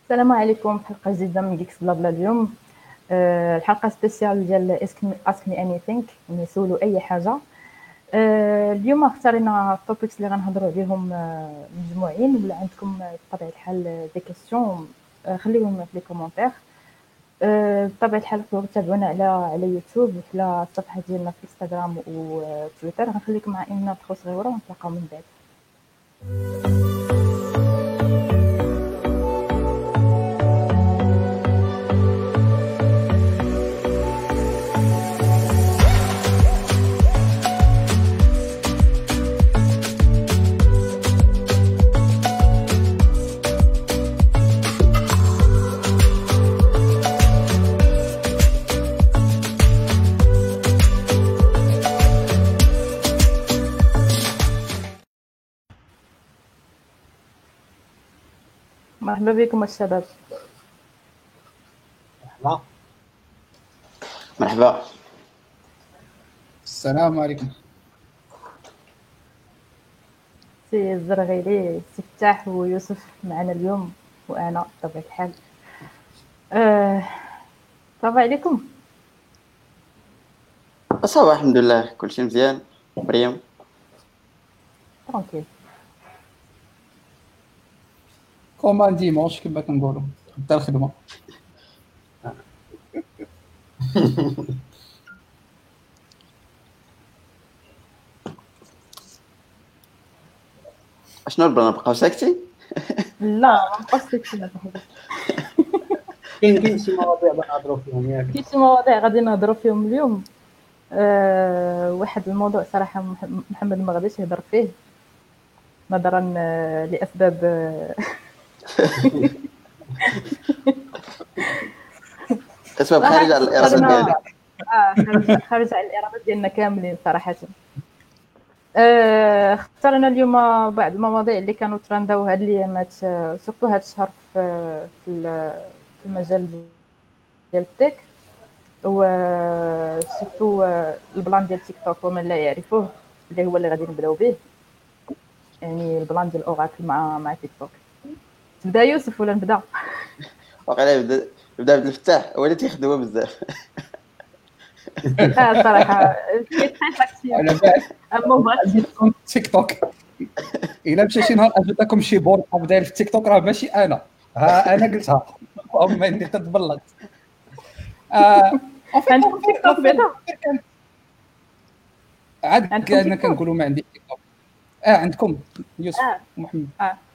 السلام عليكم. حلقة جديدة من جيكس بلا بلا اليوم. الحلقة سبيسيال ديال اسك مي اني ثينك، نسولوا اي حاجة. اليوم اختارينا التوبكس اللي غنهضروا عليهم مجموعين، ولا عندكم بطبيعة الحال دي كيسيون خليوهم في لي كومونتير. بطبيعة الحال تقدروا تتابعونا على يوتيوب وعلى الصفحة ديالنا في انستغرام وتويتر. غنخليكم مع إيمنا ندخلوا صغيرة ونتلاقاو من بعد. مرحبا بكم الشباب. مرحبا. السلام عليكم. سي الزرغيلي، سي فتاح ويوسف معنا اليوم، وانا بطبيعه الحال. صافا عليكم؟ صافا الحمد لله، كلشي مزيان. مريم ترونكيل. كومان ديمونش كما كنقولوا، بدا الخدمه. اشنو البلان؟ نبقاو ساكتين؟ لا ما نبقاوش ساكتين. كاين شي مواضيع نهضروا فيهم ياك؟ كاين شي مواضيع غادي نهضروا فيهم اليوم. واحد الموضوع صراحه محمد ما غاديش يهضر فيه نظرا لاسباب اسباب خارجه على الاراده ديالنا. خارج على الاراده ديالنا كاملين صراحه. اخترنا اليوم بعض المواضيع اللي كانوا ترنداو هاد الايامات، سورتو هاد الشهر في المجال ديال التك، وسورتو البلان ديال تيك توك ومن لا يعرفوه، اللي هو اللي غادي نبداو به، يعني البلان ديال اوراكل مع تيك توك. تبدا يوسف ولا نبدا؟ واقيلا يبدا عبد الفتاح، هو اللي تيخدموا بزاف. صراحه كيتخاف اكثر. على بالي اما بغيت تيك توك الا مشى شي نهار اجيتكم شي بورطه داير في تيك توك، راه ماشي انا، انا قلتها اما اني تتبلط. عندكم تيك توك بعدا؟ عاد انا كنقولوا ما عندي تيك توك. عندكم يوسف ومحمد؟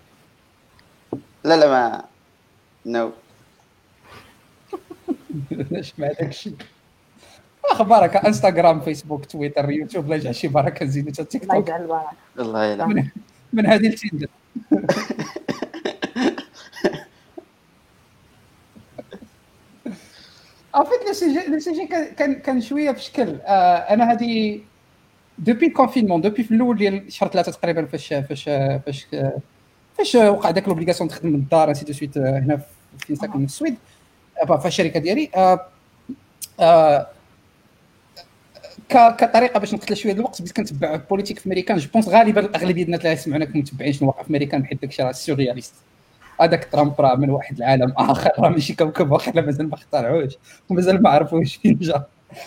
لا ما نو. علاش مع داكشي؟ اخبارك انستغرام فيسبوك تويتر يوتيوب، لا يجعل شي بركه نزيدو حتى تيك الله توك. يجعل البركه. الله يلا من هذه التندر. فيت لو سي جي كان شويه بشكل. انا هذه دوبي الكونفينمون، دوبي في الاول ديال شهر 3 تقريبا، فاش وقع داك لوبليغاسيون تخدم من الدار انسي دو سويت، هنا في ساكن في السويد في الشركه ديالي. كطريقه باش نقتل شويه الوقت، بديت كنتبع بوليتيك في امريكان. جو بونس غالبا الاغلبيه الناس اللي يسمعونا متبعين شنو واقع في امريكان، حيت داكشي راه سورياليست. هذاك ترامب راه من واحد العالم اخر، راه ماشي كوكب واحد، مازال ما اخترعوش ومازال ما عرفوش فين جا.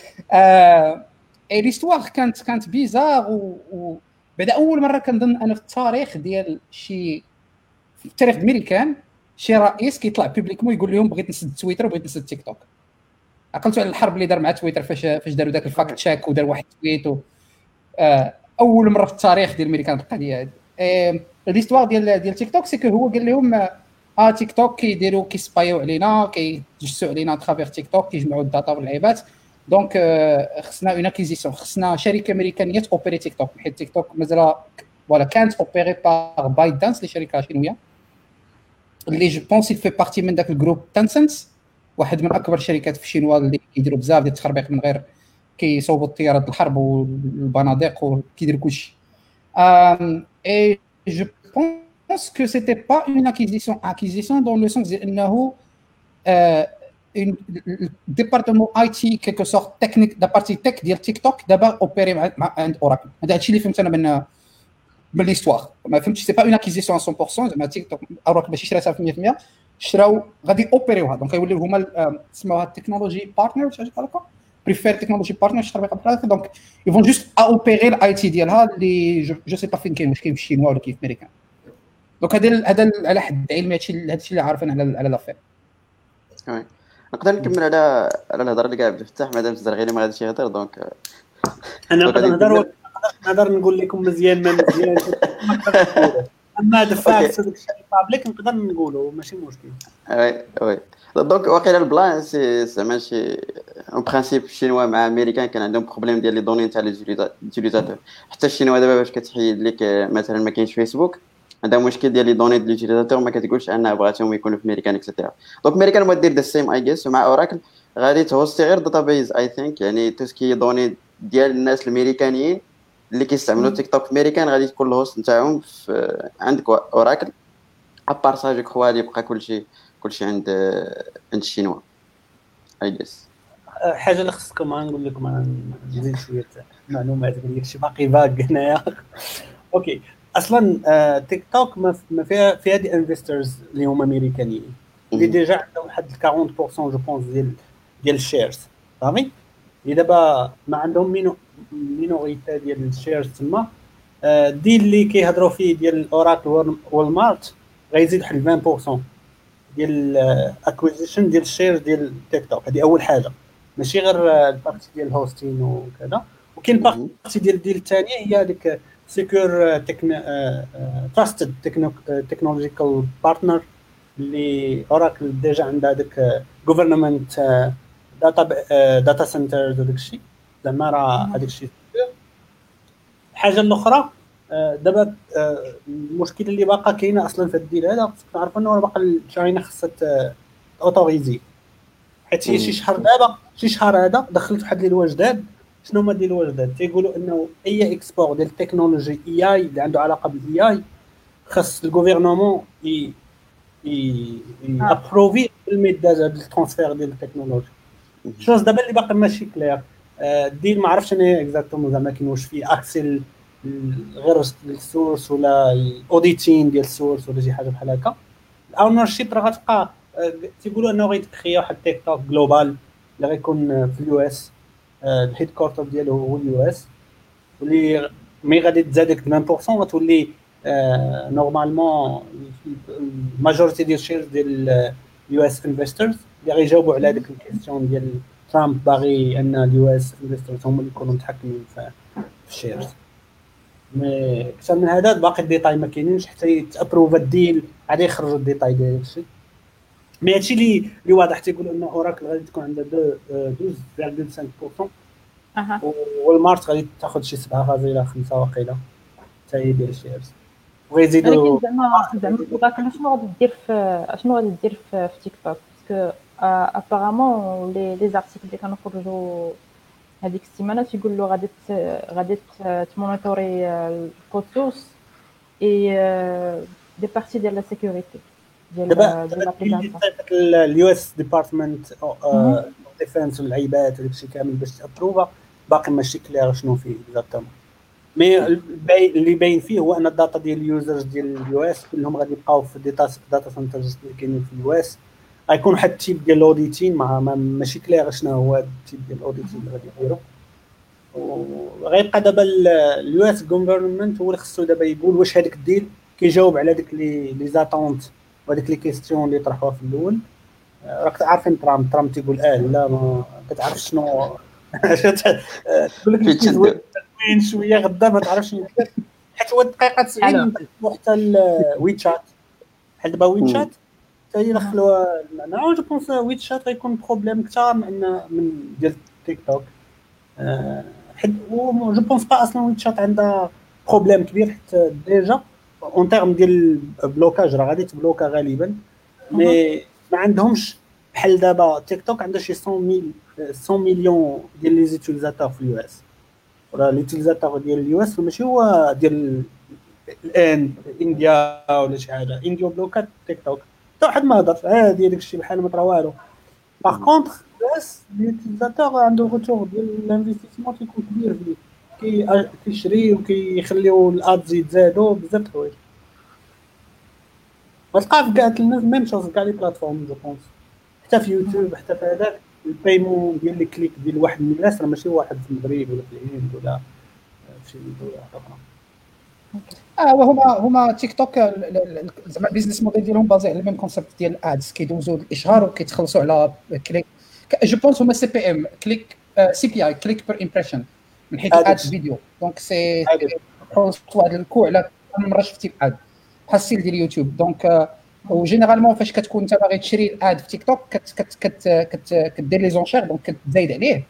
اي ليستوار كانت بيزار، وبعد اول مره كنظن انا في التاريخ ديال في التاريخ الامريكان شي رئيس كيطلع بوبليكمون يقول لهم بغيت نسد تويتر وبغيت نسد تيك توك. عقلتوا على الحرب اللي دار مع تويتر فاش داروا داك الفاكت تشيك ودار واحد تويت. اول مره في التاريخ ديال الامريكان القضيه هذه. ليستوار ديال تيك توك سي هو قال لهم تيك توك كيديروا كيسبايو علينا، كيجسوا علينا ترافير تيك توك، كيجمعوا الداتا واللعيبات. دونك خصنا اون اكيزيسيون، خصنا شركه امريكانيه توبيري تيك توك، حيت تيك توك مازال ولا كانت اوبيري بار بايت دانس اللي شركه شينويه اللي جو بونس في بارتي من داك الجروب تنسنت، واحد من اكبر الشركات في الشينوا اللي كيديروا بزاف ديال التخربيق من غير كيصوبوا الطيارات الحرب والبنادق وكيديروا كلشي. اي جو بونس كو سيتي با اون اكيزيسيون دون لو سونس ديال انه ديبارتمون اي تي كيكو سورت تكنيك دا بارتي تك ديال تيك توك دابا اوبيري مع عند اوراكل. هذا الشيء اللي فهمت انا من ليستوار. ما فهمتش سي با اون اكيزيسيون 100%، زعما تيك توك اوراكل ماشي شراتها 100%. شراو غادي اوبيريوها دونك يوليو هما تسموها التكنولوجي بارتنر ولا حاجه هكا بريفير تكنولوجي بارتنر شي طريقه بحال هكا دونك يفون جوست اوبيري الاي تي ديالها اللي جو سي با فين كاين، واش كاين في الشينوا ولا كاين في امريكا. دونك هذا على حد علمي هادشي اللي عارفين على لافير. وي نقدر نكمل على الهضره اللي قاعد بفتح مادام الزرغيني ما غاديش يهضر دونك انا نقدر نهضر نقول لكم مزيان ما مزيان اما دفاع داك الشيء بابليك نقدر نقولوا ماشي مشكل. وي دونك واقيلا البلان سي زعما شي اون برينسيپ الشينوا مع امريكان كان عندهم بروبليم ديال لي دوني نتاع ليوتيليزاتور. حتى الشينوا دابا باش كتحيد لك مثلا ما كاينش فيسبوك عندها مشكل ديال لي دوني ديال ليوتيليزاتور ما كتقولش انها بغاتهم يكونوا في امريكان اكسيتيرا. دونك امريكان ما دير ذا سيم اي جيس ومع اوراكل غادي تهوستي غير داتابيز اي ثينك يعني توسكي دوني ديال الناس الامريكانيين اللي كيستعملوا تيك توك في امريكان غادي تكون الهوست نتاعهم في عندك اوراكل ابار سا جو كخوا يبقى كلشي عند الشينوا اي جيس. حاجه اللي خصكم نقول لكم انا نزيد شويه معلومات ديال شي باقي باق هنايا. اوكي اصلا تيك توك ما فيها دي انفسترز اللي هما امريكانيين اللي ديجا عندهم واحد 40% جو بونس ديال الشيرز صافي. اللي دابا ما عندهم مينوريتي ديال الشيرز تما دي اللي كيهضروا فيه ديال اوراكل والمارت غيزيد واحد 20% ديال اكويزيشن ديال الشيرز ديال تيك توك. هذه اول حاجه ماشي غير البارتي ديال الهوستين وكذا. وكاين بارتي ديال الثانيه هي ديك سيكور تراستد تكنولوجيكال بارتنر اللي اوراكل ديجا عندها داك غوفرنمنت داتا سنترز وداك الشيء زعما راه هذاك الشيء. الحاجه الاخرى دابا المشكله اللي باقا كاينه اصلا في الديل هذا خصك تعرفوا انه باقا تشاينا خصها اوتوريزي حيت هي شي شهر هذا دخلت واحد لي جداد. شنو هما ديال الوجدات تيقولوا انه اي اكسبور ديال التكنولوجي اي اللي عنده علاقه بالاي خص الغوفرنمون ابروفي الميداز هذا الترانسفير ديال التكنولوجي. شوز دابا اللي باقي ماشي كلير الديل ما عرفتش انا اكزاكتومون زعما كاين واش فيه اكسل غير السورس ولا الاوديتين ديال السورس ولا شي حاجه بحال هكا. الاونر شيب راه غتبقى تيقولوا انه غيتكريا واحد تيك توك جلوبال اللي غيكون في اليو اس الهيد كوارتر ديالو هو اليو اس واللي مي غادي تزاد ديك 20% غتولي نورمالمون الماجوريتي ديال الشيرز ديال اليو اس انفسترز اللي غيجاوبوا على هذيك الكيستيون ديال ترامب باغي ان اليو اس انفسترز هما اللي يكونوا متحكمين في الشيرز. مي اكثر من هذا باقي الديتاي ما كاينينش حتى يتابروف الديل غادي يخرجوا الديتاي ديال الشيء. مي هادشي اللي واضح تيقولوا ان اوراكل غادي تكون عندها 12.5% والمارت غادي تاخذ شي 7.5 واقيلا حتى هي ديال الشيرز وغيزيدوا. ولكن زعما اوراكل شنو غادي دير في تيك توك باسكو ابارامون لي زارتيكل اللي كانوا خرجوا هذيك السيمانه تيقول له غادي تمونيتوري الكود سورس اي دي بارتي ديال لا سيكوريتي ديال لابليكاسيون اليو اس ديبارتمنت ديفنس والعيبات وداك الشيء كامل باش تابروفا باقي ماشي كلير شنو فيه اكزاكتومون. مي اللي باين فيه هو ان الداتا ديال اليوزرز ديال اليو اس كلهم غادي يبقاو في داتا سنترز اللي كاينين في اليو اس. غيكون واحد التيب ديال الاوديتين ماشي كلير شنو هو التيب ديال الاوديتين اللي غادي يديروا. وغيبقى دابا اليو اس غوفرنمنت هو اللي خصو دابا يقول واش هذاك الديل كيجاوب على ديك لي زاتونت وهذيك لي كيستيون اللي طرحوها في الاول. راك عارفين ترامب تيقول لا ما كتعرف شنو تقول لك وين شويه غدا ما تعرفش حيت هو دقيقه 90 حتى الويتشات بحال دابا ويتشات حتى هي دخلوا انا جو بونس ويتشات غيكون بروبليم اكثر من ديال تيك توك حيت جو بونس با اصلا ويتشات عندها بروبليم كبير حيت ديجا اون تيرم ديال بلوكاج راه غادي تبلوكا غالبا. مي ما عندهمش بحال دابا تيك توك عندها شي 100 مليون ديال لي زيتيليزاتور في اليو اس ولا ليتيليزاتور ديال اليو اس ماشي هو ديال الان انديا ولا شي حاجه. انديا بلوكات تيك توك حتى واحد ما هضر عادي داك الشيء بحال ما طرا والو. باغ كونطخ بس ليتيليزاتور عنده روتور ديال الانفستيسمون كيكون كبير فيه كيشري وكيخليو الادز يتزادوا بزاف د الحوايج. وتلقى في كاع الناس ميم شوز كاع لي بلاتفورم جو بونس، حتى في يوتيوب حتى في هذاك البايمون ديال لي كليك ديال واحد من الناس راه ماشي واحد في المغرب ولا في الهند ولا في شي دوله اخرى. وهما تيك توك زعما البيزنس موديل ديالهم بازي على الميم كونسيبت ديال الادز، كيدوزوا الاشهار وكيتخلصوا على كليك. جو بونس هما سي بي ام كليك سي بي اي كليك بير امبريشن من حيث الادز فيديو. دونك سي واحد الكوع على مره شفتي الاد بحال السيل ديال يوتيوب. دونك وجينيرالمون فاش كتكون انت باغي تشري الاد في تيك توك كدير لي زونشير، دونك كتزايد عليه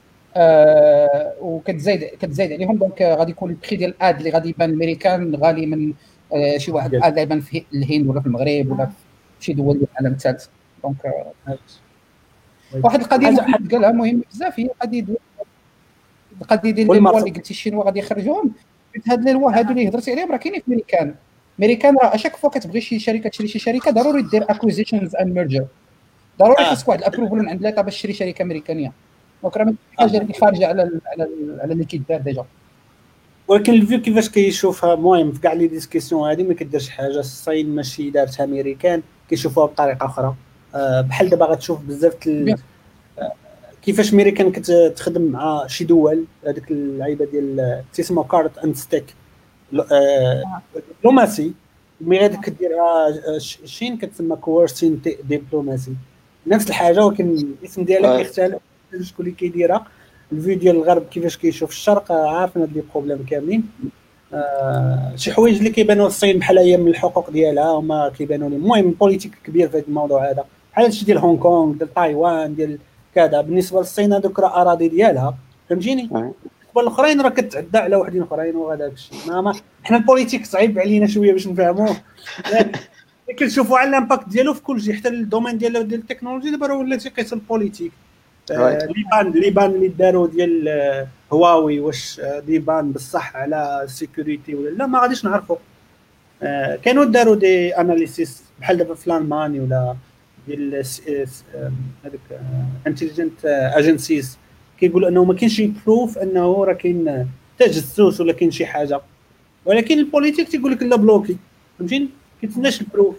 وكتزايد عليهم. دونك غادي يكون البري ديال الاد اللي غادي يبان امريكان غالي من شي واحد الاد يبان في الهند ولا في المغرب ولا في شي دول ديال العالم الثالث. دونك واحد القضيه اللي قالها مهم بزاف هي القضيه ديال اللي قلتي الشينوا غادي يخرجوهم. هاد لي لوا هادو اللي هضرتي عليهم راه كاينين في امريكان راه اشاك فوا كتبغي شي شركه تشري شي شركه ضروري دير اكويزيشنز اند ميرجر، ضروري خاصك واحد الابروفل من عند ليطا باش تشري شركه امريكانيه. دونك راه حاجه اللي خارجه على اللي كيدار ديجا. ولكن الفيو كيفاش كيشوفها مهم في كاع لي ديسكسيون هذه ما كديرش حاجه الصين ماشي دارتها امريكان كيشوفوها بطريقه اخرى. بحال دابا غتشوف بزاف كيفاش امريكان كتخدم مع شي دول هذيك اللعيبه ديال تسمى كارت اند ستيك دبلوماسي مي غادي كديرها الصين كتسمى كوورسين دبلوماسي نفس الحاجه ولكن الاسم ديالها كيختلف شكون اللي كيديرها. الفيديو ديال الغرب كيفاش كيشوف الشرق عارفين هاد لي بروبليم كاملين. شي حوايج اللي كيبانوا الصين بحال هي من الحقوق ديالها هما كيبانوا لي المهم بوليتيك كبير في هذا الموضوع هذا بحال هادشي ديال هونغ كونغ ديال تايوان ديال كذا. بالنسبه للصين هذوك راه اراضي ديالها فهمتيني. والاخرين راه كتعدى على وحدين اخرين وهذاك الشيء ما حنا البوليتيك صعيب علينا شويه باش نفهموه كنشوفوا على الامباكت ديالو في كل شيء حتى الدومين ديال التكنولوجيا دابا راه ولا تيقيس البوليتيك. ليبان اللي داروا ديال هواوي واش ليبان بصح على السيكوريتي ولا لا ما غاديش نعرفوا. كانوا داروا دي اناليسيس بحال دابا في لالمانيا ولا ديال هذوك انتيليجنت اجنسيز كيقولوا انه ما كاينش شي بروف انه راه كاين تجسس ولا كاين شي حاجه ولكن البوليتيك تيقول لك لا بلوكي فهمتيني كيتسناش البروف.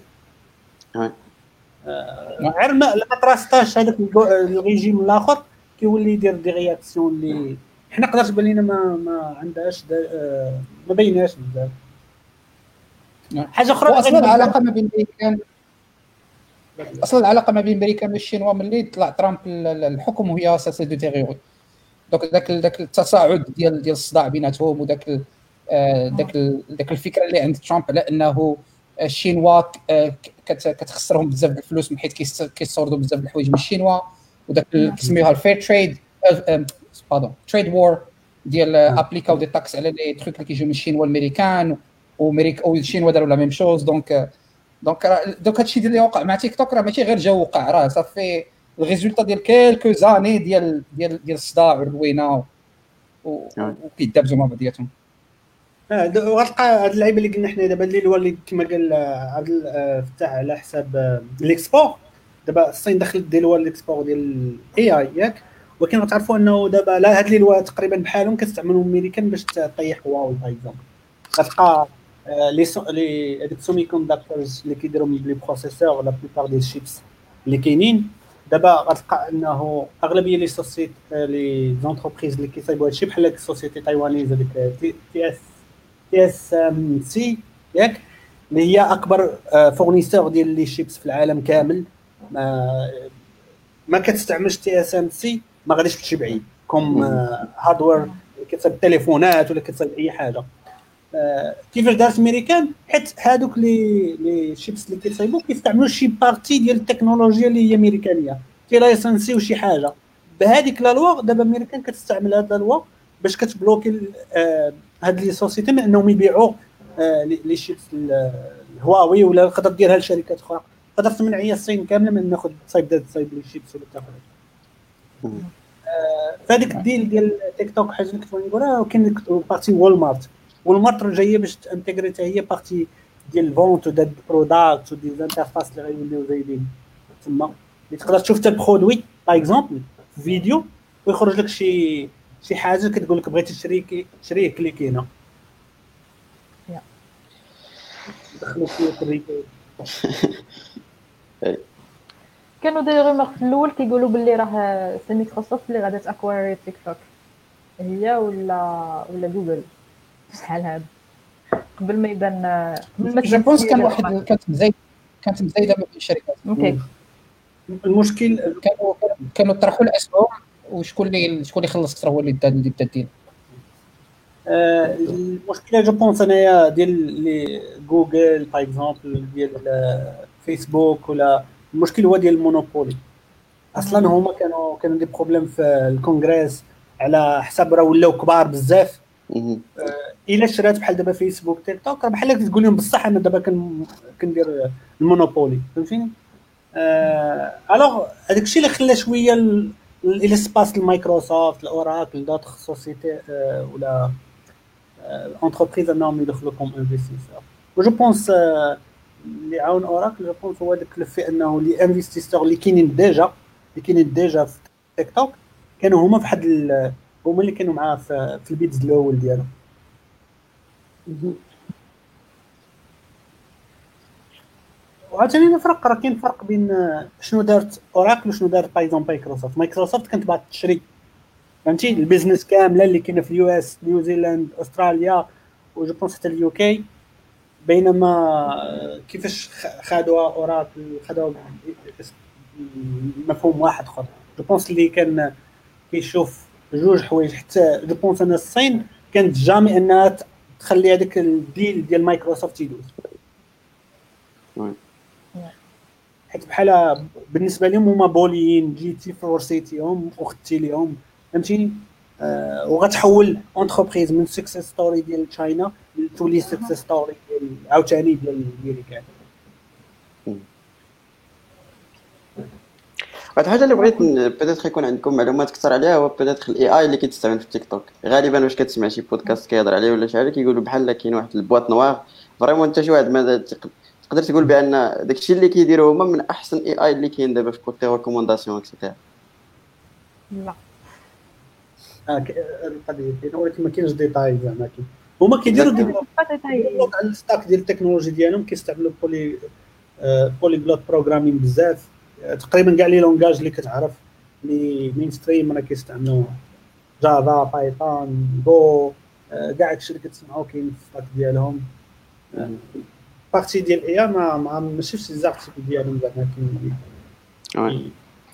غير ما تراستاش هذاك الريجيم الاخر كيولي يدير دي رياكسيون اللي حنا قدرت تبان لينا ما عندهاش ما بيناش بزاف. حاجه اخرى اصلا العلاقه ما بين امريكا والشينوا ملي طلع ترامب الحكم وهي اساسا دو تيغيوري. دونك داك التصاعد ديال الصداع بيناتهم وداك داك الفكره اللي عند ترامب على انه الشينوا كتخسرهم بزاف د الفلوس من حيث كيستوردوا بزاف د الحوايج من الشينوا وداك كيسميوها الفير تريد تريد وور ديال ابليكاو دي تاكس على لي تروك اللي كيجيو من الشينوا والامريكان والشينوا داروا لا ميم شوز. دونك هادشي اللي وقع مع تيك توك راه ماشي غير جا وقع راه صافي الريزولطا ديال كيلكو زاني ديال الصداع والروينه وكيدابزوا مع بعضياتهم. وغتلقى هاد اللعيبه اللي قلنا حنا دابا اللي هو اللي كما قال عبد الفتاح على حساب ليكسبور. دابا الصين دخلت ديال هو ليكسبور ديال الاي اي ياك ولكن غتعرفوا انه دابا لا هاد اللي هو تقريبا بحالهم كتستعملوا امريكان باش تطيح هواوي باغ اكزومبل. غتلقى لي هذوك سومي كوندكتورز اللي كيديروا لي بروسيسور لا بليبار ديال الشيبس اللي كاينين دابا غتلقى انه اغلبيه لي سوسيتي لي زونتربريز اللي كيصايبوا هادشي بحال السوسيتي تايوانيز هذيك تي اس سي ياك اللي هي اكبر فورنيسور ديال لي شيبس في العالم كامل. ما كتستعملش تي اس ام سي ما غاديش تمشي بعيد كوم هاردوير كتصايب التليفونات ولا كتصايب اي حاجه. كيفاش دارت امريكان حيت هادوك لي شيبس اللي كيصايبوا كيستعملوا شي بارتي ديال التكنولوجيا اللي هي امريكانيه كي لايسنسي وشي حاجه بهذيك لا لوا. دابا امريكان كتستعمل هاد لا لوا باش كتبلوكي هاد لي سوسيتي من انهم يبيعوا لي شيبس الهواوي ولا تقدر ديرها لشركات اخرى. تقدر تمنع هي الصين كامله من ناخذ تصايب لي شيبس ولا تاخذ فهاديك الديل ديال تيك توك. حاجه اللي كنت نقولها وكاين بارتي والمارت جايه باش انتغريتي هي بارتي ديال الفونت وديال البروداكت وديال الانترفاس اللي غيوليو زايدين تما اللي تقدر تشوف حتى البرودوي باغ اكزومبل في فيديو ويخرج لك شي حاجه كتقول لك بغيتي تشريه كليكي هنا دخلوا فيه في الريتيل. كانوا دايروا رومور في الاول كيقولوا باللي راه سي مايكروسوفت اللي غادا تاكواري تيك توك، هي ولا جوجل شحال هذا قبل ما يبان قبل ما جو بونس كان تسير واحد كانت مزايده ما بين الشركات. اوكي. المشكل كانوا طرحوا الاسهم وشكون اللي خلص اكثر هو اللي بدا الديل. المشكله جو بونس انايا ديال لي جوجل باغ اكزومبل ديال فيسبوك، ولا المشكل هو ديال المونوبولي. اصلا هما كانوا دي بروبليم في الكونغرس على حساب راه ولاو كبار بزاف. الا شرات بحال دابا فيسبوك تيك توك راه بحال تقول لهم بصح انا دابا كندير المونوبولي، فهمتيني؟ الوغ هذاك الشيء اللي خلى شويه الاسباس المايكروسوفت الاوراكل دوطخ سوسيتي ولا انتربريز انهم يدخلوا كوم انفستيسور. وجو بونس اللي عاون اوراكل جو بونس هو داك الفي انه لي انفستيسور اللي كاينين ديجا في تيك توك كانوا هما فواحد هما اللي كانوا معاه في البيتز الاول ديالو. وعاوتاني نفرق، راه كاين فرق بين شنو دارت اوراكل وشنو دارت بايزون مايكروسوفت كانت باغا تشري، فهمتي، البيزنس كامله اللي كاينه في اليو اس، نيوزيلاند، استراليا، وجو بونس حتى اليو كي. بينما كيفاش خدوا اوراكل خدوا مفهوم واحد اخر. جو بونس اللي كان كيشوف جوج حوايج، حتى جو بونس ان الصين كانت جامي انها تخلي هذاك الديل ديال مايكروسوفت يدوز، حيت بحال بالنسبه لهم هما بوليين جيتي فورسيتيهم وخدتي ليهم، فهمتيني؟ وغتحول انتربريز من سكسس ستوري ديال تشاينا لتولي سكسس ستوري ديال عاوتاني ديال امريكا. واحد الحاجه اللي بغيت بيتيت يكون عندكم معلومات اكثر عليها هو بيتيت الاي اي اللي كيتستعمل في تيك توك. غالبا واش كتسمع شي بودكاست كيهضر عليه ولا شي حاجه كيقولوا بحال كاين واحد البواط نوار فريمون انت شي واحد ما تقدر تقول بان داكشي اللي كيديروا هما من احسن اي اي اللي كاين دابا في كوتي ريكومونداسيون اكسيتيرا. لا القضيه ديالو ولكن ما كاينش ديتاي زعما هما كيديروا ديفلوب على الستاك ديال التكنولوجي ديالهم، كيستعملوا بولي جلوت بروغرامين بزاف. تقريبا كاع لي لونغاج اللي كتعرف لي مين ستريم راه كيستعملوا جافا، بايثون، جو، كاع داكشي اللي كتسمعوا كاين في الستاك ديالهم. بارتي ديال اي ما شفتش الزارتيكل ديالهم زعما كاين.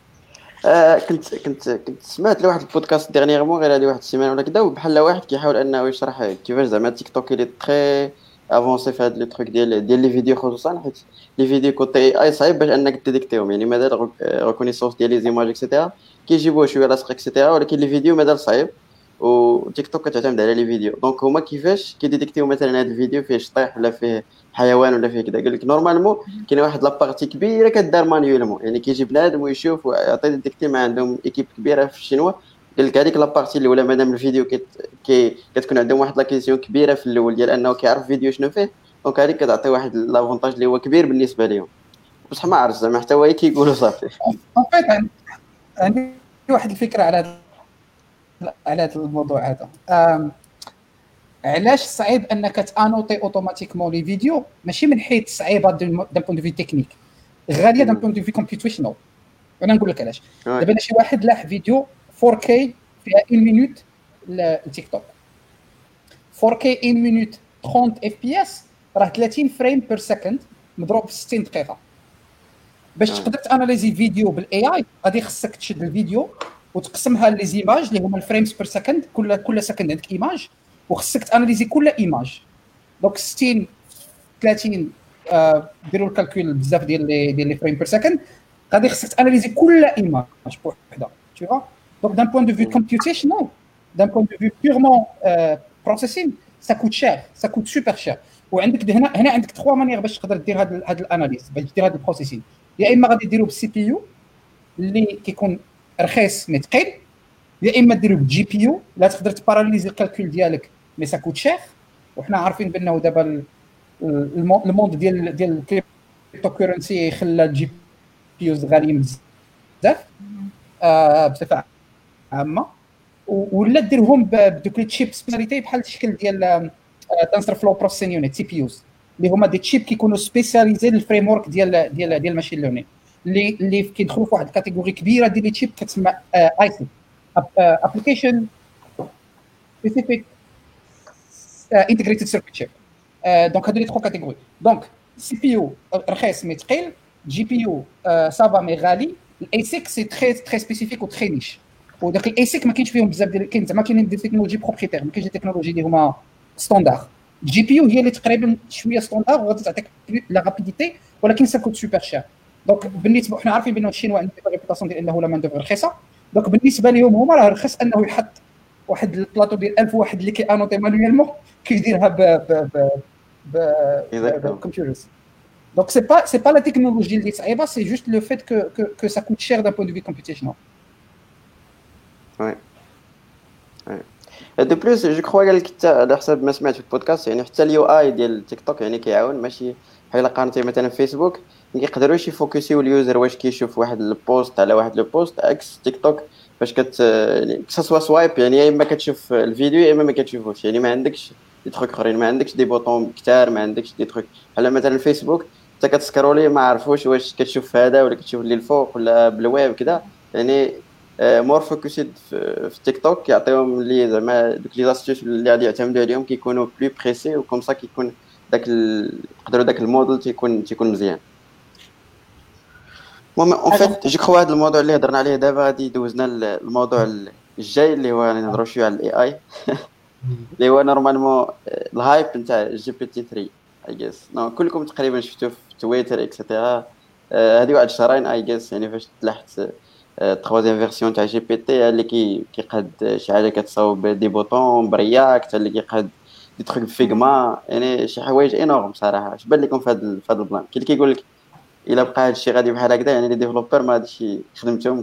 كنت سمعت لواحد البودكاست ديرنييرمون غير هذه واحد السيمانه ولا كذا، وبحال واحد كيحاول انه يشرح كيفاش زعما تيك توك اللي تري افونسي في هاد لي تروك ديال لي فيديو، خصوصا حيت لي فيديو كوتي اي صعيب باش انك تديكتيهم، يعني مازال ريكونيسونس ديال لي زيماج اكسيتيرا كيجيبوه شويه لاصق اكسيتيرا، ولكن لي فيديو مازال صعيب وتيك توك كتعتمد على لي فيديو. دونك هما كيفاش كيديكتيو مثلا هاد الفيديو فيه شطيح ولا فيه حيوان ولا فيه كذا، قال لك نورمالمون كاين واحد لابارتي كبيره كدار مانيولمون، يعني كيجي بنادم ويشوف ويعطي ديكتي، ما عندهم ايكيب كبيره في الشينوا. قال لك هذيك لابارتي الاولى مادام الفيديو كتكون عندهم واحد لاكيزيون كبيره في الاول ديال انه كيعرف فيديو شنو فيه، دونك هذيك كتعطي واحد لافونتاج اللي هو كبير بالنسبه لهم. بصح ما عرفت زعما حتى هو كيقولوا صافي. عندي واحد الفكره على هذا الموضوع هذا. علاش صعيب انك تانوتي اوتوماتيكمون لي فيديو؟ ماشي من حيث صعيبه دان بوين دو في تكنيك، غاليه دان بوين دو في كومبيوتيشنال. انا نقول لك علاش. دابا شي واحد لاح فيديو 4K فيها 1 مينوت للتيك توك، 4K 1 مينوت 30 FPS راه 30 فريم بير سكند مضروب في 60 دقيقه. باش تقدر تاناليزي فيديو بالاي اي غادي خصك تشد الفيديو وتقسمها لي زيماج اللي هما الفريمز بير سكند، كل سكند عندك ايماج وخصك تاناليزي كل ايماج. دونك 60 30 ديروا الكالكول بزاف ديال لي فريم بير سكند، غادي خصك تاناليزي كل ايماج بوحده، tu vois. Donc d'un point de vue computational, d'un point de vue purement processing, ça coûte cher, ça coûte super cher. وعندك هنا عندك 3 مانيير باش تقدر دير هاد الاناليز، باش دير هاد البروسيسين. يا اما غادي ديروا بالسي بي يو اللي كيكون رخيص مي ثقيل، يا اما ديروا بالجي بي يو لا تقدر تباراليزي الكالكول ديالك مي سا كوت شير. وحنا عارفين بانه دابا الموند ديال الكريبتو كورنسي خلى الجي بي يوز غاليين بزاف بصفه عامه، ولا ديرهم بدوك لي تشيب سبيساليتي بحال الشكل ديال تنسر فلو بروسيسين يونيت سي بي يوز اللي هما دي تشيب كيكونوا سبيسياليزي للفريم ورك ديال الماشين ليرنين اللي كيدخلوا في واحد الكاتيجوري كبيره ديال لي تشيب كتسمى اي سي ابليكيشن سبيسيفيك انتجريتد سيركت شيب. دونك هادو لي 3 كاتيجوري. دونك سي بي يو رخيص مي ثقيل، جي بي يو صافا مي غالي، الاي سيك سي تري سبيسيفيك و تري نيش. وداك الاي سيك ما كاينش فيهم بزاف ديال كاين زعما كاينين دي تكنولوجي بروبريتير، ما كاينش دي تكنولوجي اللي هما ستاندار. الجي بي يو هي اللي تقريبا شويه ستاندار وغادي تعطيك لا رابيديتي، ولكن سا كوت سوبر شير. دونك بالنسبه حنا عارفين بان الشينوا عندهم ريبوتاسيون ديال انه لا مان دوفر رخيصه. دونك بالنسبه لهم هما راه رخص انه يحط واحد البلاطو ديال 1000 واحد اللي كيانوتي مانويلمون كيديرها بالكمبيوترز. Donc c'est pas la technologie اللي صعيبه، c'est juste le fait que ça coûte cher d'un point de vue computational. Ouais. De plus, je crois قال لك حتى على حسب ما سمعت في البودكاست، يعني حتى اليو اي ديال تيك توك يعني كيعاون، ماشي بحال قارنتي مثلا فيسبوك ما يقدروش يفوكسيو اليوزر واش كيشوف واحد البوست على واحد لو بوست، عكس تيك توك فاش يعني كسوا سوايب يعني يا اما كتشوف الفيديو يا اما ما كتشوفوش، يعني ما عندكش دي تروك اخرين، ما عندكش دي بوطون كثار، ما عندكش دي تروك بحال مثلا الفيسبوك انت كتسكرولي ما عرفوش واش كتشوف هذا ولا كتشوف اللي الفوق ولا بالويب كذا. يعني مور فوكسيد في تيك توك يعطيهم اللي زعما دوك لي زاستيوس اللي غادي يعتمدوا عليهم كيكونوا بلو بريسي، وكم صا كيكون داك يقدروا داك الموديل تيكون مزيان. المهم اون فيت جو كخوا هذا الموضوع اللي هضرنا عليه دابا غادي دوزنا الموضوع الجاي اللي هو غادي نهضروا شويه على الاي اي اللي هو نورمالمون الهايب نتاع جي بي تي 3 اي جيس. نو كلكم تقريبا شفتوه في تويتر اكسيتيرا. هذه واحد شهرين اي جيس يعني فاش تلاحت التروازيام فيرسيون تاع جي بي تي اللي كيقاد شي حاجه كتصاوب دي بوطون برياكت، اللي كيقاد دي تروك فيغما، يعني شي حوايج انورم صراحه. اش بان لكم في هذا البلان؟ كاين كيقول لك الا بقى هذا الشيء غادي بحال هكذا يعني لي ديفلوبر ما هادشي خدمتهم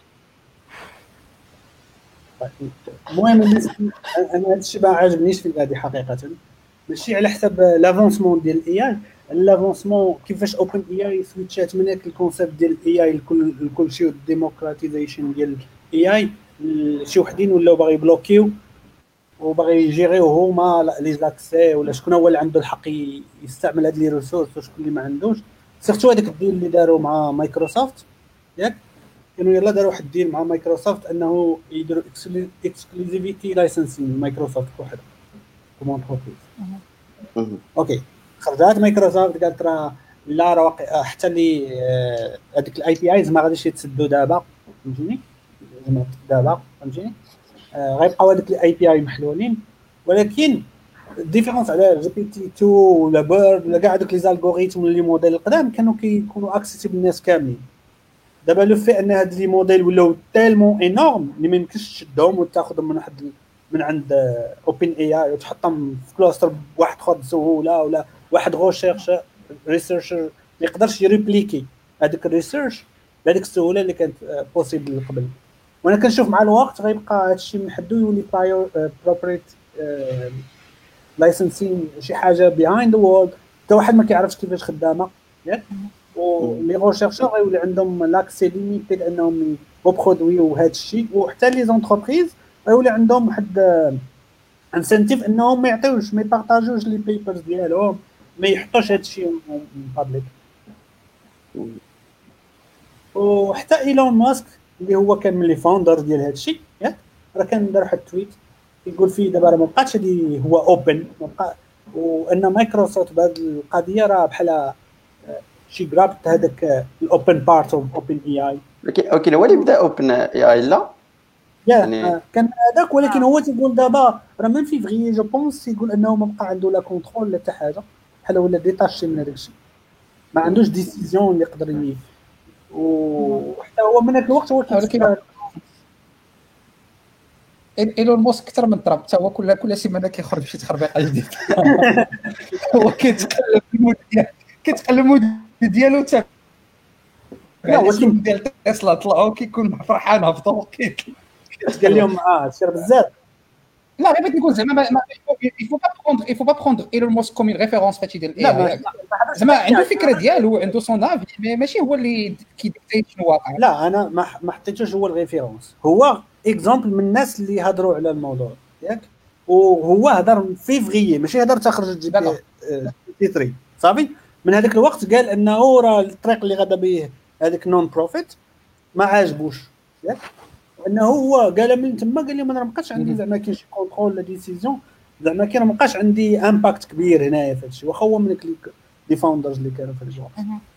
المهم انا هذا الشيء ما عجبنيش في هذه حقيقه، ماشي على حسب لافونسمون ديال الاي اي، لافونسمون كيفاش اوبن اي اي سويتشات من هذاك الكونسيبت ديال الاي اي لكل شيء والديموكراتيزيشن ديال الاي اي. شي وحدين ولاو باغي بلوكيو وباغي يجيريو هما لي زاكسي ولا شكون هو اللي عنده الحق يستعمل هاد لي ريسورس وشكون اللي ما عندوش. سيرتو هذاك الديل اللي داروا مع مايكروسوفت، ياك كانوا يلا داروا واحد الديل مع مايكروسوفت انه يديروا اكسكلوزيفيتي لايسنسين مايكروسوفت وحده كومون بروبريز. اوكي خرجت مايكروسوفت قالت راه لا راه حتى اللي هذيك الاي بي ايز ما غاديش يتسدوا دابا، فهمتيني دابا فهمتيني غيبقاو هذوك الاي بي اي محلولين. ولكن الديفيرونس على جي بي تي 2 ولا بيرد ولا كاع هذوك لي زالغوريثم ولا لي موديل القدام كانوا كيكونوا اكسيسيبل للناس كاملين. دابا لو في ان هاد لي موديل ولاو تالمون انورم اللي ما يمكنش تشدهم وتاخذهم من عند اوبن اي اي وتحطهم في كلاستر بواحد اخر بسهوله، ولا واحد غوشيرش ريسيرشر ما يقدرش يريبليكي هذيك الريسيرش بهذيك السهوله اللي كانت بوسيبل قبل. وانا كنشوف مع الوقت غيبقى هادشي محدو يولي بروبريت لايسنسين شي حاجه بيهايند ذا وورد حتى واحد ما كيعرفش كيفاش خدامه، ياك ولي غوشيرشور غيولي عندهم لاكسي ليميتي لانهم يبرودويو هذا الشيء، وحتى لي زونتربريز غيولي عندهم واحد انسنتيف انهم ما يعطيوش ما يبارطاجوش لي بيبرز ديالهم، ما يحطوش هذا الشيء بابليك. وحتى ايلون ماسك اللي هو كان من لي فاوندر ديال هذا الشيء، ياك راه كان دار واحد التويت يقول فيه دابا راه ما بقاتش هذه هو اوبن ما بقى، وان مايكروسوفت بهذه القضيه راه بحال شي جرابت هذاك الاوبن بارت اوف اوبن اي اي. اوكي هو اللي بدا اوبن اي اي لا يعني كان هذاك، ولكن هو تيقول دابا راه من فيفري جو بونس يقول انه ما بقى عنده لا كونترول لا حتى حاجه بحال ولا ديتاشي من هذاك الشيء، ما عندوش ديسيزيون اللي يقدر وحتى هو من هذاك الوقت هو ولكن ايلون ماسك اكثر من ترامب، حتى هو كل سيمانه كيخرج شي تخربيقه جديده هو كيتقلب المود ديالو حتى ولكن ديال تسلا طلعوا كيكون فرحان هبطوا قال لهم سير بزاف. لا غير بغيت نقول زعما il faut pas prendre Elon Musk comme une référence فهادشي ديال الاي زعما عنده فكره ديالو عنده صون افي ماشي هو اللي كيديكتي شنو واقع. لا انا ما حطيتوش هو الريفيرونس، هو اكزامبل من الناس اللي هضروا على الموضوع ياك، وهو هضر فيفري ماشي هضر تخرج جي بي 2023 صافي. من هذاك الوقت قال انه راه الطريق اللي غدا به هذاك نون بروفيت ما عاجبوش ياك، انه هو قال من تما قال لي ما بقاش عندي زعما كاين شي كونترول لا ديسيزيون، زعما كاين ما بقاش عندي امباكت كبير هنايا في هادشي، واخا هو من لي فاوندرز اللي كانوا في الوقت.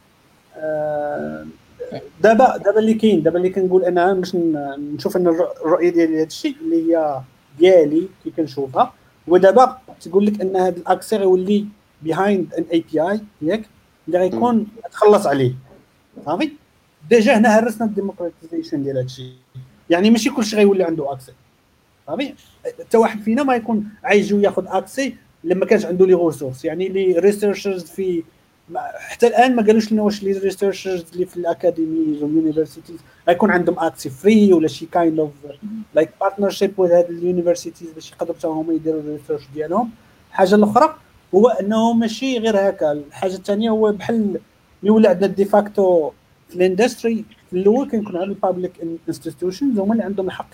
دابا اللي كنقول انا باش نشوف ان الرؤيه ديالي هذا الشيء اللي هي ديالي كي كنشوفها، ودابا تقول لك ان هذا الاكسي غيولي بيهايند ان اي بي اي ياك اللي غيكون تخلص عليه صافي. ديجا هنا هرسنا الديموكراتيزيشن ديال هذا الشيء، يعني ماشي كلشي غيولي عنده اكسي صافي. حتى واحد فينا ما يكون عايز ياخذ اكسي لما كانش عنده لي ريسورس، يعني لي ريسيرشرز في حتى الان ما قالوش لنا واش لي ريسيرشرز اللي في الاكاديميز واليونيفرسيتيز غيكون عندهم اكسي فري ولا شي كايند اوف لايك بارتنرشيب وذ هاد اليونيفرسيتيز باش يقدروا حتى هما يديروا الريسيرش ديالهم. الحاجه الاخرى هو انه ماشي غير هكا، الحاجه الثانيه هو بحال اللي ولا عندنا ديفاكتو في الاندستري في الاول كنكون عندنا البابليك انستيتيوشنز هما اللي عندهم الحق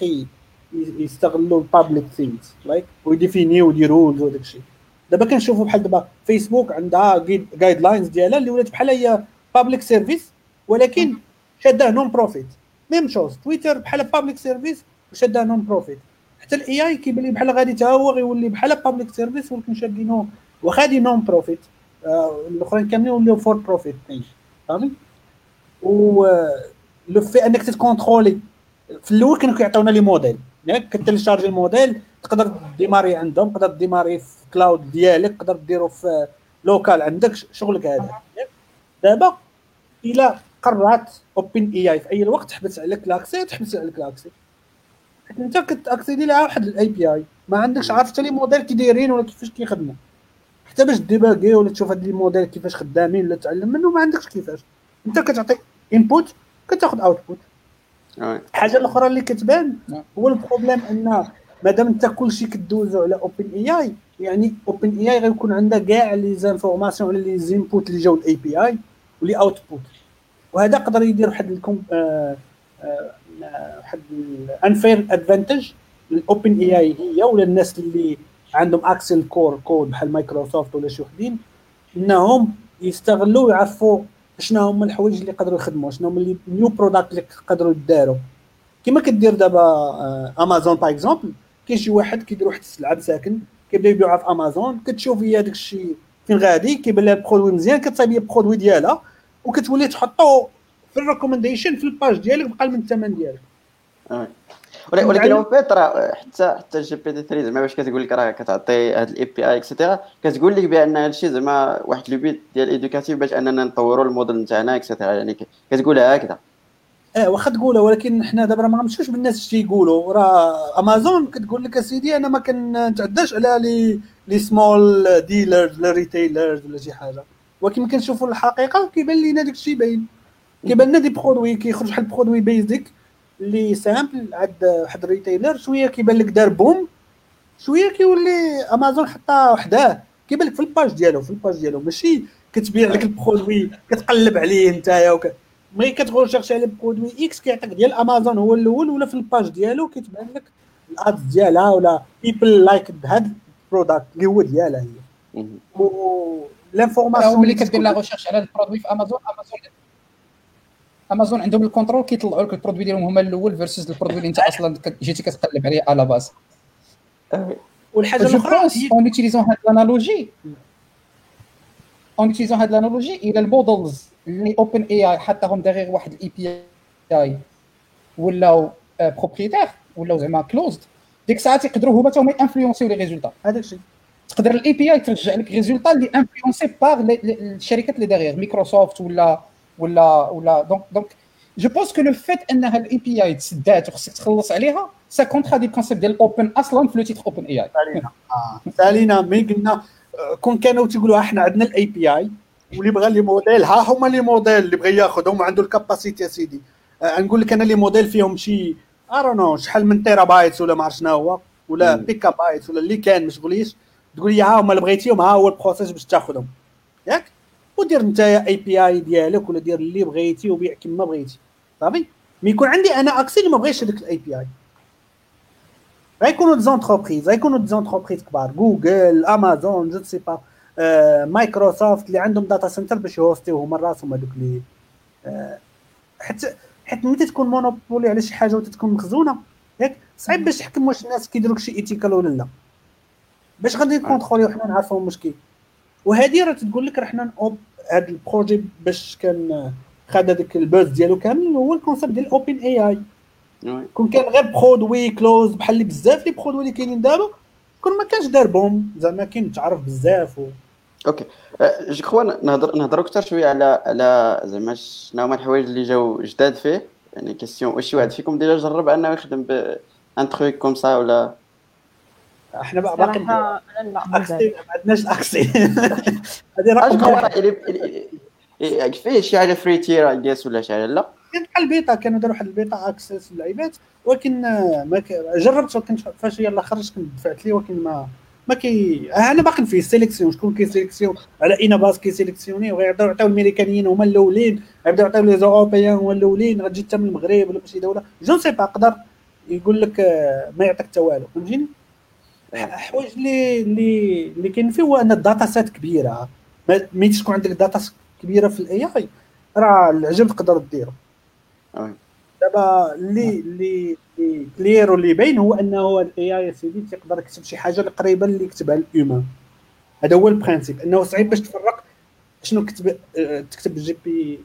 يستغلوا البابليك ثينكس لايك ويديفينيو دي رولز وداك الشيء. دابا كنشوفوا بحال دابا فيسبوك عندها جايد لاينز ديالها اللي ولات بحال هي بابليك سيرفيس ولكن شاداه نون بروفيت. ميم شوز تويتر بحال بابليك سيرفيس وشاداه نون بروفيت. حتى الاي اي كيبان لي بحال غادي حتى هو غيولي بحال بابليك سيرفيس ولكن شادينو وخادي نون بروفيت. الاخرين كاملين ولاو فور بروفيت فهمتي. و لو في انك تكونترولي في الاول كانوا كيعطيونا لي موديل ياك كتلشارجي الموديل تقدر ديماري عندهم، تقدر ديماري في كلاود ديالك، تقدر ديرو في لوكال عندك شغلك هذا. دابا الا قررت اوبن اي اي في اي وقت تحبس عليك لاكسي تحبس عليك لاكسي، انت كتاكسيدي لها واحد الاي بي اي ما عندكش عارف حتى لي موديل كي دايرين ولا كيفاش كيخدموا، حتى باش ديباغي ولا تشوف هاد لي موديل كيفاش خدامين ولا تعلم منه ما عندكش كيفاش. انت كتعطي انبوت كتاخذ اوتبوت. الحاجه الاخرى اللي كتبان هو البروبليم ان مادام انت كلشي كدوزو على اوبن اي اي، يعني اوبن اي اي غيكون عندها كاع لي زانفورماسيون على لي زينبوت اللي جاو الاي بي اي ولي اوتبوت، وهذا يقدر يدير واحد واحد الانفير ادفانتج للاوبن اي اي هي ولا الناس اللي عندهم اكسل كور كود بحال مايكروسوفت ولا شي وحدين، انهم يستغلوا ويعرفوا شنو هما الحوايج اللي يقدروا يخدموا، شنو هما لي نيو برودكت اللي يقدروا يداروا. كما كدير دابا امازون باغ اكزومبل، كاين شي واحد كيدير واحد السلعه بساكن كيبدا يبيعها في امازون، كتشوف هي داك الشيء فين غادي كيبان لها برودوي مزيان كتصايب لي برودوي ديالها وكتولي تحطو في الريكومنديشن في الباج ديالك بقى من الثمن ديالك. ولكن هو فيت راه حتى جي بي تي 3 زعما باش كتقول لك راه كتعطي هاد الاي بي اي اكسيتيرا كتقول لك بان هادشي زعما واحد لو بيت ديال ايدوكاتيف باش اننا نطوروا الموديل نتاعنا اكسيتيرا، يعني كتقولها هكذا. واخا تقولها ولكن حنا دابا ما غنمشيوش بالناس اش تيقولوا. راه امازون كتقول لك اسيدي انا ما كنتعداش على لي سمول ديلرز ولا ريتيلرز ولا شي حاجه، ولكن كنشوفوا الحقيقه كيبان لينا داك الشيء باين. كيبان لنا دي برودوي كيخرج بحال برودوي بيزيك اللي سامبل عند واحد الريتيلر شويه كيبان لك دار بوم، شويه كيولي امازون حطها وحده كيبان لك في الباج ديالو ماشي كتبيع لك البرودوي كتقلب عليه نتايا ملي كتغول شيرشي على برودوي اكس كيعطيك ديال امازون هو الاول ولا في الباج ديالو كيتبان لك الادز ديالها ولا بيبل لايك هاد البرودكت اللي هو ديالها هي. و لانفورماسيون ملي كدير لا ريشيرش على البرودوي في امازون عندهم الكونترول كيطلعوا لك البرودوي ديالهم هما الاول فيرسز البرودوي اللي انت اصلا جيتي كتقلب عليه على باز. والحاجه الاخرى اون اوتيليزون هاد الانالوجي الى المودلز اللي اوبن اي اي حطاهم داغيغ واحد الاي بي اي ولاو بروبريتير ولاو زعما كلوزد، ديك الساعه تيقدروا هما حتى انفلونسيو لي ريزولطا. هذاك الشيء تقدر الاي بي اي ترجع لك ريزولطا اللي انفلونسي باغ الشركات اللي داغيغ مايكروسوفت ولا دونك جو بونس كو لو فيت انها الاي بي اي تسدات وخصك تخلص عليها سا كونترا دي الكونسيبت ديال اوبن اصلا في لو تيتر اوبن اي اي. سالينا ملي قلنا كون كانوا تيقولوا احنا عندنا الاي بي اي واللي بغى لي موديل ها هما لي موديل اللي بغى ياخذهم عنده الكاباسيتي يا سيدي. نقول لك انا لي موديل فيهم شي ارونو شحال من تيرا بايتس ولا ما عرف شنو هو ولا بيكا بايتس ولا اللي كان ما تقوليش تقول لي ها هما اللي بغيتيهم ها هو البروسيس باش تاخذهم ياك ودير نتايا اي بي اي ديالك ولا دير اللي بغيتي وبيع كما بغيتي صافي. مي يكون عندي انا اكسي اللي ما بغيتش هذاك الاي بي اي غيكونوا دي زونتربريز كبار جوجل امازون جو سي با مايكروسوفت اللي عندهم داتا سنتر باش يهوستيو هما راسهم هذوك اللي حيت ملي تكون مونوبولي على شي حاجه وتتكون مخزونه ياك صعيب باش تحكم واش الناس كيديروا شي ايتيكال ولا لا، باش غادي نكونتروليو حنا نعرفوا المشكل. وهذه راه تقول لك راه حنا هذا البروجي باش كان خد هذاك البوز ديالو كامل هو الكونسيبت ديال اوبن اي اي. كون كان غير برودوي كلوز بحال اللي بزاف لي برودوي اللي كاينين دابا كون ما كانش دار بوم زعما كاين تعرف بزاف اوكي جو كخوا نهضروا اكثر شويه على زعما شنو هما الحوايج اللي جاو جداد فيه. يعني كيسيون واش شي واحد فيكم ديجا جرب انه يخدم بان تروك كوم سا ولا احنا باقي لا ما عندناش الاكسي هذه راه فيه شي حاجه فري تير اي جيس ولا شي حاجه لا كان بحال البيتا كانوا داروا واحد البيتا اكسس للعيبات ولكن ما جربت وكنت فاش يلاه خرجت كنت دفعت ليه ولكن ما كي انا باقي في السيليكسيون شكون كيسيليكسيون على اين باس كيسيليكسيوني وغيعطيو الامريكانيين هما الاولين غيبداو يعطيو لي زوروبيان هما الاولين غتجي حتى من المغرب ولا شي دوله جو سي با قدر يقول لك ما يعطيك حتى والو فهمتيني. حوايج اللي كاين فيه هو ان الداتا سيت كبيره ملي تكون عندك داتا كبيره في الاي اي راه العجب تقدر ديرو. دابا اللي كلير واللي باين هو انه الاي اي سيدي تقدر يكتب شي حاجه اللي قريبه اللي يكتبها الاومان. هذا هو البرانسيب انه صعيب باش تفرق شنو تكتب جي بي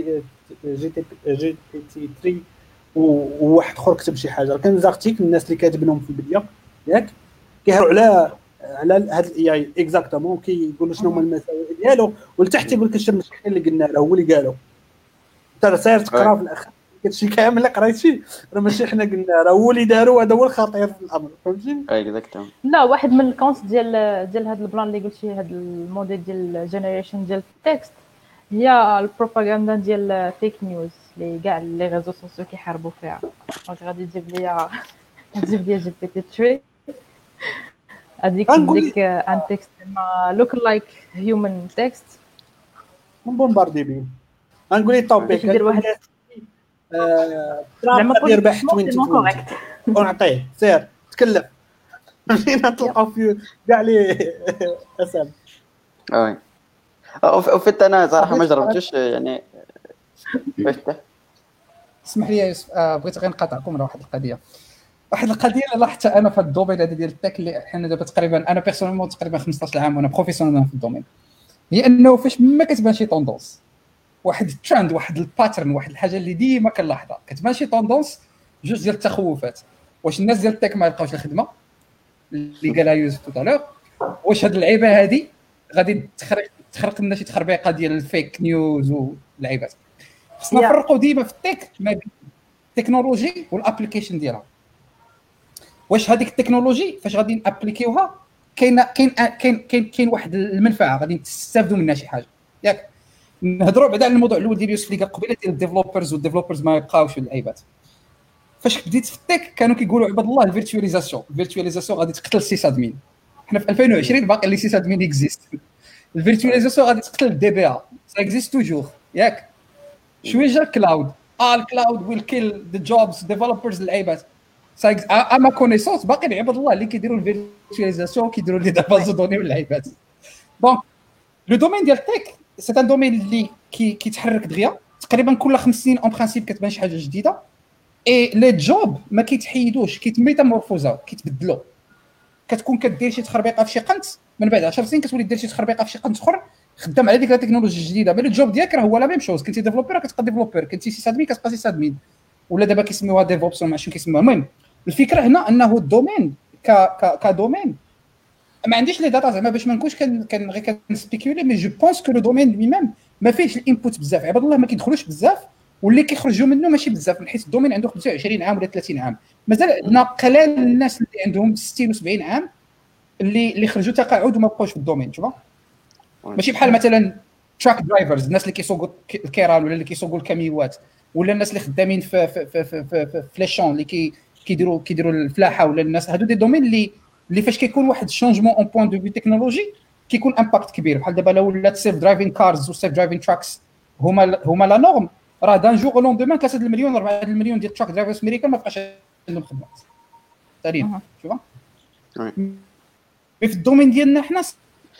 تي 3 وواحد اخر كتب شي حاجه. كان زارتيك الناس اللي كاتبينهم في البدايه ياك كيهضروا على هذا الاي اي اكزاكتومون كيقولوا شنو هما المساوئ ديالو ولتحت يقول لك الشيء المشكل اللي قلنا له هو اللي قالوا انت ساير تقرا في الاخر كلشي كامل اللي قريتي راه ماشي حنا قلنا راه هو اللي داروا هذا هو الخطير في الامر فهمتيني. اكزاكتومون لا واحد من الكونس ديال هذا البلان اللي قلتي هذا الموديل ديال جينيريشن ديال التكست هي البروباغندا ديال فيك نيوز اللي كاع لي ريزو سوسيو كيحاربوا فيها. دونك غادي تجيب ليا جي بي تي 3 هذيك ان تكست ما لوك لايك هيومن تكست بومباردي بيه غنقول لي توبيك ندير واحد زعما غادي يربح 20 ونعطيه سير تكلم فين نطلعوا في كاع لي اسام. وفيت انا صراحه ما جربتش يعني اسمح لي يوسف بغيت غير نقاطعكم على واحد القضيه اللي لاحظتها انا في الدومين هذا ديال التك اللي حنا دابا تقريبا انا بيرسونيلمون تقريبا 15 عام وانا بروفيسيونيل في الدومين هي انه فاش ما كتبان شي طوندونس واحد الترند واحد الباترن واحد الحاجه اللي ديما كنلاحظها كتبان شي طوندونس جوج ديال التخوفات. واش الناس ديال التك ما يلقاوش الخدمه اللي قالها يوسف توتالور واش هاد اللعيبه هادي غادي تخرق لنا شي تخربيقه ديال الفيك نيوز واللعيبات. خصنا نفرقوا ديما في التك ما بين التكنولوجي والابليكيشن ديالها. واش هذيك التكنولوجي فاش غادي نابليكيوها كاين واحد المنفعه غادي تستافدوا منها شي حاجه ياك. نهضروا بعدا على الموضوع الاول ديال يوسف اللي قال قبيله ديال الديفلوبرز والديفلوبرز ما يبقاوش اللعيبات. فاش بديت في التك كانوا كيقولوا عباد الله الفيرتواليزاسيون غادي تقتل السيس ادمين. حنا في 2020 باقي لي سيس ادمين اكزيست. الفيرتواليزاسيون غادي تقتل الدي بي ا سا اكزيست توجور ياك. شويه جا الكلاود الكلاود ويل كيل ذا جوبز ديفلوبرز اللعيبات اما كونيسونس باقي العباد الله اللي كيديروا الفيرتواليزاسيون كيديروا لي دابا دوني واللعيبات. دونك لو دومين ديال التك سي ان دومين اللي كيتحرك دغيا تقريبا كل 5 سنين اون برانسيب كتبان شي حاجه جديده اي لي جوب ما كيتحيدوش كيتميتامورفوزاو كيتبدلوا. كتكون كدير شي تخربيقه في شي قنت من بعد 10 سنين كتولي دير شي تخربيقه في شي قنت اخر خدام على ديك التكنولوجيا الجديده مي الجوب ديالك راه هو لا ميم شوز. كنتي ديفلوبر كتبقى ديفلوبر كنتي سي ادمين كتبقى سي ادمين ولا دابا كيسميوها ديفوبس ولا شنو كيسموها. المهم الفكره هنا انه الدومين كدومين ما عنديش لي داتا زعما باش ما نكونش غير كنسبيكولي مي جو بونس كو لو دومين لي ميم ما فيهش الانبوت بزاف عباد الله ما كيدخلوش بزاف واللي كيخرجوا منه ماشي بزاف من حيث الدومين عنده 25 عام ولا 30 عام مازال عندنا قلال الناس اللي عندهم 60 و70 عام اللي خرجوا تقاعد وما بقاوش في الدومين شوف ماشي بحال مثلا تراك درايفرز الناس اللي كيسوقوا الكيران ولا اللي كيسوقوا الكاميوات ولا الناس اللي خدامين في ليشون اللي كيديروا الفلاحه ولا الناس هادو دي دومين اللي فاش كيكون واحد الشونجمون اون بوين دو في تكنولوجي كيكون امباكت كبير. بحال دابا لو ولات سيلف درايفين كارز وسيلف درايفين تراكس هما لا نورم راه دان جور لون دومان 3 المليون 4 المليون ديال التراك درايفرز امريكان ما بقاش عندهم خدمه تقريبا شوف. في الدومين ديالنا حنا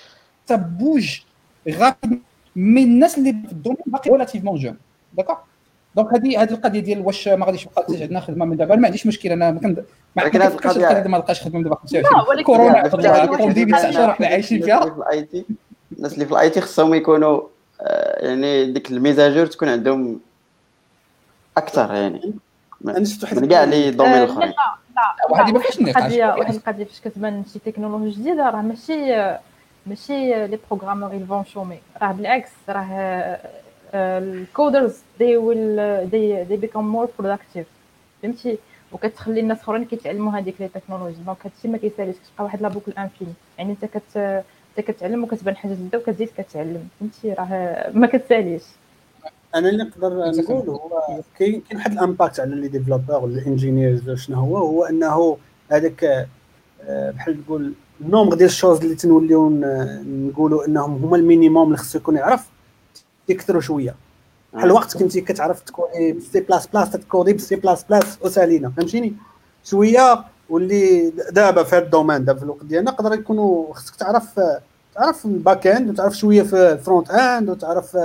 بوج غابيد من الناس اللي في الدومين باقي ريلاتيفمون جون داكوغ. دونك هذه القضيه ديال واش ما غاديش يبقى عندنا خدمه من دابا، ما عنديش مشكل. انا ما ولكن هذه كنفكرش القضية- القضيه ما لقاش خدمه من دابا لا، 25 ولكن كورونا هذه قبل واحد كوفيد 19 حنا عايشين فيها. الناس اللي في الاي تي خصهم يكونوا يعني ديك الميزاجور تكون عندهم اكثر يعني انا شفت واحد من كاع لي دومين لا الاخرين. لا وهذه ما فيهاش نقاش. واحد القضيه فاش كتبان شي تكنولوجيا جديده راه ماشي لي بروغرامور يلفون شومي، راه بالعكس راه الكودرز they become more productive فهمتي، وكتخلي الناس اخرين كيتعلموا هذيك لي تكنولوجي. دونك هادشي ما كيساليش، كتبقى واحد لابوكل انفيني، يعني انت كتعلم وكتبان حاجه جديده وكتزيد كتعلم فهمتي، راه ما كتساليش. انا اللي نقدر نقول هو كاين واحد الامباكت على لي ديفلوبور ولا الانجينيرز. شنو هو انه هذاك بحال تقول النومبر ديال الشوز اللي تنوليو نقولوا انهم هما المينيموم اللي خصو يكون يعرف يكثروا شويه. بحال الوقت كنتي كتعرف تكودي بالسي بلاس بلاس تكودي بالسي بلاس بلاس وسالينا فهمتيني شويه. واللي دابا في هذا الدومين دابا في الوقت ديالنا يقدر يكونوا خصك تعرف الباك اند وتعرف شويه في الفرونت اند وتعرف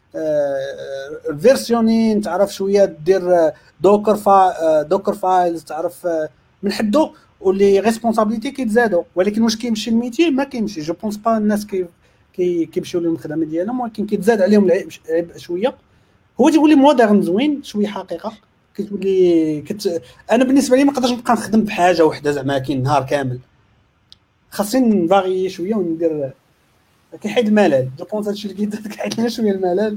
الفيرسيونين، تعرف شويه دير دوكر فايلز، تعرف من حدو واللي ريسبونسابيلتي كيتزادوا. ولكن واش كيمشي الميتي؟ ما كيمشي. جو بونس با الناس كيمشيو لهم الخدمه ديالهم، ولكن كيتزاد عليهم العبء شويه. هو تيولي مودرن زوين شويه حقيقه كتولي انا بالنسبه لي ما نقدرش نبقى نخدم بحاجه وحده زعما كاين نهار كامل. خاصني نفاغي شويه وندير كيحيد الملل. جو بونس هادشي اللي كيحيد لنا شويه الملل.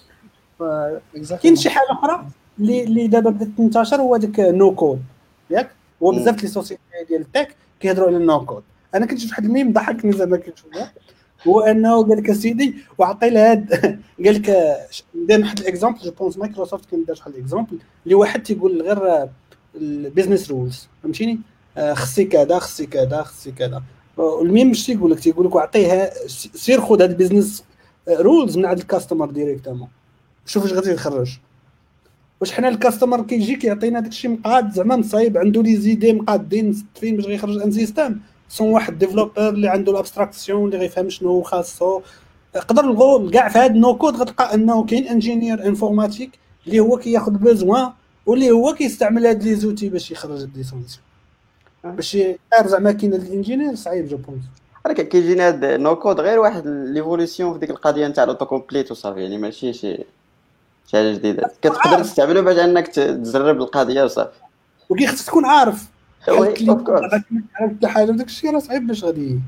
كاين شي حاجه اخرى اللي دابا بدات تنتشر هو داك نو كود ياك. هو بزاف لي سوسيتي ديال التك كيهضروا على النو كود. انا كنت شفت واحد الميم ضحكني زعما كنشوفها، هو انه قال لك سيدي وعطي له هاد قال لك ندير واحد الاكزامبل. جو بونس مايكروسوفت كان دار واحد الاكزامبل اللي واحد تيقول غير البيزنس رولز فهمتيني، خصي كذا خصي كذا خصي كذا. الميم مش تيقول لك وعطيها سير خذ هاد البيزنس رولز من عند الكاستمر ديريكتومون شوف واش غادي يخرج. واش حنا الكاستمر كيجي كيعطينا داكشي مقاد زعما مصايب عنده لي زيدي مقادين فين باش غيخرج ان سيستم سون واحد ديفلوبر اللي عنده الابستراكسيون اللي غيفهم شنو خاصو. قدر نقول كاع في هذا النو كود غتلقى انه كاين انجينير انفورماتيك اللي هو كياخذ بيزوان واللي هو كيستعمل هاد لي زوتي باش يخرج هاد لي سوليسيون باش يعرف زعما كاين الانجينير صعيب. جو بونس ولكن كيجينا هاد نو كود غير واحد ليفولوسيون في ديك القضيه نتاع الاوتو كومبليت وصافي، يعني ماشي شي حاجه جديده كتقدر تستعملو باش انك تجرب القضيه وصافي. وكي خصك تكون عارف وي حتى اوف كورس عرفت حاجه داك الشيء راه صعيب باش غادي.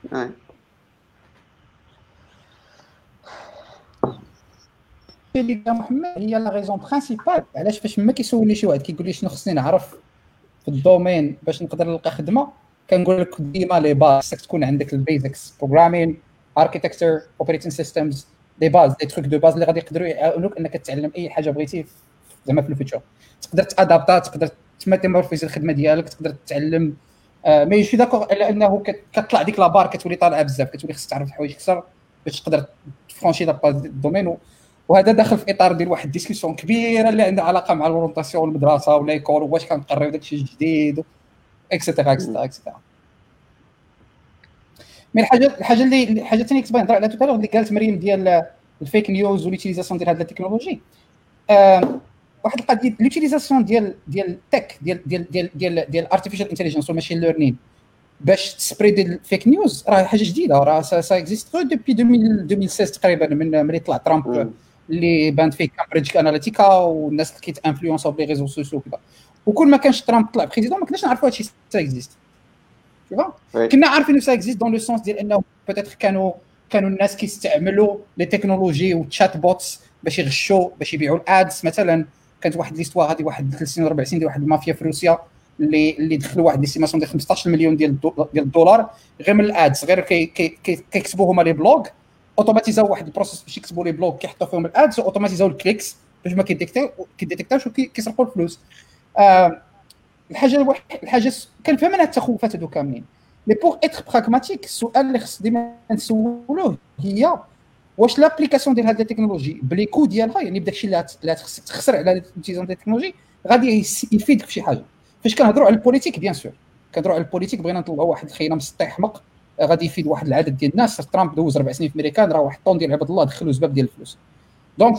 اللي قال محمد هي لا ريزون برينسيبال علاش فاش ما كيسولني شي واحد كيقول لي شنو خصني نعرف في الدومين باش نقدر نلقى خدمه، كنقول لك ديما لي باز خصك تكون عندك البيزكس بروغرامين اركيتكتشر اوبريتين سيستمز لي باز دي تروك دو باز اللي غادي يقدروا يعاونوك انك تتعلم اي حاجه بغيتي زعما في الفيتشر. تقدر تادابتا، تقدر تماتيمورفيز الخدمه ديالك، تقدر تتعلم مي شي داكور الا انه كتطلع ديك لابار كتولي طالعه بزاف، كتولي خصك تعرف الحوايج اكثر باش تقدر تفرونشي لا باز الدومين. وهذا داخل في اطار ديال واحد ديسكسيون كبيره اللي عندها علاقه مع الاورونطاسيون والمدرسه ولا يكون واش كنقريو داكشي الجديد اكسيتيرا اكسيتيرا اكسيتيرا. مي الحاجه الثانيه كنت باغي نهضر عليها توتالور اللي قالت مريم ديال الفيك نيوز واليوتيليزاسيون ديال هذه التكنولوجي. واحد القضيه اليوتيليزاسيون ديال التك ديال ارتيفيشال انتليجنس والماشين ليرنين باش تسبريدي الفيك نيوز راه حاجه جديده، راه سا اكزيست غير دوبي 2016 تقريبا من ملي طلع ترامب اللي بان فيه كامبريدج اناليتيكا والناس اللي كيتانفلونسوا بلي ريزو سوسيو كذا. وكل ما كانش ترامب طلع بريزيدون ما كناش نعرفوا هادشي سا اكزيست. كنا عارفين سا اكزيست دون لو سونس ديال انه بوتيتر كانوا الناس كيستعملوا لي تكنولوجي والتشات بوتس باش يغشوا باش يبيعوا الادز. مثلا كانت واحد ليستوار هذه واحد 3 سنين 4 سنين ديال واحد المافيا في روسيا اللي دخلوا واحد ليستيماسيون ديال 15 مليون ديال الدولار غير من الادز، غير كيكتبوا هما لي بلوغ اوتوماتيزاو واحد البروسيس باش يكتبوا لي بلوغ كيحطوا فيهم الادز اوتوماتيزاو الكليكس باش ما كيديتيكتاوش وكيسرقوا الفلوس. الحاجه كنفهم انا التخوفات هادو كاملين مي بوغ اتر براغماتيك. السؤال اللي خص ديما نسولوه هي واش لابليكاسيون ديال هاد التكنولوجي بلي كو ديالها يعني بداكشي اللي خصك تخسر على الانتيزون ديال التكنولوجي غادي يفيدك في شي حاجه. فاش كنهضروا على البوليتيك بيان سور كنهضروا على البوليتيك بغينا نطلعوا واحد الخينا مسطي حمق غادي يفيد واحد العدد ديال الناس. ترامب دوز 4 سنين في امريكان، راه واحد طون ديال عباد الله دخلوا زباب ديال الفلوس. دونك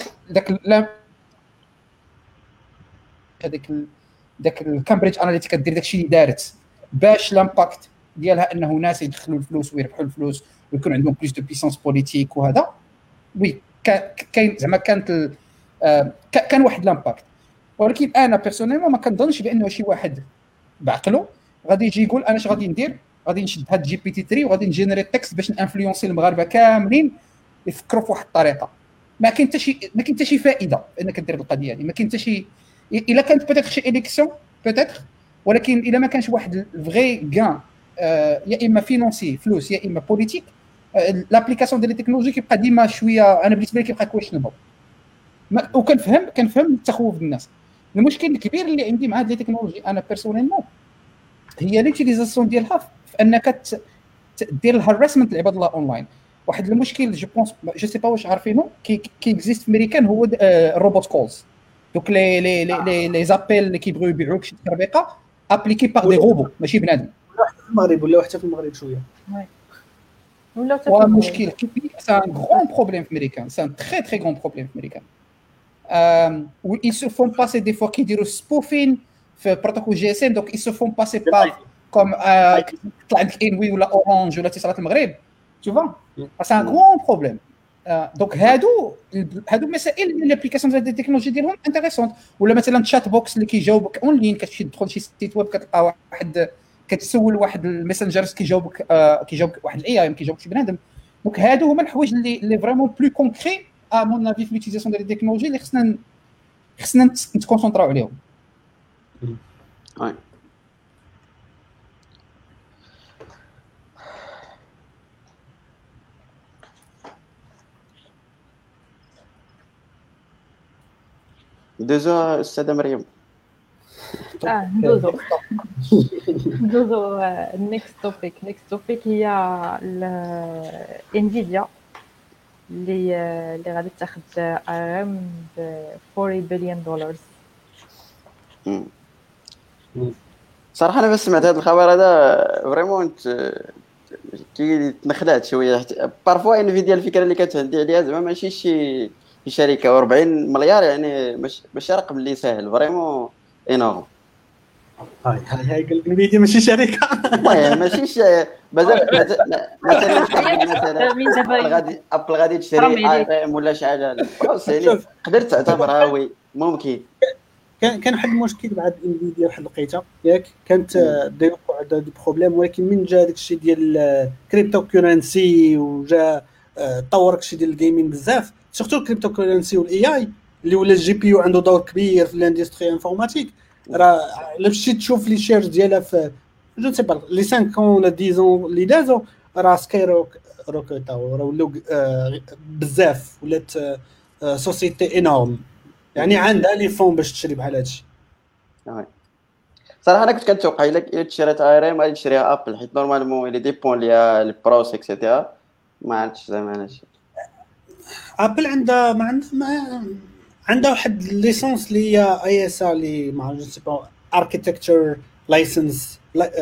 داك الكامبريدج اناليتيكا دير داكشي اللي دارت باش لامباكت ديالها انه ناس يدخلوا الفلوس ويربحوا الفلوس ويكون عندهم بلوس دو بيسونس بوليتيك وهذا. وي كاين زعما كانت كان واحد لامباكت، ولكن انا بيرسونيلمون ما كنظنش بانه شي واحد بعقله غادي يجي يقول انا اش غادي ندير، غادي نشد هاد جي بي تي 3 وغادي نجينيريت تكست باش نانفلونسي المغاربه كاملين يفكروا في واحد الطريقه. ما كاين حتى شي فائده انك دير القضيه هذه. ما كاين حتى شي الا كانت بيتيتر شي اليكسيون بيتيتر، ولكن الا ما كانش واحد الفغي كان يا اما فينونسي فلوس يا اما بوليتيك، لابليكاسيون ديال التكنولوجي كيبقى ديما شويه، انا بالنسبه لي كيبقى كويشنبل. وكنفهم التخوف الناس. المشكل الكبير اللي عندي مع هاد لي تكنولوجي انا بيرسونيلمون هي ليوتيليزاسيون ديالها في انك دير الهاراسمنت لعباد الله اونلاين. واحد المشكل جو بونس جو سي با واش عارفينه كي اكزيست في امريكان هو الروبوت كولز، دوك لي زابيل اللي كيبغيو يبيعوك شي تربيقه ابليكي باغ دي روبو ماشي بنادم. في المغرب ولا حتى في المغرب شويه ولا حتى مشكل كبير. سان غران بروبليم في امريكان، سان تري تري غران بروبليم في امريكان. où ils se font passer des fois qui diront spoofing في protocole GSM, donc ils se font passer par comme طلع عندك انوي ولا اورانج ولا اتصالات المغرب، tu vois c'est un grand problème. دونك هادو مسائل من الابليكاسيون ديال التكنولوجي ديالهم انتريسونت. ولا مثلا تشات بوكس اللي كيجاوبك اون لين، كتمشي تدخل شي سيت ويب كتلقى واحد كتسول واحد الميسنجرز كيجاوبك واحد الاي اي كيجاوبك شي بنادم. دونك هادو هما الحوايج اللي فريمون بلو كونكري ا مون افي في ليوتيزاسيون ديال التكنولوجي اللي خصنا نتكونسونطراو عليهم. وي دوزو استاذه مريم. ندوزو النيكست توبيك هي انفيديا اللي غادي تاخذ ارم ب $40 billion. صراحه انا بس سمعت هذا الخبر هذا فريمون تنخدعت شويه. بارفوا انفيديا الفكره اللي كانت عندي عليها زعما ماشي شي شركه، و40 مليار يعني ماشي رقم اللي ساهل فريمون انورم. هاي قال لك انفيديا ماشي شركه المهم ماشيش مثلا غادي ابل غادي تشري ايفون ولا شي حاجه، يعني قدرت تعتبرها وي ممكن. كان واحد المشكل بعد انفيديا واحد لقيتها ياك كانت ديوقع دي بروبليم، ولكن من جا داكشي ديال كريبتو كورنسي وجا طور داكشي ديال الجيمين بزاف، سورتو الكريبتو كورنسي والاي اي اللي ولا الجي بي يو عنده دور كبير في الاندستري انفورماتيك. راه الا مشيت تشوف لي شيرز ديالها في جو سي با لي 5 ولا 10 اللي دازو راه سكاي روكيتاو راه ولاو بزاف، ولات سوسيتي انورم يعني عندها لي فون باش تشري بحال هادشي. صراحه انا كنت كنتوقع الا تشريت ايريم غادي تشريها ابل، حيت نورمالمون اللي ديبون ليا البروس اكسيتيرا ما عرفتش زعما انا شي ابل عندها عندها واحد ليسونس اللي هي اي اس ار اللي ما جو سي با اركيتكتشر لايسنس.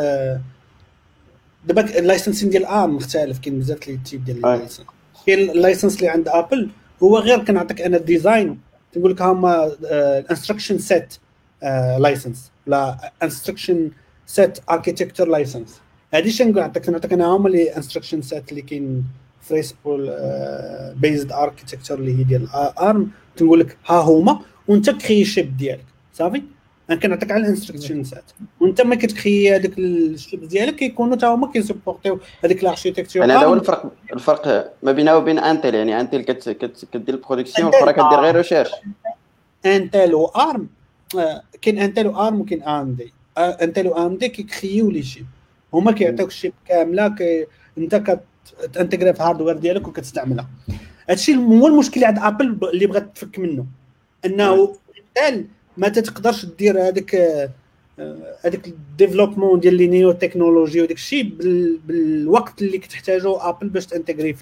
دابا اللايسنسين ديال ارم مختلف، كاين بزاف لي تيب ديال اللايسنس. كاين اللايسنس اللي عند ابل هو غير كنعطيك انا الديزاين، تقول لك هما الانستركشن سيت لايسنس لا انستركشن سيت اركيتكتشر لايسنس. هادي شنو نعطيك انا هما لي انستركشن سيت اللي كاين فريسبول بيزد اركيتكتشر اللي هي ديال ارم، تنقول لك ها هما وانت كري شيب ديالك صافي. انا كنعطيك على الانستركشن سيت وانت ما كتكري هذاك الشيب ديالك كيكونوا تا هما كيسبورتيو هذيك الاركيتكتشر. هذا هو الفرق ما بينه وبين انتل. يعني انتل كدير البرودكسيون والاخرى كدير غير ريشيرش. انتل و ارم كاين انتل و ارم وكاين ام دي. انتل و ام دي كيكريو لي شيب، هما كيعطيوك الشيب كامله انت كتانتغري في الهاردوير ديالك وكتستعملها. هادشي هو المشكل عند ابل اللي بغات تفك منه، انه مثال ما تقدرش دير هذاك الديفلوبمون ديال لي نيو تكنولوجي وداك الشيء بالوقت اللي كتحتاجو ابل باش تانتغري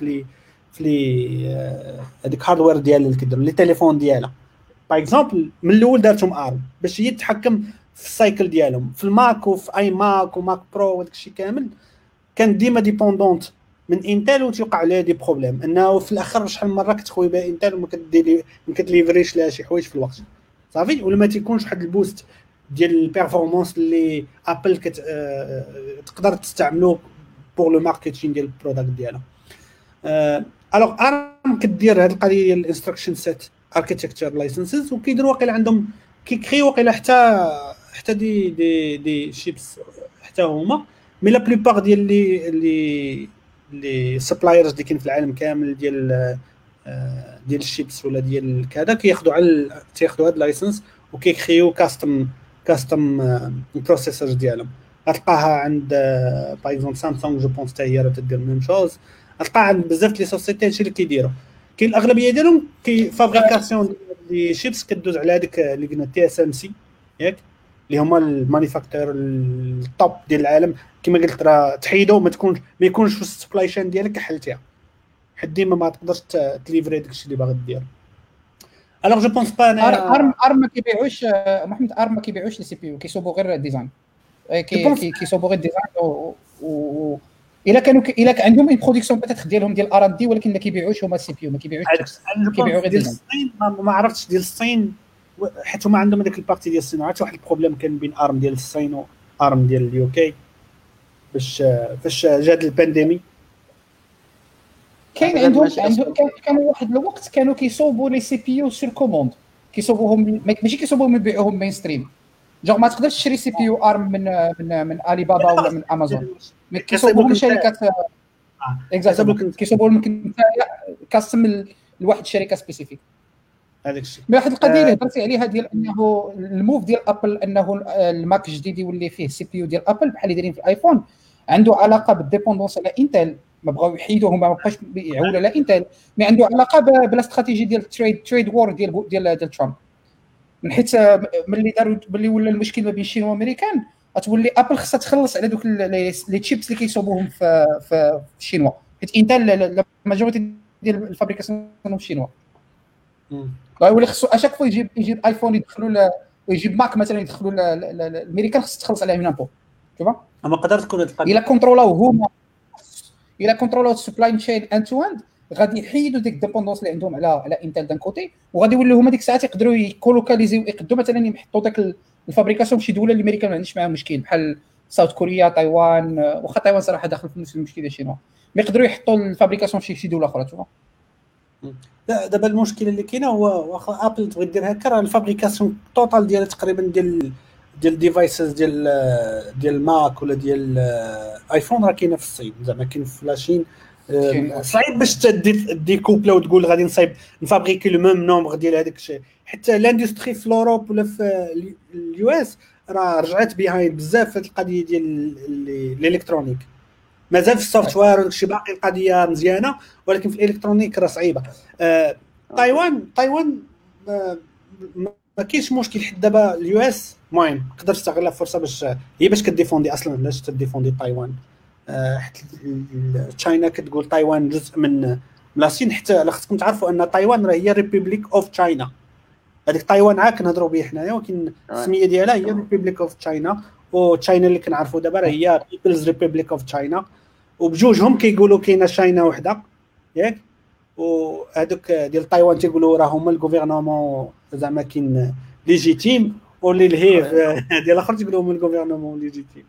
في هذيك هاردوير ديال اللي كيدير لي تليفون ديالها. باغ اكزومبل من الاول دارتهم ارم باش هي تتحكم في السايكل ديالهم في الماك وفي اي ماك وماك برو وداك الشيء كامل. كانت ديما ديبوندونت من انتل وتوقع عليها دي بروبليم، انه في الاخر شحال من مره كتخوي بها انتل وما كديري ما كتليفريش لها شي حوايج في الوقت صافي، ولا ما تيكونش واحد البوست ديال البيرفورمانس اللي ابل تقدر تستعملو بور لو ماركتينغ ديال البروداكت ديالها. الوغ ارم كدير هذه القضيه ديال الانستراكشن سيت اركيتكتشر لايسنسز، وكيديروا واقيلا عندهم كيكري واقيلا حتى دي شيبس حتى هما، مي لا بلوبار ديال لي سبلايرز اللي كاين في العالم كامل ديال الشيبس ولا ديال كذا تياخذوا هاد اللايسنس وكيكريو كاستم بروسيسورز ديالهم. غتلقاها عند باغ اكزومبل سامسونج جو بونس حتى هي راه تدير ميم شوز، غتلقاها عند بزاف لي سوسيتي هادشي اللي كيديروا. كاين الاغلبيه ديالهم فابريكاسيون دي شيبس كدوز على هذيك اللي قلنا تي اس ام سي ياك، اللي هما المانيفاكتور الطوب ديال العالم. كما قلت راه تحيدوا ما يكونش في السبلاي شين ديالك حلتيها، حد ديما ما تقدرش تليفري داكشي اللي باغي دير. الوغ جو بونس با انا ارم ما كيبيعوش محمد، ارم ما كيبيعوش لي سي بي يو، كيصوبوا غير الديزاين، كيصوبوا غير الديزاين و الا كانوا عندهم اون برودكسيون بتاتخ ديالهم ديال ار ان دي، ولكن ما كيبيعوش هما السي بي يو، ما كيبيعوش كيبيعوا غير ديزاين. ما عرفتش ديال الصين حيت هما عندهم هذيك البارتي ديال الصين. عرفت واحد البروبليم كان بين ارم ديال الصين وارم ديال اليو كي فاش جات البانديمي. كاين عندهم كانوا واحد الوقت كانوا كيصوبوا لي سي بي يو سور كوموند، كيصوبوهم ماشي كيصوبوهم يبيعوهم مين ستريم. جونغ ما تقدرش تشري سي بي يو ارم من علي بابا ولا من امازون، مي كيصوبوهم شركات اكزاكتلي، كيصوبوا لك كاستم لواحد الشركه سبيسيفيك. هذاك الشيء واحد القضيه اللي هضرتي عليها ديال انه الموف ديال ابل انه الماك الجديد يولي فيه سي بي يو ديال ابل بحال اللي دايرين في الايفون، عنده علاقه بالديبوندونس على انتل. ما بغاو يحيدوه، ما بقاش يعول على انتل، مي عنده علاقه بالاستراتيجي ديال تريد وور ديال ترامب. من حيت ملي ولا المشكل ما بين الصين والامريكان، غتولي ابل خصها تخلص على دوك لي تشيبس اللي كيصوبوهم في الشينوا، حيت انتل لا ماجوريتي ديال الفابريكاسيون في الشينوا. غيولي خصو اشاك فوا يجيب ايفون يدخلوا ويجيب ماك مثلا يدخلوا الامريكان، خص تخلص عليها من امبو. شوف اما قدرت تكون هاد القضيه الا كونترولاو هما، الا كونترولاو السبلاي تشين اند تو اند، غادي يحيدوا ديك الديبوندونس اللي عندهم على انتل دان كوتي، وغادي يوليو هما ديك الساعات يقدروا يكولوكاليزيو، يقدروا مثلا يحطوا داك الفابريكاسيون في شي دوله اللي الامريكان ما عندهمش معاها مشكل، بحال ساوث كوريا، تايوان. واخا تايوان صراحه داخل في نفس المشكل ديال شينوا، ما يقدروا يحطوا الفابريكاسيون في شي دوله اخرى. شوف لا دابا المشكل اللي كاينه هو واخا ابل تبغي دير هكا، راه الفابريكاسيون توتال ديالها تقريبا ديال ديفايسز ديال ماك ولا ديال ايفون راه كاينه في الصين، زعما كاين في لاشين. صعيب باش تدي كوبلا وتقول غادي نصايب نفابريكي لو ميم نومبر ديال هذاك الشيء. حتى لاندستري في اوروب ولا في اليو اس راه رجعت بيهايند بزاف في القضيه ديال الالكترونيك. مازال في السوفت وير وداكشي باقي القضيه مزيانه، ولكن في الالكترونيك راه صعيبه. تايوان ما كاينش مشكل حتى دابا اليو اس المهم تقدر تستغل الفرصه باش كديفوندي اصلا، علاش تديفوندي تايوان. حتى تشاينا كتقول تايوان جزء من الصين، حتى خصكم تعرفوا ان تايوان راه هي ريبوبليك اوف تشاينا. هذيك تايوان عا كنهضروا به حنايا، ولكن السميه ديالها هي ريبوبليك اوف تشاينا. وتشاينا اللي كنعرفوا دابا راه هي بيبلز ريبوبليك اوف تشاينا، وبجوجهم كيقولوا كاينه تشاينا وحده ياك. وهذوك ديال تايوان تيقولوا راه هما الغوفرنمون زعما كاين ليجيتيم، واللي الهيف ديال الاخر تيقولوا هما الغوفرنمون ليجيتيم.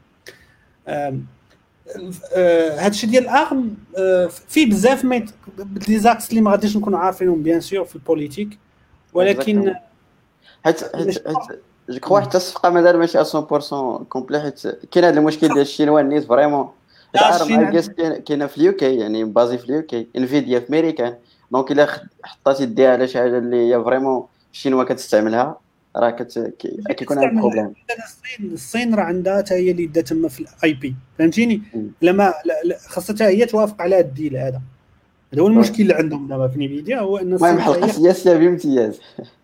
هادشي ديال ارم فيه بزاف لي زاكس اللي ما غاديش نكونوا عارفينهم بيان سور في البوليتيك، ولكن حيت جو كخوا حتى الصفقه مازال ماشي 100% كومبلي، حيت كاين هذا المشكل ديال الشينوا الناس فريمون. ارم كاينه في اليو كي، يعني بازي في اليو كي، انفيديا في امريكان. دونك الا حطيتي يديها على شي حاجه اللي هي فريمون الشينوا كتستعملها، راه كيكون عندك بروبليم. الصين راه عندها حتى هي اللي دا تما في الاي بي، فهمتيني؟ لما خاصها هي توافق على الديل هذا هو المشكل اللي عندهم دابا في نيفيديا، هو ان المهم حلقه سياسيه بامتياز.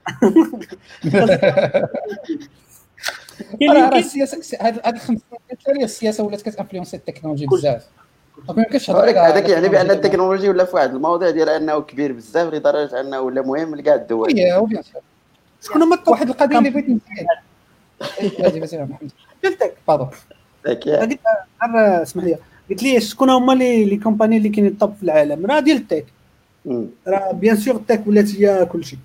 راه السياسه هذه 5 سنين السياسه ولات كتانفلونسي التكنولوجي بزاف. ما يمكنش هذاك يعني بان التكنولوجيا ولا في واحد المواضيع ديال انه كبير بزاف لدرجه انه ولا مهم لكاع الدول. وي شكون هما واحد القضيه اللي بغيت نزيد. هذه مثلا محمد قلتك تفضل. غير اسمح لي، قلت لي شكون هما لي كومباني اللي كاينين طب في العالم؟ راه ديال التك، راه بيان سور التك ولات هي كلشي.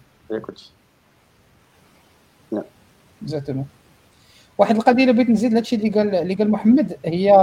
اكزاكتومون. واحد القضيه اللي بغيت نزيد لهادشي اللي قال محمد هي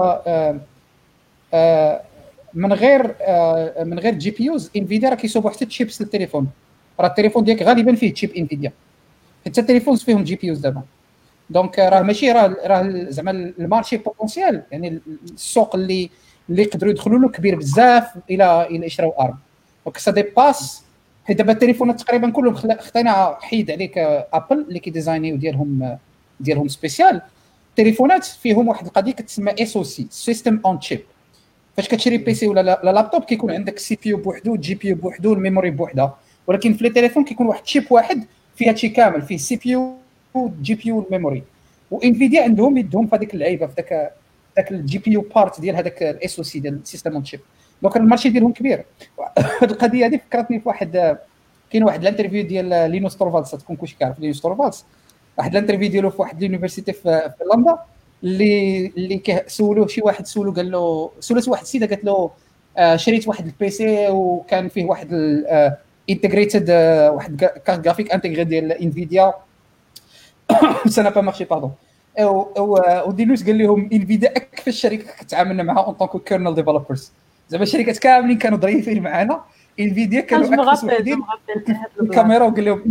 من غير جي بي يوز انفيديا راه كيصوبوا حتى تشيبس للتليفون. راه التليفون ديالك غالبا فيه تشيب انفيديا، حتى التليفون فيهم جي بي يوز دابا. دونك راه ماشي راه زعما المارشي بوتونسيال، يعني السوق اللي يقدروا يدخلوا له كبير بزاف الى يشراو ارم. دونك سا ديباس، حيت دابا التليفونات تقريبا كلهم خطينا حيد عليك ابل اللي كيديزاينيو ديالهم سبيسيال. التليفونات فيهم واحد القضيه كتسمى اس او سي، سيستم اون تشيب. فاش كتشري بي سي ولا لابتوب كيكون عندك سي بي يو بوحدو، جي بي يو بوحدو، الميموري بوحدها، ولكن في التليفون كيكون واحد تشيب واحد فيها شي كامل، فيه سي بي يو جي بي يو الميموري. وانفيديا عندهم يدهم في هذيك اللعيبه، في داك الجي بي يو بارت ديال هذاك الاس او سي ديال السيستم اون تشيب. دونك المارشي ديالهم كبير. هذه القضيه هذه فكرتني في واحد، كاين واحد الانترفيو ديال لينوس تورفالدس، تكون كلشي كيعرف لينوس تورفالدس، واحد الانترفيو ديالو في واحد اليونيفرسيتي في لندن، اللي سولوه شي واحد، سولو قال له، سولت واحد السيده قالت له شريت واحد البي سي وكان فيه واحد انتجريتد واحد كارت جرافيك انتجري ديال انفيديا سا با مارشي باردون. ودينوس قال لهم انفيديا اكثر شركه كتعاملنا معها اون طونكو كيرنل ديفلوبرز، زعما الشركات كاملين كانوا ظريفين معنا، انفيديا كانوا اكثر وحدين الكاميرا وقال لهم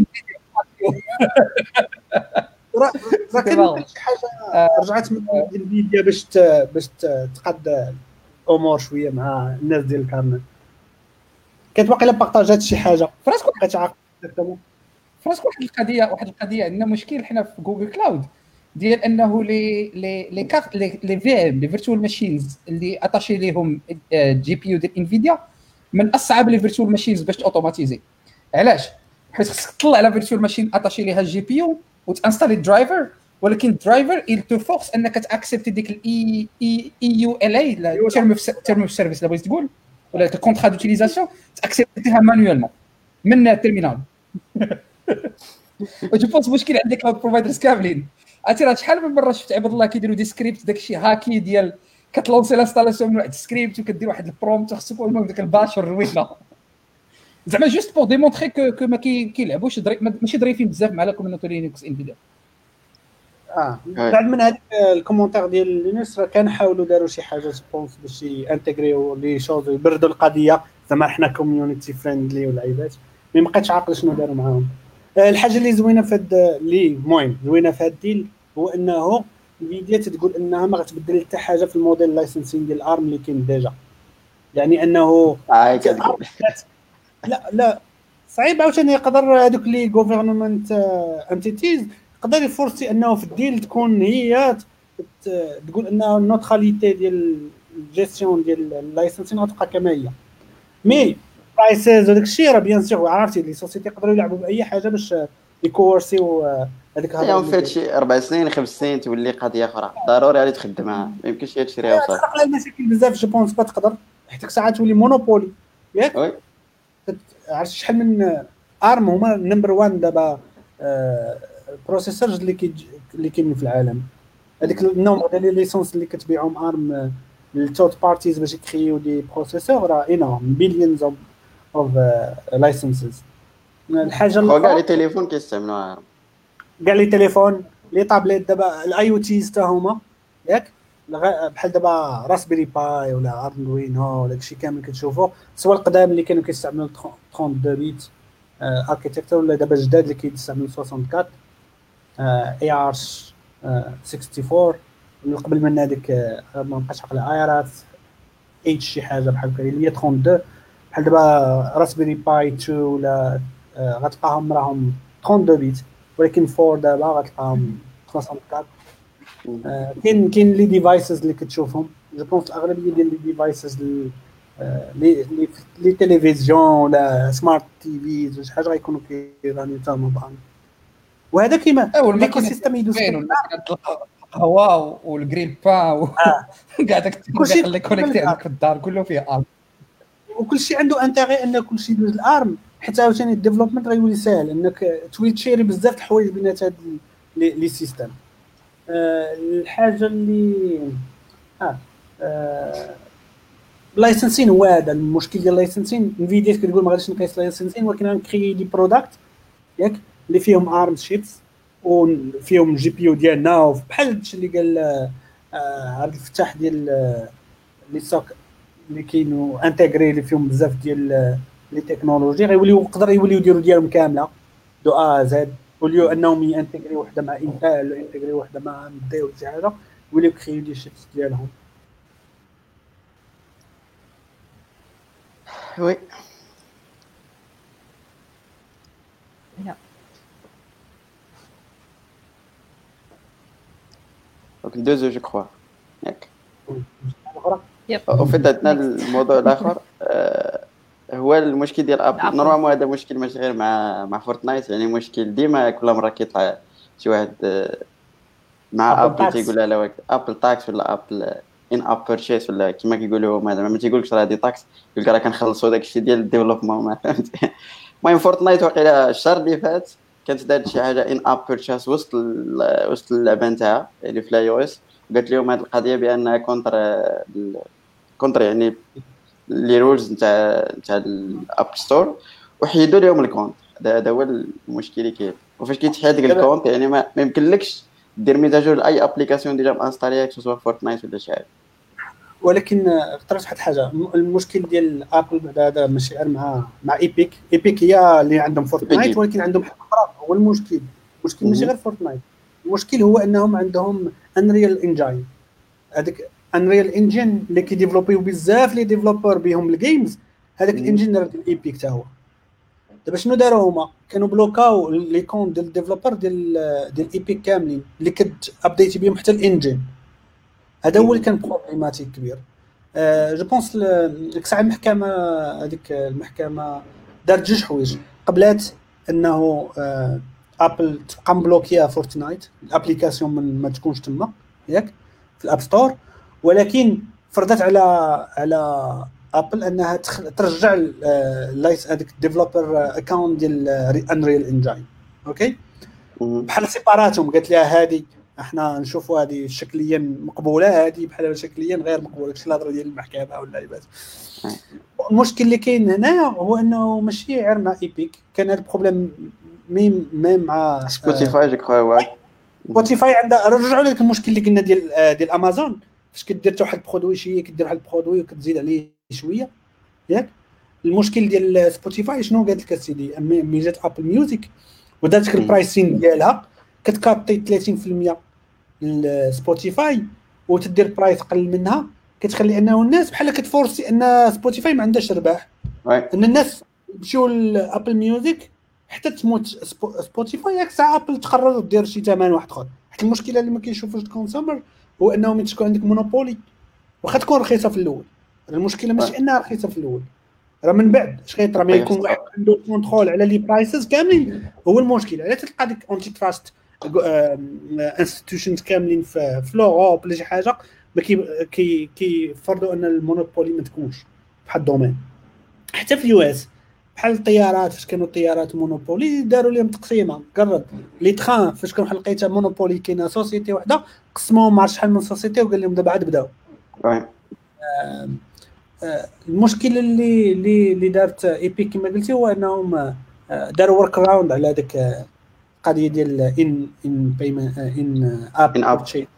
راه كاين شي حاجه رجعت من انفيديا باش تقاد الامور شويه مع الناس ديال الكارنل. كانت واقيلا بارطاجات شي حاجه فراسكو بقيت عاقل اكزاكتومون. فراسكو واحد القضيه عندنا مشكل حنا في جوجل كلاود ديال انه لي كارت لي في ام لي فيرتوال ماشينز اللي اتاشي ليهم جي بي يو ديال انفيديا من اصعب لي فيرتوال ماشينز باش اوتوماتيزي. علاش؟ حيت خصك تطلع على فيرتوال ماشين اتاشي ليها الجي بي يو وتانستالي الدرايفر، ولكن الدرايفر il te force انك تاكسبتي ديك الاي يو ال اي تيرم اوف سيرفيس اللي بغيت تقول، ولا الكونترا دوتيليزاسيون تاكسبتيها مانيوالمون من التيرمينال. وجو بونس مشكل عندك كلاود بروفايدرز كاملين. عرفتي راه شحال من مره شفت عباد الله كيديروا دي سكريبت داكشي هاكي ديال كتلونسي لانستالاسيون من واحد السكريبت وكدير واحد البرومبت خصك المهم داك الباشر روينه زعما جوست بور ديمونطري كو ما كيلعبوش ماشي ظريفين بزاف مع لا كوميونيتي لينكس انفيديا. بعد من هذيك الكومونتير ديال لينوس راه كنحاولوا داروا شي حاجه سبونس باش يانتيغريو لي شوز ويبردوا القضيه، زعما حنا كوميونيتي فريندلي والعيبات، مي ما بقيتش عاقل شنو داروا معاهم. الحاجه اللي زوينه في هاد اللي المهم زوينه في هاد الديل هو انه انفيديا تقول انها ما غتبدل حتى حاجه في الموديل لايسنسين ديال الارم اللي كاين ديجا، يعني انه لا صعيب عاوتاني يقدر هذوك لي غوفرنمنت انتيتيز يقدر يفورسي انه في الديل تكون هي تقول انه النوتراليتي ديال الجيستيون ديال اللايسنسين غتبقى كما هي. مي برايسز وداك الشيء راه بيان سور عرفتي لي سوسيتي يقدروا يلعبوا باي حاجه باش يكورسيو هذيك الهضره في هادشي 4 سنين 5 سنين تولي قضيه اخرى ضروري غادي تخدمها، ما يمكنش تشريها وصافي. تخلق المشاكل بزاف جو بونس با تقدر حيت ساعات تولي مونوبولي ياك. عرفت شحال من ارم هما نمبر 1 دابا البروسيسورز اللي كاينين في العالم، هذيك النومبر ديال لي ليسونس اللي كتبيعهم ارم للتوت بارتيز باش يكريو دي بروسيسور راه انورم بليونز اوف لايسنسز. الحاجه اللي كاع لي تليفون كيستعملوها ارم، كاع لي تليفون لي طابليت دابا الاي او تي حتى هما ياك، بحال دابا راسبيري باي ولا اردوينو ولا داكشي كامل كتشوفوا سوا القدام اللي كانوا كيستعملوا 32 بيت اركيتكتور ولا دابا جداد اللي كيستعملوا 64 اي ار 64 اللي قبل من هذيك ما بقاش عقل ايرات اتش شي حاجه بحال هكا اللي هي 32 بحال دابا راسبيري باي 2 ولا غتلقاهم راهم 32 بيت، ولكن 4 دابا غتلقاهم 64. كاين لي ديفايسز اللي كتشوفهم جو بونس الاغلبيه ديال لي ديفايسز لي تيليفزيون ولا سمارت تي فيز ولا شي حاجه غيكونوا كيرانيو حتى هما بان، وهذا كيما الايكو سيستم يدوز القهوه والجريل با كاع داك كلشي اللي كونيكتي عندك في الدار كله فيه ارم، وكلشي عنده انتيغي ان كلشي يدوز الارم، حتى عاوتاني الديفلوبمنت غيولي ساهل انك تولي تشيري بزاف د الحوايج بينات هاد لي سيستم. الحاجه اللي اللايسنسين هو هذا المشكل ديال اللايسنسين. انفيديا كتقول ما غاديش نقيس اللايسنسين، ولكن غنكري دي برودكت ياك اللي فيهم ارم شيبس وفيهم جي بي يو ديالنا، بحال هادشي اللي قال عبد الفتاح ديال لي سوك اللي كاينو انتغري اللي فيهم بزاف ديال لي تكنولوجي غيوليو يقدر يوليو يديروا ديالهم كامله دو ا زد، وليو انهم ينتغري وحده مع انتل ينتغري وحده مع دي ولا شي حاجه، يوليو كريو دي شيبس ديالهم. وي يا دونك دوزو جو كخوا ياك. اخرى وفي عندنا الموضوع الاخر هو المشكل ديال ابل. أبل. نورمالمون هذا مشكل ماشي غير مع فورتنايت، يعني مشكل ديما كل مره كيطلع شي واحد مع أبل ابل تاكس. تيقول لا واحد ابل تاكس ولا ابل ان اب بيرشيس ولا كما كيقولوا هذا، ما تيقولكش راه دي تاكس، يقول لك راه كنخلصوا داك الشيء ديال الديفلوبمون ما فهمت. المهم فورتنايت واقيلا الشهر اللي فات كانت دارت شي حاجه ان اب بيرشيس وسط اللعبه نتاعها اللي في الاي او اس، قالت لهم هذه القضيه بانها كونتر يعني لي رولز نتاع الاب ستور، وحيدوا لهم الكونت. هذا هو المشكل اللي كاين. وفاش كيتحيد ديك الكونت يعني ما يمكنلكش دير ميتاجور لاي ابليكاسيون ديجا مانستاليه سواء فورتنايت ولا شي حاجه. ولكن اخترت واحد الحاجه، المشكل ديال ابل بعدا هذا ماشي غير مع ايبيك هي اللي عندهم فورتنايت، ولكن عندهم حاجه اخرى. هو المشكل ماشي غير فورتنايت، المشكل هو انهم عندهم انريال انجين. هذاك انريال انجين اللي كيديفلوبيو بزاف لي ديفلوبر بهم الجيمز، هذاك الانجين ديال ايبيك حتى هو. دابا شنو داروا هما؟ كانوا بلوكاو لي كونت ديال الديفلوبر ديال ايبيك كاملين اللي ابديتي بهم حتى الانجين. هذا هو اللي كان بروبليماتيك كبير. جو بونس ساعه المحكمه هذيك المحكمه دارت جوج حوايج. قبلات انه ابل تبقى مبلوكيه فورتنايت الابليكاسيون ما تكونش تما ياك في الاب ستور، ولكن فرضت على ابل انها ترجع لايس هذيك الديفلوبر اكونت ديال انريل انجين. اوكي بحال سيباراتهم، قالت لها هذه احنا نشوفوا هذه شكليا مقبوله، هذه بحال شكليا غير مقبوله، داكشي الهضره ديال المحكمه ولا لعبات. المشكل اللي كاين هنايا هو انه ماشي غير مع ايبيك، كان هذا البروبليم ميم مع سبوتيفاي جو كخوا. سبوتيفاي عندها رجعوا لك المشكل اللي قلنا ديال امازون، فاش كدير حتى واحد البرودوي شي كدير واحد البرودوي وكتزيد عليه شويه ياك. المشكل ديال سبوتيفاي شنو قالت لك السيدي؟ ملي جات ابل ميوزك ودارت البرايسين ديالها كتكاطي 30% لسبوتيفاي وتدير برايس قل منها، كتخلي انه الناس بحال كتفورسي ان سبوتيفاي ما عندهاش ربح، ان الناس يمشيو لابل ميوزك حتى تموت سبوتيفاي. ياك ساعه ابل تقرر دير شي ثمن واحد اخر. حيت المشكله اللي ما كيشوفوش الكونسومر هو انه ملي تكون عندك مونوبولي واخا تكون رخيصه في الاول، المشكله ماشي انها رخيصه في الاول، راه من بعد اش غيطرا ما يكون واحد عنده كونترول على لي برايسز كاملين. هو المشكل علاش تلقى ديك اونتي تراست انستيتيوشنز كاملين في لوروب ولا شي حاجه ما كيفرضوا ان المونوبولي ما تكونش بحال الدومين. حتى في اليو اس بحال الطيارات، فاش كانوا الطيارات مونوبولي داروا لهم تقسيمه. قرب لي تخان فاش كانوا لقيتها مونوبولي كاينه سوسيتي وحده قسموهم مع شحال من سوسيتي وقال لهم دابا عاد بداو. المشكل اللي دارت ايبيك كما قلتي هو انهم داروا ورك راوند على هذيك القضيه ديال ان بيمنت ان اب شيء.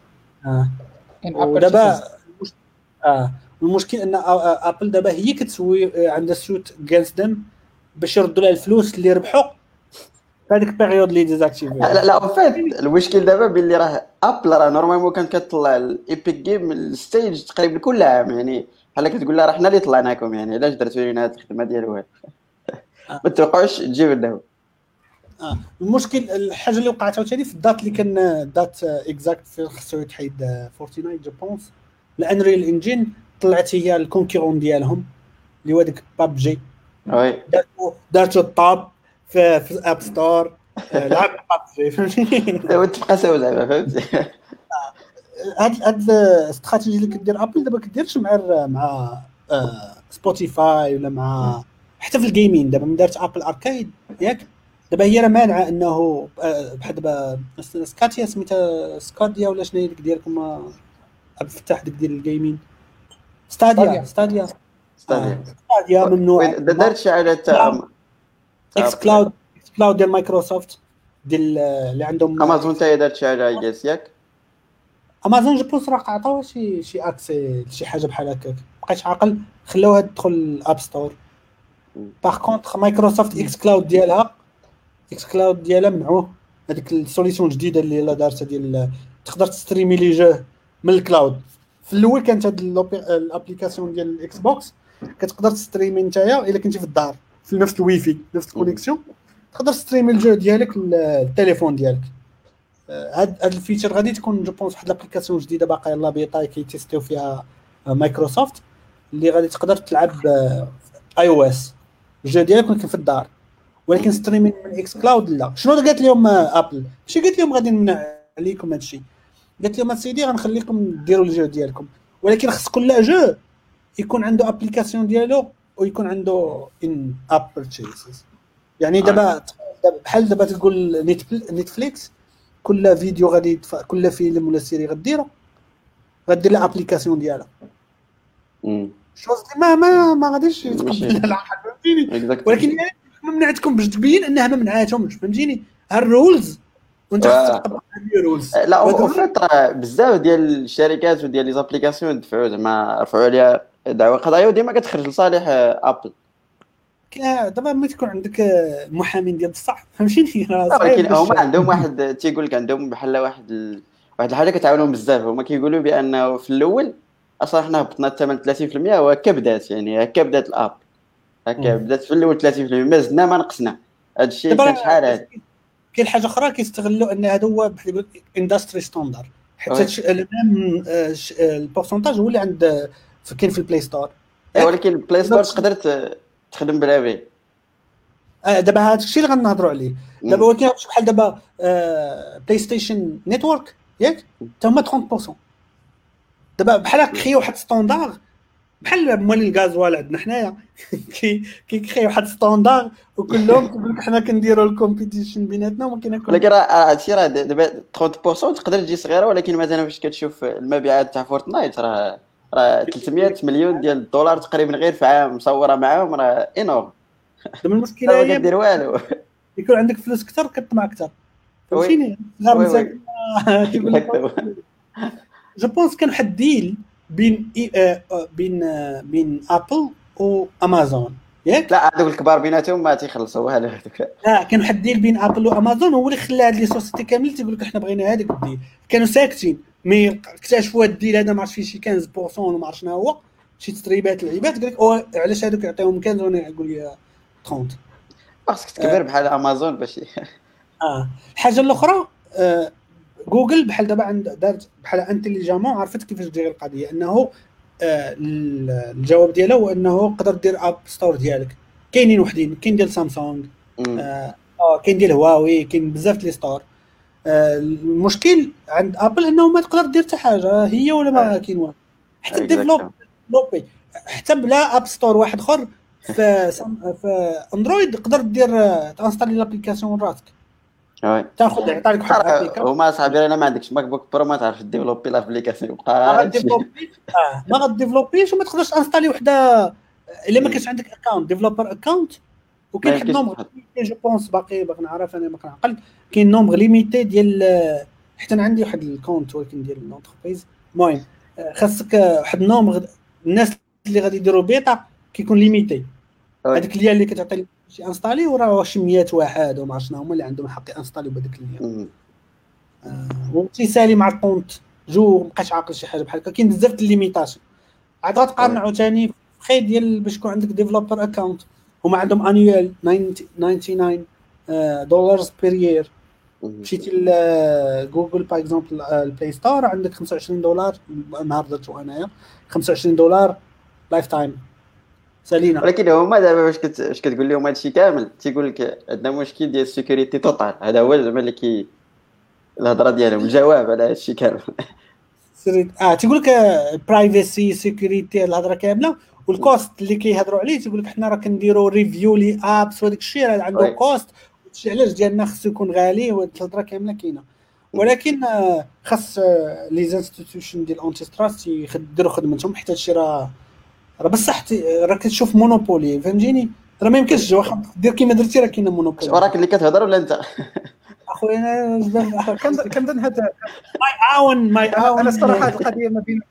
ودابا المشكل ان ابل دابا هي كتسوي عندها سوت جانس دم باش يردوا لها الفلوس اللي ربحوا في هذيك البيريود اللي ديزاكتيفي. لا فات المشكل دابا باللي راه ابل راه نورمالمون كانت كتطلع الايبيك جيم الستيج تقريبا كل عام، يعني بحال كتقول لها راه حنا اللي طلعناكم، يعني علاش درتوا لينا هذه الخدمه ديالو ما توقعوش تجيو لنا. المشكل الحاجه اللي وقعت عاوتاني في الدات اللي كان دات اكزاكت في خصو يتحيد فورتنايت جو بونس الانريل انجين طلعت هي الكونكورون ديالهم اللي هو داك بابجي. وي دارتو الطاب في اب ستور لعب بابجي فهمتي. دابا تبقى سوا زعما فهمتي. هاد الاستراتيجي اللي كدير ابل دابا كديرش مع سبوتيفاي ولا مع حتى في الجيمين. دابا من دارت ابل اركيد ياك دابا هي راه مانعه انه بحال دابا سكاتيا سميتها سكاديا ولا شنو هي ديك ديالكم عبد الفتاح ديك ديال الجيمين ستاديا ستادير ستاديا ممنوع. دارت شي حاجه اكس كلاود ديال مايكروسوفت ديال اللي عندهم امازون تاهي دارت شي حاجه ياس ياك امازون جو بونس راه عطاوها شي اكسي شي حاجه بحال هكاك بقيتش عاقل خلاوها تدخل الاب ستور. باغ كونطخ مايكروسوفت اكس كلاود ديالها منعوه هذيك السوليسيون جديده اللي لا دارتها ديال تقدر تستريمي لي جو من الكلاود. في الاول كانت هاد الابليكاسيون ديال الاكس بوكس كتقدر تستريمي نتايا الا كنتي في الدار في نفس الويفي نفس الكونيكسيون تقدر تستريمي الجو ديالك للتليفون ديالك. هاد الفيتشر غادي تكون جو بونس واحد الابليكاسيون جديده باقا يلاه بيطاي كيتيستيو فيها مايكروسوفت اللي غادي تقدر تلعب اي او اس الجو ديالك ولكن في الدار ولكن ستريمين من اكس كلاود. لا شنو قالت لهم ابل ماشي قالت لهم غادي نمنع عليكم هادشي قالت لهم سيدي غنخليكم ديروا الجو ديالكم ولكن خص كل جو يكون عنده ابليكاسيون ديالو ويكون عنده ان اب بيرتشيزز. يعني دابا بحال دابا تقول نتفليكس كل فيديو غادي كل فيلم ولا سيري غدير له ابليكاسيون ديالها. شوز ما غاديش يتقبل العقل فهمتيني ولكن ما منعتكم باش تبين انها ما منعاتهمش فهمتيني الرولز وانت تطبق الرولز. لا وفات بزاف ديال الشركات وديال لي زابليكاسيون دفعوا زعما رفعوا عليها دعوى قضايا وديما كتخرج لصالح ابل. دابا ملي تكون عندك محامين ديال بصح فهمتيني ولكن هما عندهم واحد تيقول لك عندهم بحال واحد الحاجه كتعاونهم بزاف. هما كيقولوا بانه في الاول اصلا حنا هبطنا الثمن 30% وهكا بدات يعني هكا بدات الاب هكا بدات في الاول 30% ما زدنا ما نقصنا. هذا الشيء كان شحال هذا. كاين حاجه اخرى كيستغلوا ان هذا هو بحال يقول اندستري ستاندر حتى الميم البورسونتاج هو اللي عند كاين في البلاي ستور. ولكن البلاي ستور تقدر تخدم بلا بي. دابا هذا الشيء اللي غنهضروا عليه دابا ولكن بحال دابا بلاي ستيشن نيتورك ياك حتى هما 30% دابا بحال كريو واحد ستاندار بحال مولي الغازوال عندنا حنايا كيكريو واحد ستاندار وكلهم كيقول لك حنا كنديروا الكومبيتيشن بيناتنا وما كاين ولكن راه هادشي راه دابا 30% تقدر تجي صغيره ولكن مثلا فاش كتشوف المبيعات تاع فورتنايت راه 300 مليون ديال الدولار تقريبا غير في عام مصوره معاهم راه انور. دابا المشكله هي كدير والو يكون عندك فلوس اكثر كطمع اكثر فهمتيني غير مساكين كيقول لك جو بونس كان واحد ديل بين ابل وامازون ياك لا هذوك الكبار بيناتهم ما تيخلصوا والو هذوك. لا كان واحد الديل بين ابل وامازون هو اللي خلى هاد لي سوسيتي كامل تيقول لك حنا بغينا هذاك الديل كانوا ساكتين مي اكتشفوا هاد الديل هذا ما عرفتش فيه شي 15% وما عرف شنو هو شي تسريبات العباد قال لك علاش هذوك يعطيهم 15 وانا نقول لي 30 خاصك تكبر بحال امازون باش الحاجه الاخرى جوجل بحال دابا دارت بحال انتيليجامون عرفت كيفاش دير القضيه انه الجواب ديالها هو انه تقدر دير اب ستور ديالك كاينين وحدين كاين ديال سامسونج كاين ديال هواوي كاين بزاف لي ستور. المشكل عند ابل انه ما تقدر دير حتى حاجه هي ولا ما كاين والو حتى ديفلوبي حتى بلا اب ستور واحد اخر في اندرويد تقدر دير تانستالي لابليكاسيون راسك تاخذ يعطي لك واحد الابليكاسيون. هما صاحبي انا ما عندكش ماك بوك برو ما تعرف ديفلوبي لابليكاسيون ما غاديفلوبيش وما تقدرش انستالي وحده الا ما كانش عندك اكونت ديفلوبر اكونت. وكاين واحد نومبر جو بونس باقي نعرف انا ما كنعقل كاين نومبر ليميتي ديال حتى انا عندي واحد الكونت ولكن ديال لونتربريز المهم خاصك واحد نومبر الناس اللي غادي يديروا بيتا كيكون ليميتي هذيك اللي كتعطي شي انستالي وراه شي 100 واحد وما عرفت شنو هما اللي عندهم الحق انستاليو بهذيك اللي وتيسالي مع الكونت جو مابقاش عاقل شي حاجه بحال هكا كاين بزاف د الليميتاسيون عاد غتقارن عاوتاني خير ديال باش يكون عندك ديفلوبر اكونت هما عندهم انيوال $99 بير يير. مشيتي لجوجل باغ اكزومبل البلاي ستور عندك $25 نهار درتو انايا $25 لايف تايم سالينا. ولكن هما دابا باش كتقول لهم هادشي كامل تيقول لك عندنا مشكل ديال السيكوريتي توتال هذا هو زعما اللي الهضره ديالهم الجواب على هادشي كامل تيقول لك برايفسي سيكوريتي الهضره كامله والكوست اللي كيهضروا عليه تيقول لك حنا راه كنديروا ريفيو لي ابس وداك الشيء راه عنده كوست هادشي علاش ديالنا خصو يكون غالي وهاد الهضره كامله كاينه. ولكن خاص لي انستيتيوشن ديال الانتي ستراست يديروا خدمتهم حتى هادشي راه راه بصح راه كتشوف مونوبولي فهمتيني، راه ما يمكنش واخا دير كيما درتي راه كاينه مونوبولي. وراك اللي كتهضر ولا انت؟ اخويا انا كنظن هذا ماي انا اون الصراحه هذه القضيه ما بين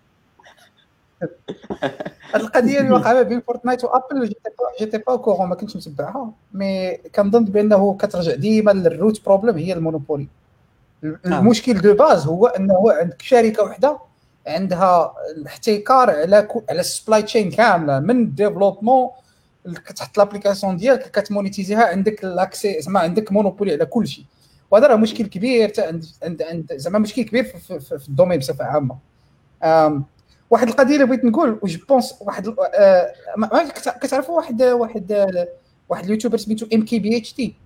هذه القضيه اللي واقعه ما بين فورتنايت وابل جيتي با كورون، ما كنتش متبعها، مي كنظن بانه كترجع ديما للروت بروبليم هي المونوبولي. المشكل دو باز هو انه عندك شركه واحده عندها الاحتكار على السبلاي تشين كامله، من الديفلوبمون كتحط لابليكاسيون ديالك كتمونيتيزيها، عندك لاكسي زعما عندك مونوبولي على كل شيء. وهذا راه مشكل كبير عند زعما مشكل كبير في الدومين بصفه عامه. واحد القضيه اللي بغيت نقول جو بونس واحد كتعرفوا واحد اليوتيوبر سميتو ام كي بي اتش دي.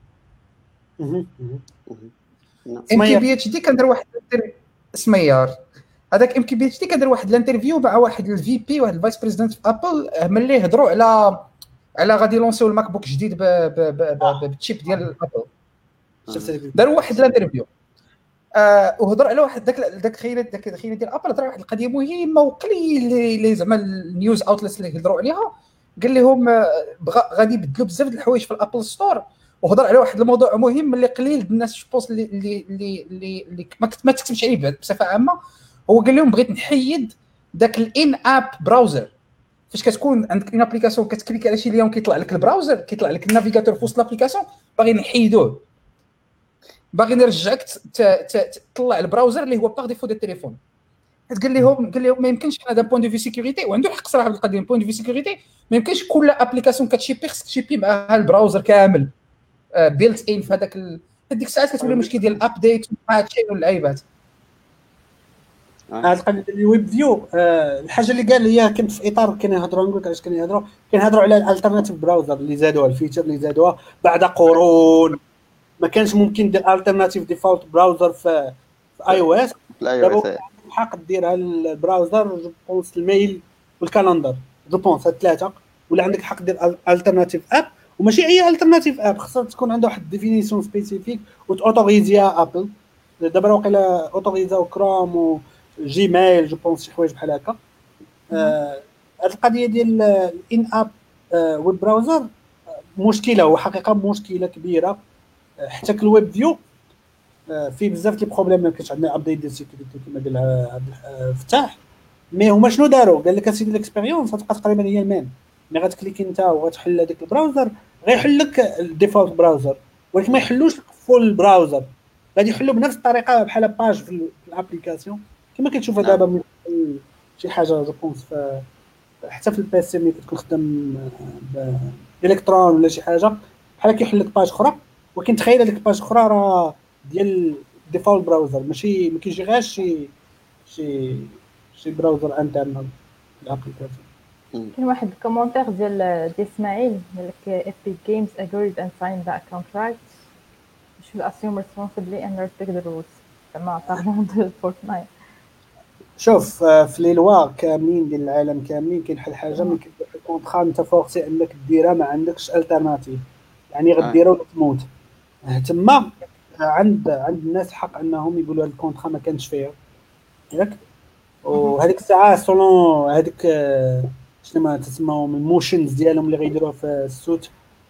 ام كي بي اتش دي كندير واحد سميار، هذاك ام كي بي اتش دي كندير واحد الانترفيو مع واحد الفي بي واحد الفايس بريزيدنت في ابل، ملي هضروا على غادي يلونسيو الماك بوك جديد بالتشيب ديال ابل. داروا واحد الانترفيو وهضر على واحد داك خيرت ديال ابل، هضر على واحد القضيه مهمه وقليل اللي زعما النيوز اوتلتس اللي هضروا عليها، قال لهم غادي يبدلوا بزاف د الحوايج في الابل ستور، وهضر على واحد الموضوع مهم اللي قليل الناس شبوس اللي ما تكتبش عليه بصفه عامه. هو قال لهم بغيت نحيد داك الان اب براوزر، فاش كتكون عندك اون ابليكاسيون كتكليك على شي ليون كيطلع لك البراوزر، كيطلع لك النافيغاتور في وسط الابليكاسيون، باغي نحيدوه، باغي نرجعك تطلع البراوزر اللي هو باغ ديفو ديال التليفون. قال لهم ما يمكنش هذا بوين دو في سيكوريتي، وعنده حق صراحه بالقضيه بوين دو في سيكوريتي، ما يمكنش كل ابليكاسيون كتشيبي خصك تشيبي معها البراوزر كامل بيلت ان في هذاك هذيك الساعات كتولي مشكل ديال الابديت وهادشي واللعيبات. هاد القضيه ديال الويب فيو الحاجه اللي قال هي كنت في اطار كنهضروا نقول علاش كنهضروا على الالتيرناتيف براوزر اللي زادوها، الفيتشر اللي زادوها بعد قرون ما كانش ممكن دير التيرناتيف ديفولت براوزر في اي او اس. دابا الحق ديرها البراوزر جو بونس الميل والكالندر جو بونس هاد ثلاثه، ولا عندك الحق دير التيرناتيف اب، وماشي اي التيرناتيف اب، خصها تكون عندها واحد ديفينيسيون سبيسيفيك وتوتوريزيها ابل. دابا واقيلا اوتوريزاو كروم وجيميل جو بونس شي حوايج بحال هكا. هاد القضيه ديال الان اب ويب براوزر مشكله، وحقيقه مشكله كبيره. حتى الويب فيو فيه بزاف ديال البروبليم، ما كاينش عندنا ابديت ديال السيكوريتي كما قالها فتاح. مي هما شنو داروا؟ قال لك اسيدي الاكسبيريونس غتبقى تقريبا هي الميم، مي غتكليكي انت وغتحل هذاك البراوزر غيحل لك الديفولت براوزر، ولكن ما يحلوش فول براوزر، غادي يحلوا بنفس الطريقه بحال باج في الابليكاسيون كما كتشوفها دابا شي حاجه جو بونس حتى في البي سي ملي كتكون خدام بالالكترون ولا شي حاجه بحال كيحل لك باج اخرى، ولكن تخيل هذيك الباج اخرى راه ديال ديفولت براوزر، ماشي ما كاينش غير شي براوزر انترنال في الابليكاسيون. كاين واحد الكومونتير ديال اسماعيل قال لك if big games agreed and signed that contract should assume responsibly and respect the rules. زعما طارون دو فورتنايت. شوف في لي لوا كاملين ديال العالم كاملين كاين بحال حاجه ملي كدير الكونطرا انت فورسي انك ديرها، ما عندكش التيرناتيف، يعني غديرها وتموت تما. عند الناس الحق انهم يقولوا هذا الكونطرا ما كانش فيها ياك، وهذيك الساعه سولون هذيك شنو ما تسموهم الموشنز ديالهم اللي غيديروها في السوت،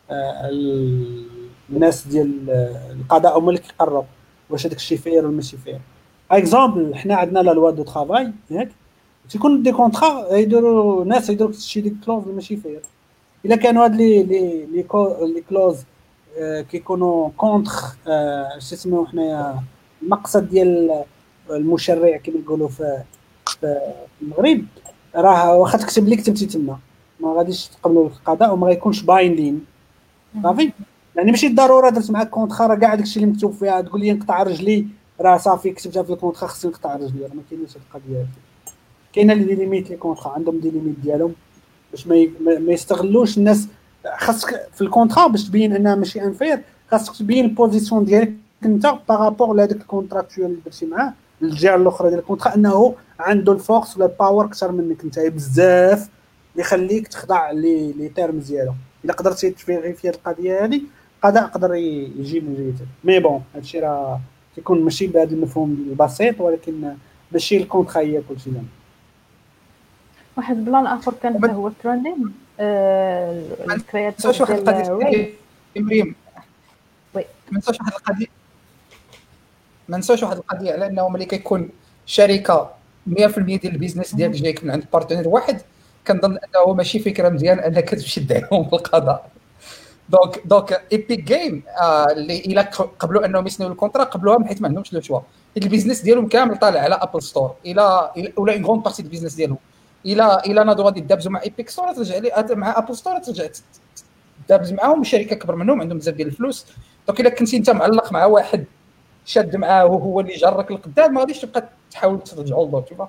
الناس ديال القضاء هما اللي كيقرروا واش هذاك الشيء فير ولا ماشي فير. اكزومبل حنا عندنا لا لوا دو طرافاي ياك، تيكون دي كونطرا يديروا ناس يديروا شي ديك كلوز ماشي فير. الا كانوا هاد لي كلوز كيكونوا كونتر شي اسمو حنايا المقصد ديال المشرع كما يقولوا في المغرب، راه واخا تكتب لك كتبتي تما ما غاديش تقبلوا القضاء وما غيكونش بايندين صافي. يعني ماشي ضروري درت معاك كونطرا راه كاع داكشي اللي مكتوب فيها تقول لي نقطع رجلي راه صافي كتبتها في الكونطرا خصني نقطع رجلي، راه ما كاينش هاد القضيه هادي. كاينه لي ليميت لي كونطرا عندهم دي ليميت ديالهم باش ما يستغلوش الناس. خاصك في الكونطرا باش تبين انها ماشي انفير، خاصك تبين البوزيسيون ديالك انت بارابور لهذاك الكونتراكتوال اللي درتي معاه الجهه الاخرى ديال الكونطرا، انه عنده الفورس ولا الباور اكثر منك انت بزاف اللي يخليك تخضع لي تيرمز ديالو. الا قدرتي تفيريفي هذه القضيه هذه القضاء يقدر يجي من جهتك. مي بون هادشي راه تيكون ماشي بهذا المفهوم البسيط، ولكن ماشي الكونطرا هي كلشي زعما. واحد البلان اخر كان حتى هو ترندين الكرياتور نساوش واحد القضيه ديال مريم وي ما نساوش واحد القضيه ما نساوش واحد القضيه على انه ملي كيكون شركه 100% ديال البيزنس ديالك جايك من عند بارتنر واحد، كنظن انه ماشي فكره مزيان انك تمشي تدعيهم بالقضاء. دونك ايبيك جيم اللي الا قبلوا انهم يسنوا الكونترا قبلوها حيت ما عندهمش لو شوا، البيزنس ديالهم كامل طالع على ابل ستور ولا اون غون بارتي البيزنس ديالهم الا ناضوا غادي يدابزوا مع ايبيك ستور ترجع لي مع ابل ستور ترجع تدابز معاهم الشركه كبر منهم عندهم بزاف ديال الفلوس. دونك الا كنتي انت معلق مع واحد شاد معاه وهو اللي جرك لقدام ما غاديش تبقى تحاول ترجعوا للدور تشوفها.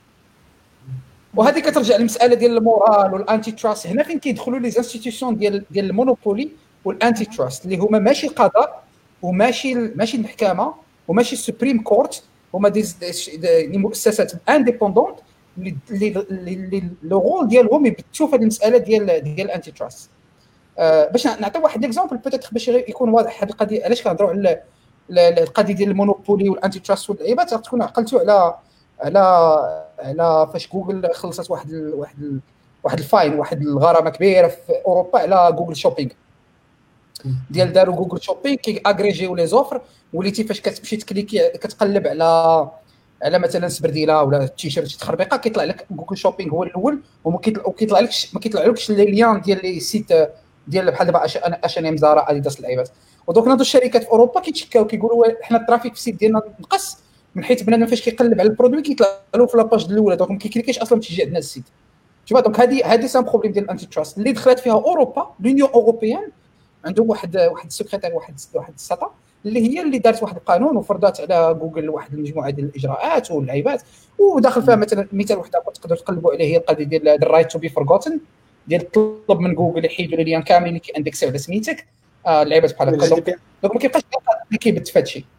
وهذه كترجع للمساله ديال المورال والانتي تراست. هنا فين كيدخلوا لي زانستيتيوشن ديال المونوبولي والانتي تراست اللي هما ماشي القضاء وماشي المحكمه وماشي السوبريم كورت، هما دي مؤسسات انديبوندونت اللي لو رول ديالهم يبتشوا في هذه المساله ديال الانتي تراست. باش نعطي واحد اكزامبل بوتيت باش يكون واضح هذه القضيه علاش كنهضروا على القضيه ديال المونوبولي والانتي تراست واللعيبات. تكون عقلتوا على فاش جوجل خلصت واحد الفاين، واحد الغرامه كبيره في اوروبا على جوجل شوبينغ ديال داروا جوجل شوبينغ كي اغريجيو لي زوفر، وليتي فاش كتمشي تكليكي كتقلب على مثلا سبرديله ولا تيشيرت تخربيقه كيطلع لك جوجل شوبينغ هو الاول، وما كيطلعلكش لي ليان ديال لي سيت ديال بحال دابا اش ان ام زارا اديداس اللعيبات. ودوك ناضوا الشركات في اوروبا كيتشكاو كيقولوا حنا الترافيك في السيت ديالنا نقص من حيث بنادم فاش كيقلب على البرودوي كيطلع له في لاباج الاولى، دونك ما كيكليكيش اصلا تيجي عندنا السيت. شوف دونك هذه سان بروبليم ديال الانتي تراست اللي دخلت فيها اوروبا. لونيون اوروبيان عندهم واحد السكرتير واحد السطا اللي هي اللي دارت واحد القانون وفرضات على جوجل واحد المجموعه ديال الاجراءات واللعيبات، وداخل فيها مثلا مثال واحد تقدروا تقلبوا عليه هي القضيه ديال الرايت تو بي فورغوتن ديال طلب من جوجل يحيدوا لي كاملين اللي كيندكسيو على سميتك اللعيبات بحال هكا. دونك ما كيبقاش اللي كيبت في هادشي.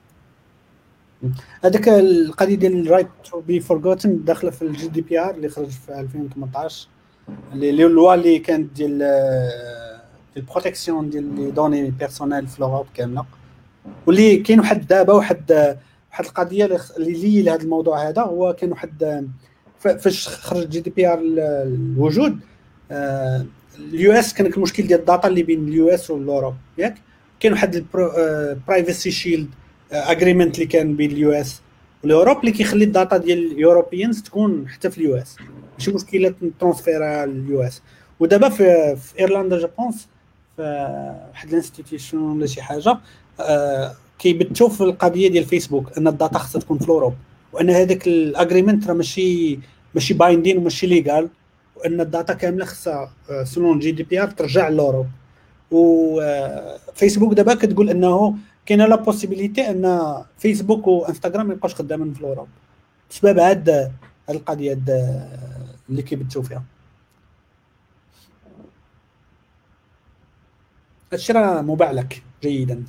هذاك القضيه ديال الرايت تو بي فورغوتن داخله في الجي دي بي ار اللي خرج في 2018 اللي اللوا اللي كانت ديال البروتيكسيون ديال لي دوني بيرسونيل في لوروب كامله، واللي كاين واحد دابا واحد القضيه اللي لهذا الموضوع هذا. هو كان واحد فاش خرج جي دي بي ار الوجود اليو اس كان المشكل ديال الداتا اللي بين اليو اس والاوروب ياك. كاين واحد البرايفسي شيلد اجريمنت اللي كان بين اليو اس والاوروب اللي كيخلي الداتا ديال اليوروبيانز تكون حتى في اليو اس، ماشي مشكله ترانسفيرها لليو اس. ودابا في ايرلندا جابونس في واحد الانستيتيوشن ولا شي حاجه كيبتوا في القضيه ديال فيسبوك ان الداتا خصها تكون في الاوروب، وان هذاك الاجريمنت راه ماشي بايندين وماشي ليغال، وان الداتا كامله خصها سلون جي دي بي ار ترجع للاوروب. وفيسبوك دابا كتقول انه كاينه لا بوسيبيليتي ان فيسبوك وانستغرام ما يبقاوش خدامين في الاوروب بسبب هاد القضيه اللي كيبتوا فيها. هادشي راه مبعلك جيدا.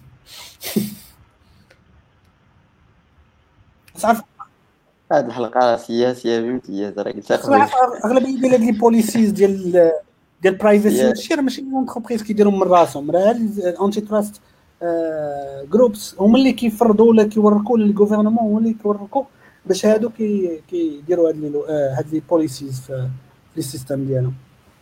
صافي هاد الحلقه سياسيه بامتياز راه قلت لك اغلبيه ديال هاد لي بوليسيز ديال برايفسي هادشي راه ماشي اونتربريز كيديروا من راسهم، راه الانتي تراست جروبس هما اللي كيفرضوا ولا كيوركوا للغوفرنمون، هما اللي كيوركوا باش هادو كيديروا هاد لي بوليسيز في لي سيستم ديالهم.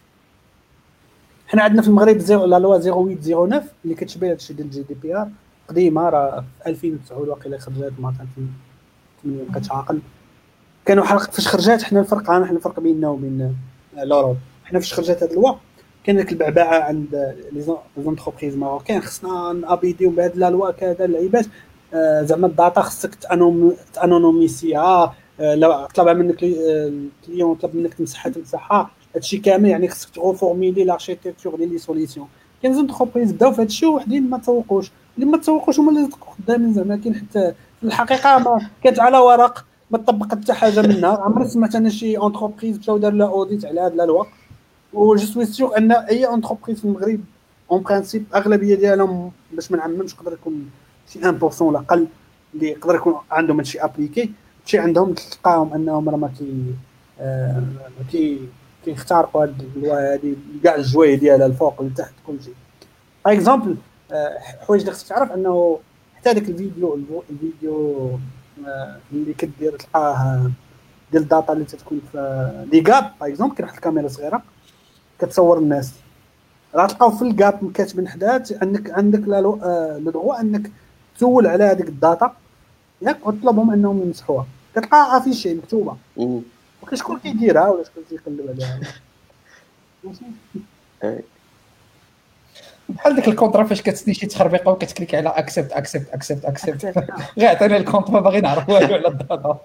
حنا عندنا في المغرب لا لوا 0809 اللي كتشبه هادشي ديال الجي دي بي ار قديمه، راه في 2009 واقيلا خرجت ما 2008 بقيت عاقل. كانوا فاش خرجت حنا الفرق بيننا وبين لوروب. حنا فاش خرجت هاد اللوا كان ديك البعبعه عند لي زونتربريز ماروكان خصنا نابيديو بهاد لا لوا كذا اللعيبات زعما الداتا خصك تانونوميسيها، لو طلب منك الكليون طلب منك تمسحها هادشي كامل يعني خصك تغوفورميلي لاركتيكتور ديال لي سوليسيون. كاين زونتربريز بداو في هادشي وحدين ما تسوقوش، اللي ما تسوقوش هما اللي خدامين زعما. كاين حتى في الحقيقه ما كانت على ورق ما طبقت حتى حاجه منها. عمري سمعت انا شي انتربريز مشاو دار لا اوديت على هاد لا لوا. و جو سوي سيغ ان اي انتربريز في المغرب اون برانسيب اغلبيه ديالهم باش ما نعممش يقدر يكون شي 1% ولا اقل اللي يقدر يكون عندهم هادشي ابليكي شي عندهم تلقاهم انهم راه ما كيخترقوا هاد اللوا هادي كاع الجوايه ديالها الفوق لتحت كلشي. باغ اكزومبل حوايج اللي خصك تعرف انه حتى داك الفيديو اللي كدير تلقاه ديال الداتا اللي تتكون في لي غاب باغ اكزومبل. كاين واحد الكاميرا صغيره كتصور الناس، راه تلقاو في الغاب كاتبين حداها عندك لو دغوا انك تسول على هذيك الداتا ياك، وتطلبهم انهم يمسحوها، كتلقى افيشي مكتوبه، وكاين شكون كيديرها ولا شكون كيقلب عليها. بحال ديك الكونطرا فاش كتسني شي تخربيقه وكتكليك على اكسبت غير عطينا الكونطرا باغي نعرف والو على الداتا.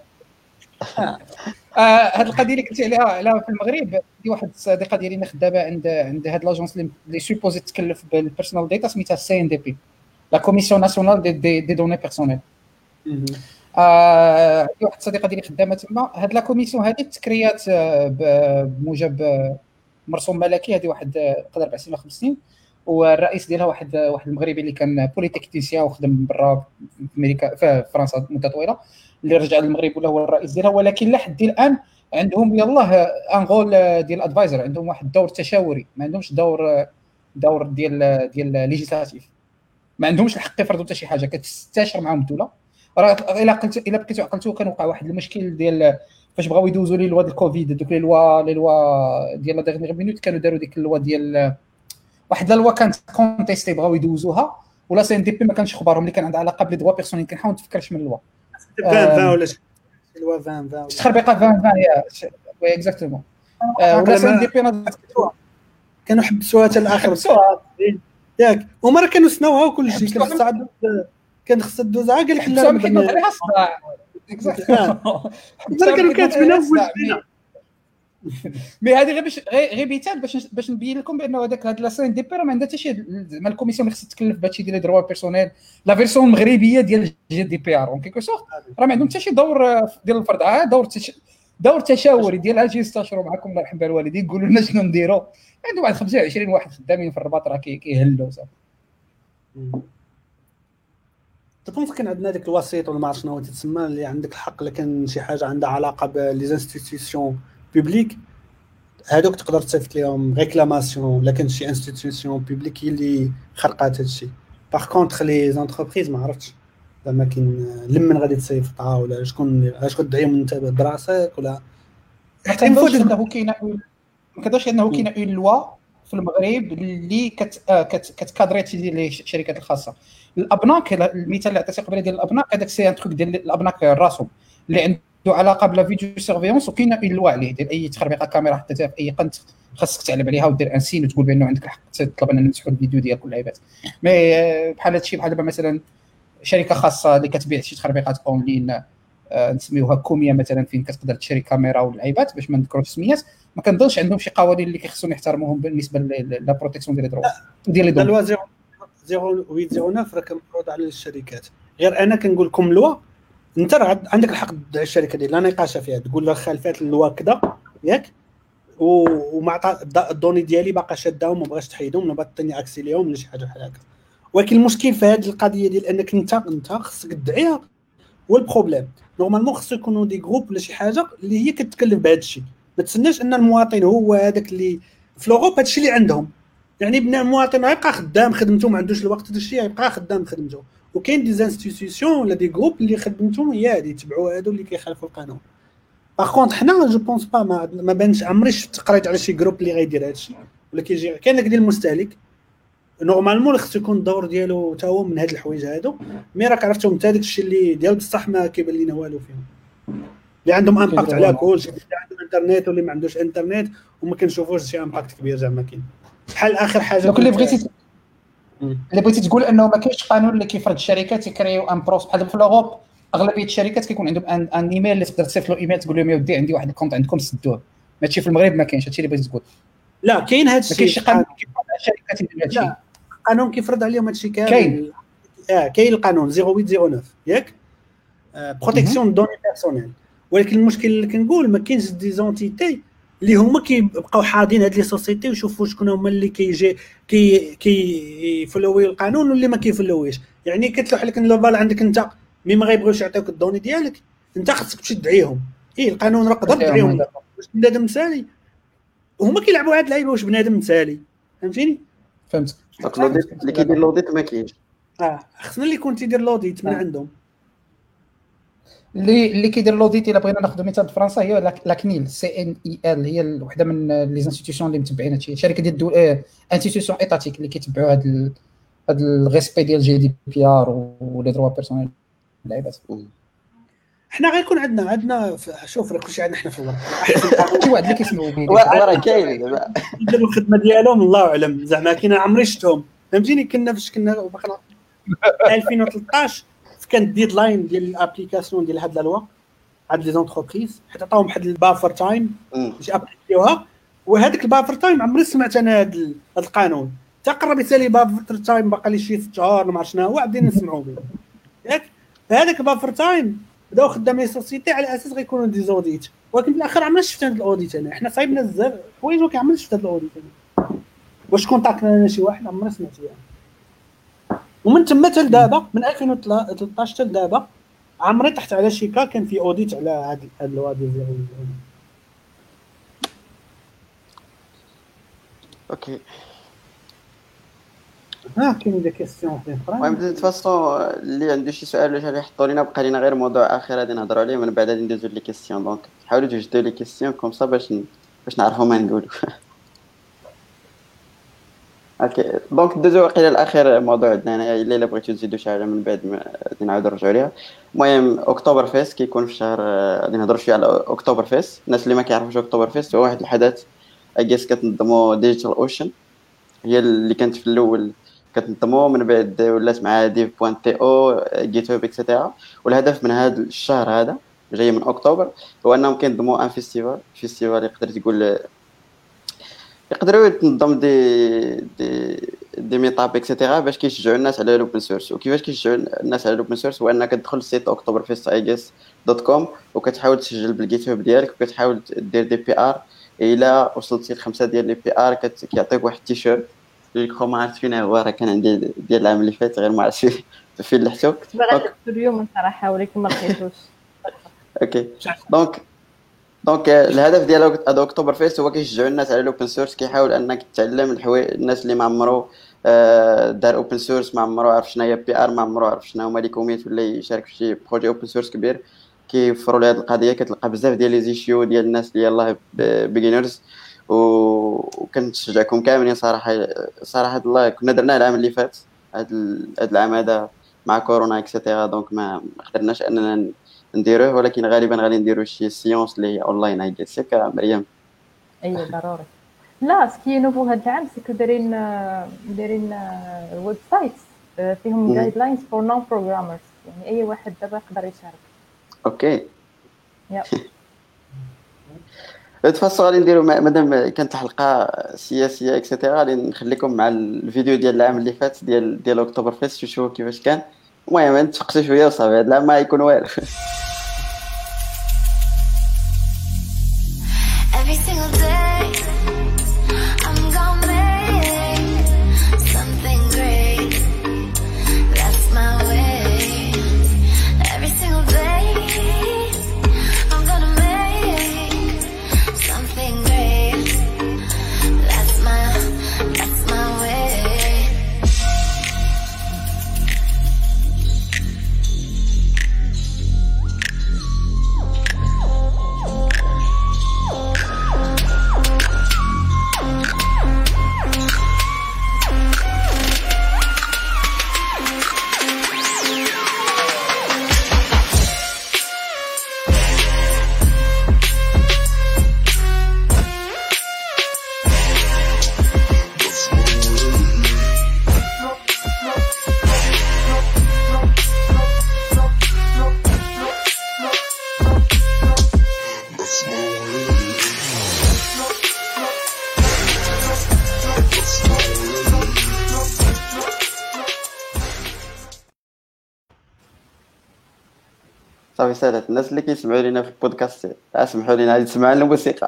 هاد القضيه اللي قلتي عليها في المغرب، دي واحد الصديقه ديالي خدامه عند هاد لاجونس اللي سوبوزي تكلف بالبيرسونال داتا سميتها سي ان دي بي، لا كوميسيون ناسيونال دي دوني بيرسونيل. عندي واحد الصديقه ديالي خدامه تما. هاد لا كوميسيون هذه تكريات بموجب مرسوم ملكي، هذه واحد قدر 4 سنين 5 سنين، والرئيس ديالها واحد المغربي اللي كان بوليتكنيسيان وخدم برا في امريكا في فرنسا مده طويله، اللي رجع للمغرب ولا هو الرئيس ديالها. ولكن لحد الان عندهم يلاه ان غول ديال ادفايزر، عندهم واحد الدور تشاوري، ما عندهمش دور ديال ليجيسلاتيف، ما عندهمش الحق يفرضوا حتى شي حاجه، كتستشر معاهم الدوله. راه الا بقيتو عقلتو كان وقع واحد المشكل ديال فاش بغاو يدوزوا لي لوا الكوفيد، دوك لي لوا ديال لا ديرنيير مينوت كانوا داروا ديك اللوا ديال واحد لا لوا كانت كونتيستي بغاو يدوزوها، ولا سي ان دي بي ما كانش خبارهم اللي كان عندها علاقه بلي دوا بيرسونيل. كنحاول نتفكرش من اللوا 20 ولا شي لوا 20 تخربيقه 20 يا وي اكزاكتومون. ولا سي ان دي بي كانوا حبسوها حتى الاخر ياك، هما راه كانوا سناوها وكل شيء، كان خصها دوز عا قال لك لا نحيدوا عليها الصداع اكزاكتومون. كانوا كاتبينها بوجهنا. مي هذه غير مثال باش نبين لكم بانه هاد لا سين دي بي راه ما عندها حتى شي زعما الكوميسيون اللي خصها تكلف بهادشي ديال دروا بيرسونيل. لا فيرسون المغربيه ديال جي دي بي ار اون كيكو سورت راه ما عندهم حتى شي دور ديال الفرض، دور تشاوري ديال اجي يستشروا معكم الله يرحم الوالدين، يقولوا لنا شنو نديروا. عندهم واحد 25 واحد خدامين في الرباط راه كيهلوا صافي. تبونس كان عندنا ديك الوسيط ولا ما عرفت شنو تسمى، اللي عندك الحق الا كان شي حاجه عندها علاقه بلي انستيتيوشن بوبليك، هادوك تقدر تصيفط لهم ريكلاماسيون ولا كان شي انستيتيوشن بوبليك هي اللي خرقات هادشي. باغ كونطخ لي زونتربريز ما عرفتش زعما كاين لمن غادي تصيفطها ولا شكون اش غدعيهم انت براسك ولا ما كنظنش انه كاينه اون لوا في المغرب اللي كتكادري ديال الشركات الخاصه. الابناك المثال اللي عطيتي قبيله ديال الابناك، هذاك سي ان تروك ديال الابناك راسهم اللي عنده علاقه بلا فيديو سيرفيونس، وكاينه اون لوا عليه ديال اي تخربيقه كاميرا حطيتها في اي قنت خاصك تعلم عليها ودير ان سين وتقول بانه عندك الحق تطلب ان نمسحوا الفيديو ديالك ولا عيبات. مي بحال هادشي بحال دابا مثلا شركه خاصه اللي كتبيع شي تخربيقات اونلاين نسميوها كوميا مثلا، فين كتقدر تشري كاميرا والعيبات باش ما نذكروش السميات، ما كنظنش عندهم شي قوانين اللي كيخصهم يحترموهم بالنسبه لا بروتيكسيون ديال الدروا ديال لي دون. 0809 راه كنفرض على الشركات. غير انا كنقول لكم لوا انت راه عندك الحق تدعي الشركه ديال لا نقاش فيها، تقول لها خالفات اللوا كذا ياك، ومع الدوني ديالي باقا شاداهم وما بغاش تحيدهم ولا باغي اكسي ليهم ولا شي حاجه بحال هكا. ولكن المشكل في هذه القضيه ديال انك انت خصك تدعيها هو البروبليم. نورمالمون خصو يكونوا دي جروب ولا شي حاجه اللي هي كتكلف بهذا الشيء، ما تسناش ان المواطن هو هذاك اللي في لوروب هذا الشيء اللي عندهم. يعني بنا المواطن يبقى خدام خدمته، ما عندوش الوقت هذا الشيء يبقى خدام خدمته، وكاين دي انستيتيوشن ولا دي جروب اللي خدمتهم هي هذه يتبعوا هادو اللي كيخالفوا القانون. باغ كونط حنا جو بونس با ما بانش عمري شفت قريت على شي جروب اللي غيدير هذا الشيء، ولا كيجي كاين داك ديال المستهلك نورمالمون خصو يكون الدور ديالو حتى هو من هاد الحوايج هادو. مي راك عرفتهم حتى داك الشيء اللي ديال بصح ما كيبان لينا والو فيهم، اللي عندهم امباكت على كلشي، اللي عنده انترنت واللي ما عندوش انترنت وما كنشوفوش شي امباكت كبير زعما كاين. بحال اخر حاجه اللي بغيتي تقول انه ما كاينش قانون اللي كيفرض الشركات يكريو ان بروس بحال في لوروب. اغلبيه الشركات كيكون عندهم ان ايميل اللي تقدر تصيفط له ايميل تقول لهم يا ودي عندي واحد الكونت عندكم سدوه. ماشي في المغرب ما كاينش هادشي اللي بغيتي تقول. لا كاين هذا الشيء، ما كاينش قانون كيفرض على الشركات يديروا هادشي. لا قانون كيفرض عليهم هادشي كامل. كاين القانون 0809 ياك بروتيكسيون دوني بيرسونيل. ولكن المشكل اللي كنقول ما كاينش دي زونتيتي اللي هما كيبقاو حاضين هاد لي سوسيتي ويشوفوا شكون هما اللي كيجي كيفلوي القانون واللي ما كيفلويش. يعني كتلوح لك اللوبال عندك انت مي ما غيبغيوش يعطيوك الدوني ديالك، انت خصك تمشي تدعيهم. القانون راه قدر تدعيهم واش بنادم مثالي، وهما كيلعبوا هاد اللعيبه واش بنادم مثالي. فهمتيني؟ فهمت. اللي كيدير لوديت ما كاينش. خصنا اللي يكون تيدير لوديت من عندهم. اللي كيدير لوديت الا بغينا ناخذ مثال فرنسا هي لا كنيل CNIL، هي وحده من لي انستيتيوشن اللي متبعين هادشي، شركه ديال الدول انستيتيوشن ايتاتيك اللي كيتبعوا هاد الريسبي ديال GDPR ولي دروا بيرسونيل اللعيبات. حنا غيكون عندنا شوف راه كلشي عندنا حنا في الورق شي واحد اللي كيسمعوا بيه وراه كاين يديروا الخدمه ديالهم الله اعلم، زعما كاين عمري شفتهم فهمتيني. كنا فاش كنا باقي 2013 كان الديدلاين ديال الابليكاسيون ديال هاد لا لوا عند لي زونتربريز، حيت عطاوهم واحد البافر تايم باش ابليكيوها، وهذاك البافر تايم عمري سمعت انا هاد القانون تقرب يسالي بافر تايم باقي لي شي 6 شهور ما عرفت شنو هو عادين نسمعوا به ياك. هذاك البافر تايم بداو خدامين سوسيتي على اساس غيكونوا دي زوديت، ولكن في الاخر عمرنا شفت هاد الاوديت. انا حنا صايبنا بزاف حوايج ولكن عمرنا شفت هاد الاوديت. واش كونتاكتنا لنا شي واحد عمرنا سمعت به. ومن تما حتى دابا من 2013 حتى دابا عمري تحت على شي كا كان في اوديت على هاد الوادي ديال. اوكي كاين دي كيسيون اخرى. المهم دو فاصون اللي عنده شي سؤال ولا يحطوا لينا، بقى لينا غير موضوع اخر غادي نهضروا عليه، من بعد غادي ندوزو لي كيسيون. دونك حاولوا توجدوا لي كيسيون كوم صا باش نعرفوا ما نقولوا. اوكي دونك ندوزو واقيلا الاخر موضوع عندنا هنايا، الا بغيتو تزيدوا شي حاجه من بعد غادي نعاودوا نرجعوا ليها. المهم اكتوبر فيست كيكون في شهر، غادي نهضروا شويه على اكتوبر فيست. الناس اللي ما كيعرفوش اكتوبر فيست هو واحد الحدث اجيس كتنظموا ديجيتال اوشن، هي اللي كانت في الاول كتنظموا، من بعد ولات مع div.to جيت هاب اكسيتيرا. والهدف من هذا الشهر هذا جاي من اكتوبر هو انهم كينظموا ان فيستيفال يقدر تقول يقدروا تنظم دي ميطاب اكسيتيرا باش كيشجعوا الناس على الاوبن سورس. وكيفاش كيشجعوا الناس على الاوبن سورس هو انك تدخل للسيت oktoberfest.com وكتحاول تسجل بالجيت هاب ديالك وكتحاول دير دي بي ار. الا وصلتي ل5 ديال لي بي ار كيعطيك واحد التيشيرت اللي ما عرفت فين هو، راه كان عندي ديال العام اللي فات غير ما عرفتش فين لحتو. كنت باغا نلبسو اليوم صراحه ولكن ما لقيتوش. اوكي دونك الهدف ديال اكتوبر فيست هو كيشجعوا الناس على الاوبن سورس، كيحاول انك تتعلم الحوايج. الناس اللي ما عمرو دار اوبن سورس، ما عمرو عرف شنو هي بي ار، ما عمرو عرف شنو هما لي كوميت ولا يشارك في شي بروجي اوبن سورس كبير، كيفروا لهاد القضيه. كتلقى بزاف ديال لي زيشيو ديال الناس اللي يلاه بيجينرز، وكنشجعكم كاملين صراحه الله. كنا درنا العام اللي فات، هاد العام هذا مع كورونا اكسيتيرا، دونك ما قدرناش اننا نديروه، ولكن غالبا غادي نديرو شي سيونس اللي هي اونلاين. هاي قالت مريم اي ضروري. لا سكي نوفو هاد العام سكو دايرين ويب سايت فيهم جايد لاينز فور نون بروغرامرز، يعني اي واحد دابا يقدر يشارك. اوكي يا تفاصيل غادي نديرو مادام كانت الحلقه سياسيه اكسيتيرا، غادي نخليكم مع الفيديو ديال العام اللي فات ديال اكتوبر فيست، شوفوا كيفاش كان. المهم نتفقسوا شويه وصافي، هذا العام ما يكون والو. Every single day, I'm gonna make something great. That's my way. Every single day, I'm gonna make something great. That's my way. صافي سالات الناس اللي كيسمعوا لينا في البودكاست اسمحوا لينا نسمعوا لنا الموسيقى.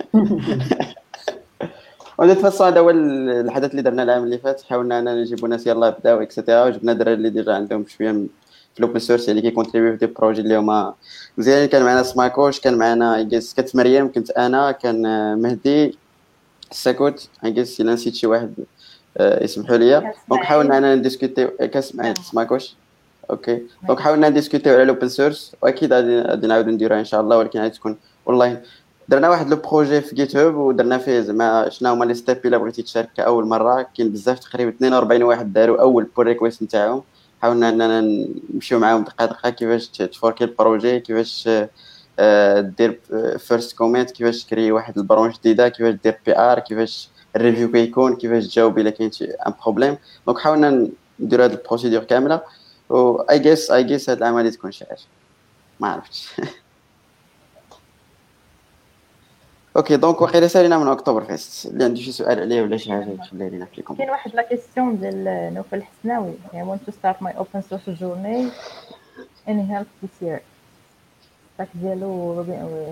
وديت فاصون هذا هو الحدث اللي درنا العام اللي فات. حاولنا اننا نجيبوا ناس يلاه بداو اكسيتيرا، وجبنا دراري اللي ديجا عندهم شويه في الاوبن سورس اللي كيكونتريبيو في دي بروجي اللي هما مزيان. كان معنا سماكوش، كان معنا كانت مريم، كنت انا، كان مهدي الساكوت. اجيس الا نسيت شي واحد يسمحوا لي. دونك حاولنا اننا نديسكوتي. كاسمعي سماكوش اوكي دونك حاولنا نديسكوتيو على الاوبن سورس، واكيد غادي نعاودو نديروها ان شاء الله، ولكن غادي تكون اونلاين. درنا واحد لو بروجي في جيت هاب ودرنا فيه زعما شنو هما لي ستيب الا بغيتي تشارك كاول مره. كاين بزاف تقريبا 42 واحد داروا اول بول ريكويست نتاعهم، حاولنا اننا نمشيو معاهم دقه دقه كيفاش تفوركي البروجي، كيفاش دير فيرست كومنت، كيفاش تكري واحد البرونش جديده، كيفاش دير بي ار، كيفاش الريفيو كيكون، كيفاش تجاوب الا كاين شي ان بروبليم. دونك حاولنا نديرو هاد البروسيدور كامله، و اي جيس هاد العام غادي تكون شي حاجه ما عرفتش. اوكي دونك واقيلا سالينا من اكتوبر فيست، اللي عنده شي سؤال عليه ولا شي حاجه يخليها لينا فيكم. كاين واحد لا كيسيون ديال نوفل الحسناوي. I want to start my open source journey. Any help this year؟ داك ديالو روبي اويل.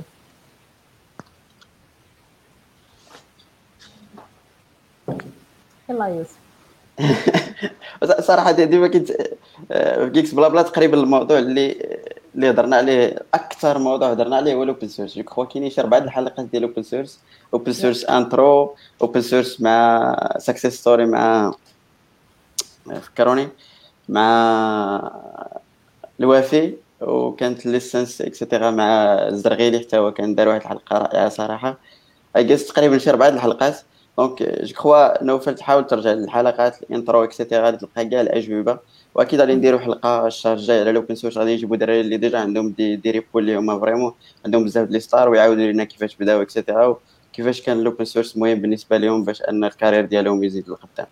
يلا يوسف. صراحه ديما كنت في جيكس بلا بلا تقريبا الموضوع اللي هضرنا عليه، اكثر موضوع هضرنا عليه هو الاوبن سورس. جو كخوا كاينين شي 4 الحلقات ديال الاوبن سورس، اوبن سورس انترو، اوبن سورس مع سكسيس ستوري مع فكروني مع الوافي، وكانت ليسنس اكسيتيرا مع الزرغيلي حتى هو كان دار واحد الحلقه رائعه صراحه. اجلس تقريبا شي 4 الحلقات. دونك جو كخوا نوفل تحاول ترجع للحلقات الانترو اكسيتيرا غادي تلقى كاع الاجوبه، واكيد غادي نديروا حلقه الشهر الجاي على الاوبن سورس. غادي يجيبوا دراري اللي ديجا عندهم دي ريبو اللي هما فريمون عندهم بزاف لي ستار، ويعاودوا لنا كيفاش بداو اكسيتيرا، وكيفاش كان الاوبن سورس مهم بالنسبه لهم باش ان الكارير ديالهم يزيد للقدام.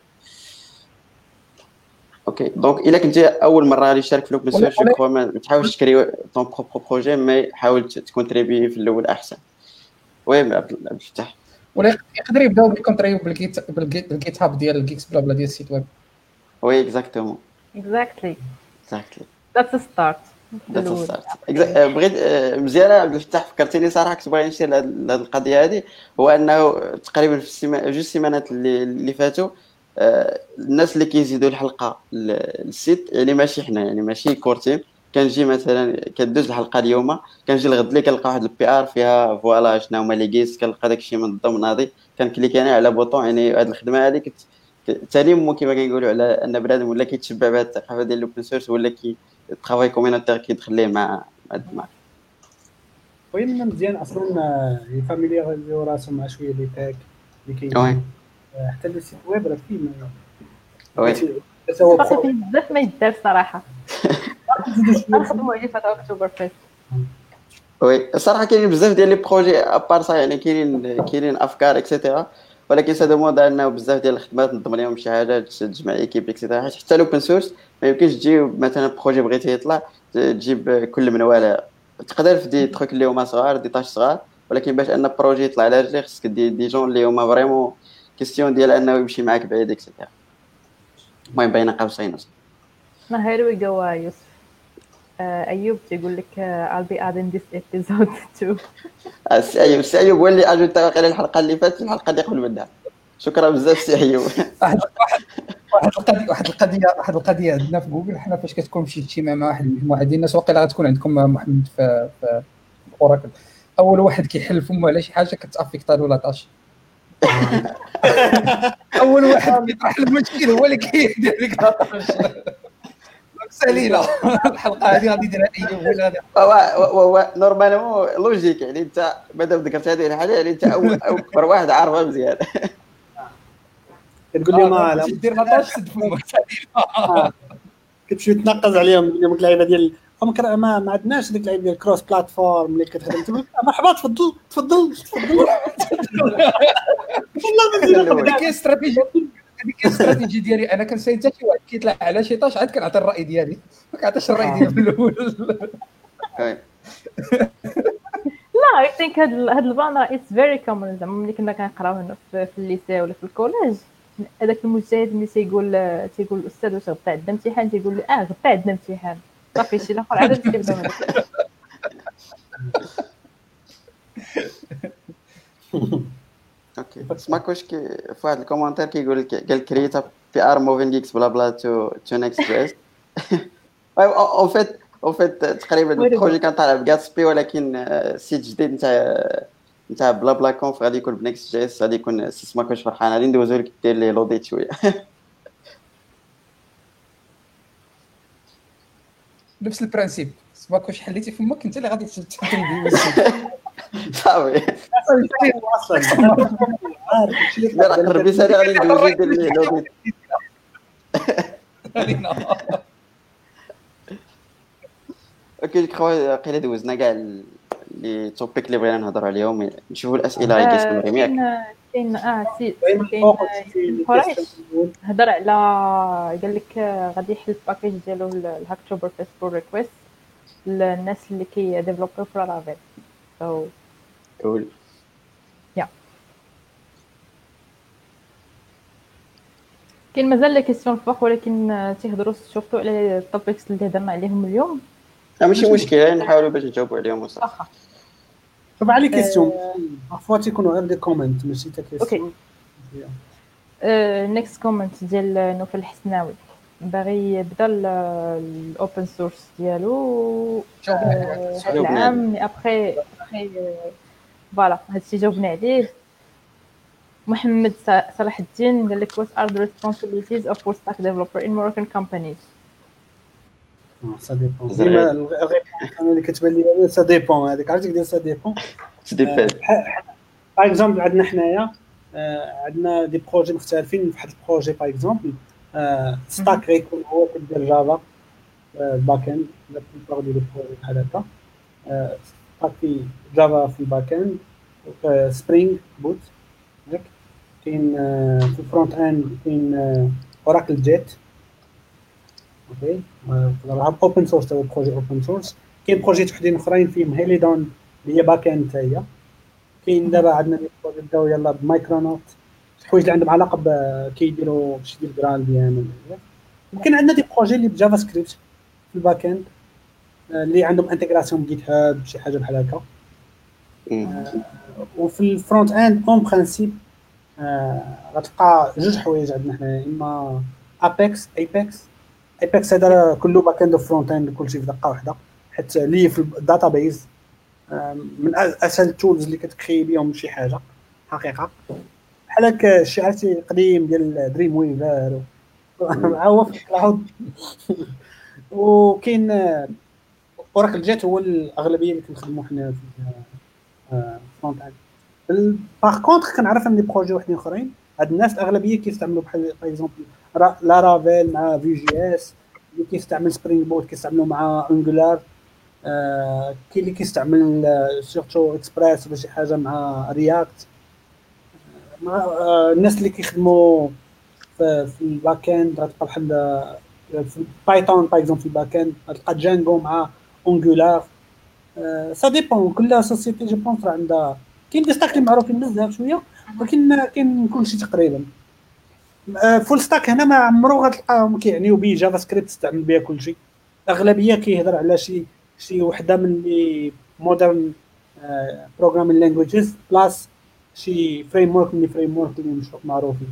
اوكي دونك الا كنتي اول مره غادي تشارك في الاوبن سورس، جو كخوا ما تحاولش تكري طون بروبر بروجي، مي حاول تكونتريبي في الاول احسن. وي عبد الفتاح ولا يقدر يبداو بالكونتريو بالجيت هاب ديال الجيكس بلا بلا ديال السيت ويب. وي اكزاكتومون Exactly. اكزاكتلي That's a start. ذاتس ستارت. بغيت مزيانه عبد الفتاح، فكرتيني صراحه كنت باغي نشير لهاد القضيه هذه. هو انه تقريبا في جوج سيمانات اللي فاتوا الناس اللي كيزيدوا الحلقه للسيت، يعني ماشي حنا، يعني ماشي كورتيم، كنجي مثلا كدوز الحلقه اليوم، كنجي الغد لي كنلقى واحد البي ار فيها فوالا شنو هما لي كيس، كنلقى داكشي منظم ناضي، كنكليك انا على بوطون. يعني هاد الخدمه هذه تالي كيما كنقولوا على ان بنادم ولا كيتشبع بهاد الثقافه ديال الاوبن سورس، ولا كي الترافاي كومينوتير كيدخل ليه مع الدماغ. وين مزيان اصلا يفاميليزيو راسهم مع شويه لي تاك اللي وي كاين حتى لو سيت ويب راه فيه وي هو باقي فيه بزاف ما يدار صراحه. نخدموا عليه في اكتوبر فيست. وي الصراحه كاينين بزاف ديال لي بروجي ابار صا، يعني كاينين افكار اكسيتيرا، ولكن سا دوموند انه بزاف ديال الخدمات نظم لهم شي حاجه، تجمع ايكيب اكسيتيرا. حتى الاوبن سورس ما يمكنش تجيب مثلا بروجي بغيتي يطلع تجيب كل من ولا، تقدر في دي تروك اللي هما صغار، دي طاش صغار، ولكن باش ان بروجي يطلع على رجليه خصك دي جون اللي هما فريمون كيستيون ديال انه يمشي معاك بعيد اكسيتيرا. المهم بين قوسين. Now here we go يوسف. أيوب تيقول لك I'll be adding this episode too. السي ايوب هو اللي اجوتا واقيلا الحلقه اللي فاتت، الحلقه اللي قبل منها. شكرا بزاف سي ايوب. واحد القضيه عندنا في جوجل، حنا فاش كتكون شي اجتماع مع واحد المجموعه ديال الناس، واقيلا غتكون عندكم محمد في اوراكل، اول واحد كيحل فمو على شي حاجه كتافيكتا له لاطاش. اول واحد كيطرح المشكل هو اللي كيدير لك لاطاش. سالينا الحلقه هذه غادي يديرها ايوب ولا هو نورمالمون لوجيك، يعني انت مادام ذكرت هذه الحاجه يعني انت اكبر واحد عارفها مزيان. كتقول لهم لا دير لاطاش سد فمك سالينا. كتمشي تنقز عليهم ديك اللعيبه ديال ما عندناش ديك اللعيبه ديال كروس بلاتفورم اللي كتخدم تقول مرحبا تفضل والله هذيك استراتيجي ديالي انا. كنسيت حتى شي واحد كيطلع على شي طاش عاد كنعطي الراي ديالي، ما كنعطيش الراي ديالي في الاول. لا I think هاد البلان راه it's very common. زعما ملي كنا كنقراو هنا في الليسي ولا في الكوليج، هذاك المجتهد اللي تيقول الاستاذ واش غدا عندنا امتحان، تيقول له غدا عندنا امتحان، صافي شي الاخر عاد كيبداو هذاك. اوكي سماكوش في واحد الكومونتير كيقول لك قال كريتا بي ار موفين جيكس بلا بلا تو نيكست جيس. اون فيت تقريبا البروجي كان طالع بغاتسبي، ولكن سيت جديد نتاع بلا بلا كونف غادي يكون بنيكست جيس، غادي يكون سماكوش فرحان. غادي ندوزو لك دير لي لوديت شويه. نفس البرانسيب سواء واش حليتي فمك انت اللي غادي تتندوي صافي اصلا عارف شي لا راه قربي سالي غادي ندوزو ديال اللعبه اوكي كخوا قيله دوزنا كاع لي توبيك اللي بغينا نهضروا عليهم نشوفوا الاسئله اللي كيسولوا ياك كاين باين كاين فوق قريش هضر على قال لك غادي يحل الباكيج ديالو الهاكتوبر فيس بول ريكويست للناس اللي كي ديفلوبر في لارافيل سو قول كاين مازال لي كيسيون الفوق ولكن تيهضروا شفتوا على التوبكس اللي هضرنا عليهم اليوم ماشي مشكل نحاولوا باش نجاوبوا عليهم وصافي واخا شوف على كيسيون عفوا تيكونوا غير دي كومنت ماشي تا كيسيون نيكست كومنت ديال نوفل الحسناوي باغي يبدا الاوبن سورس ديالو العام مي ابري فوالا هادشي جاوبنا عليه. محمد صلاح الدين قال لك what are the responsibilities of full stack developer in Moroccan companies. سا ديبون ديما الريبونس اللي كتبان لي سا ديبون هذيك عرفتي كدير سا ديبون ديبان باغ اكزومبل عندنا حنايا عندنا دي بروجي مختلفين. في واحد البروجي باغ اكزومبل ستاك غيكون هو كيدير جافا الباك اند لا بلوبار ديال البروجي بحال هكا ستاك في جافا في الباك اند سبرينغ بوت ياك كاين في الفرونت اند كاين اوراكل جيت اوكي نلعب اوبن سورس او بروجي اوبن سورس. كاين بروجي وحدين اخرين فيهم هيليدون اللي هي باك اند حتى هي. كاين دابا عندنا دي بروجي بداو يلاه بمايكرونوت الحوايج اللي عندهم علاقه كيديروا شي ديال جرالفيان. وكاين عندنا دي بروجي اللي بجافا سكريبت في الباك اند اللي عندهم انتغراسيون بجيت هاب شي حاجه بحال هكا. وفي الفرونت اند اون برينسيپ غتلقى جوج حوايج عندنا حنا اما ايباكس هذا كله باك اند وفرونت اند كلشي في دقه واحده حيت لي في الداتا بيز من اسهل التولز اللي كتكري بهم شي حاجه حقيقه بحال هكا شي عرفتي قديم ديال دريم ويفر هو في الكلاود. وكاين اوراكل جيت هو الاغلبيه اللي كنخدموا حنا في فرونت اند. باغ كونطخ كنعرف ان دي بروجي وحدين اخرين هاد الناس الاغلبيه كيستعملوا بحال باغ اكزومبل لارافيل مع في جي اس اللي كيستعمل سبرينغ بوت كيستعملوا مع انجولار. كاين اللي كيستعمل سورتو اكسبريس ولا شي حاجه مع رياكت. الناس اللي كيخدموا في الباك اند غتلقى بحال في بايثون باغ اكزومبل في الباك اند غتلقى جانجو مع انجولار. سا ديبون كل سوسيتي جو بونس راه عندها كاين دي ستاك اللي معروفين بزاف شويه ولكن كاين كلشي تقريبا. فول ستاك هنا ما عمرو غتلقاهم كيعنيو بيه جافا سكريبت تستعمل بها كلشي. الاغلبيه كيهضر على شي وحده من لي مودرن بروغرامين لانجويجز بلاس شي فريم ورك اللي مش معروفين.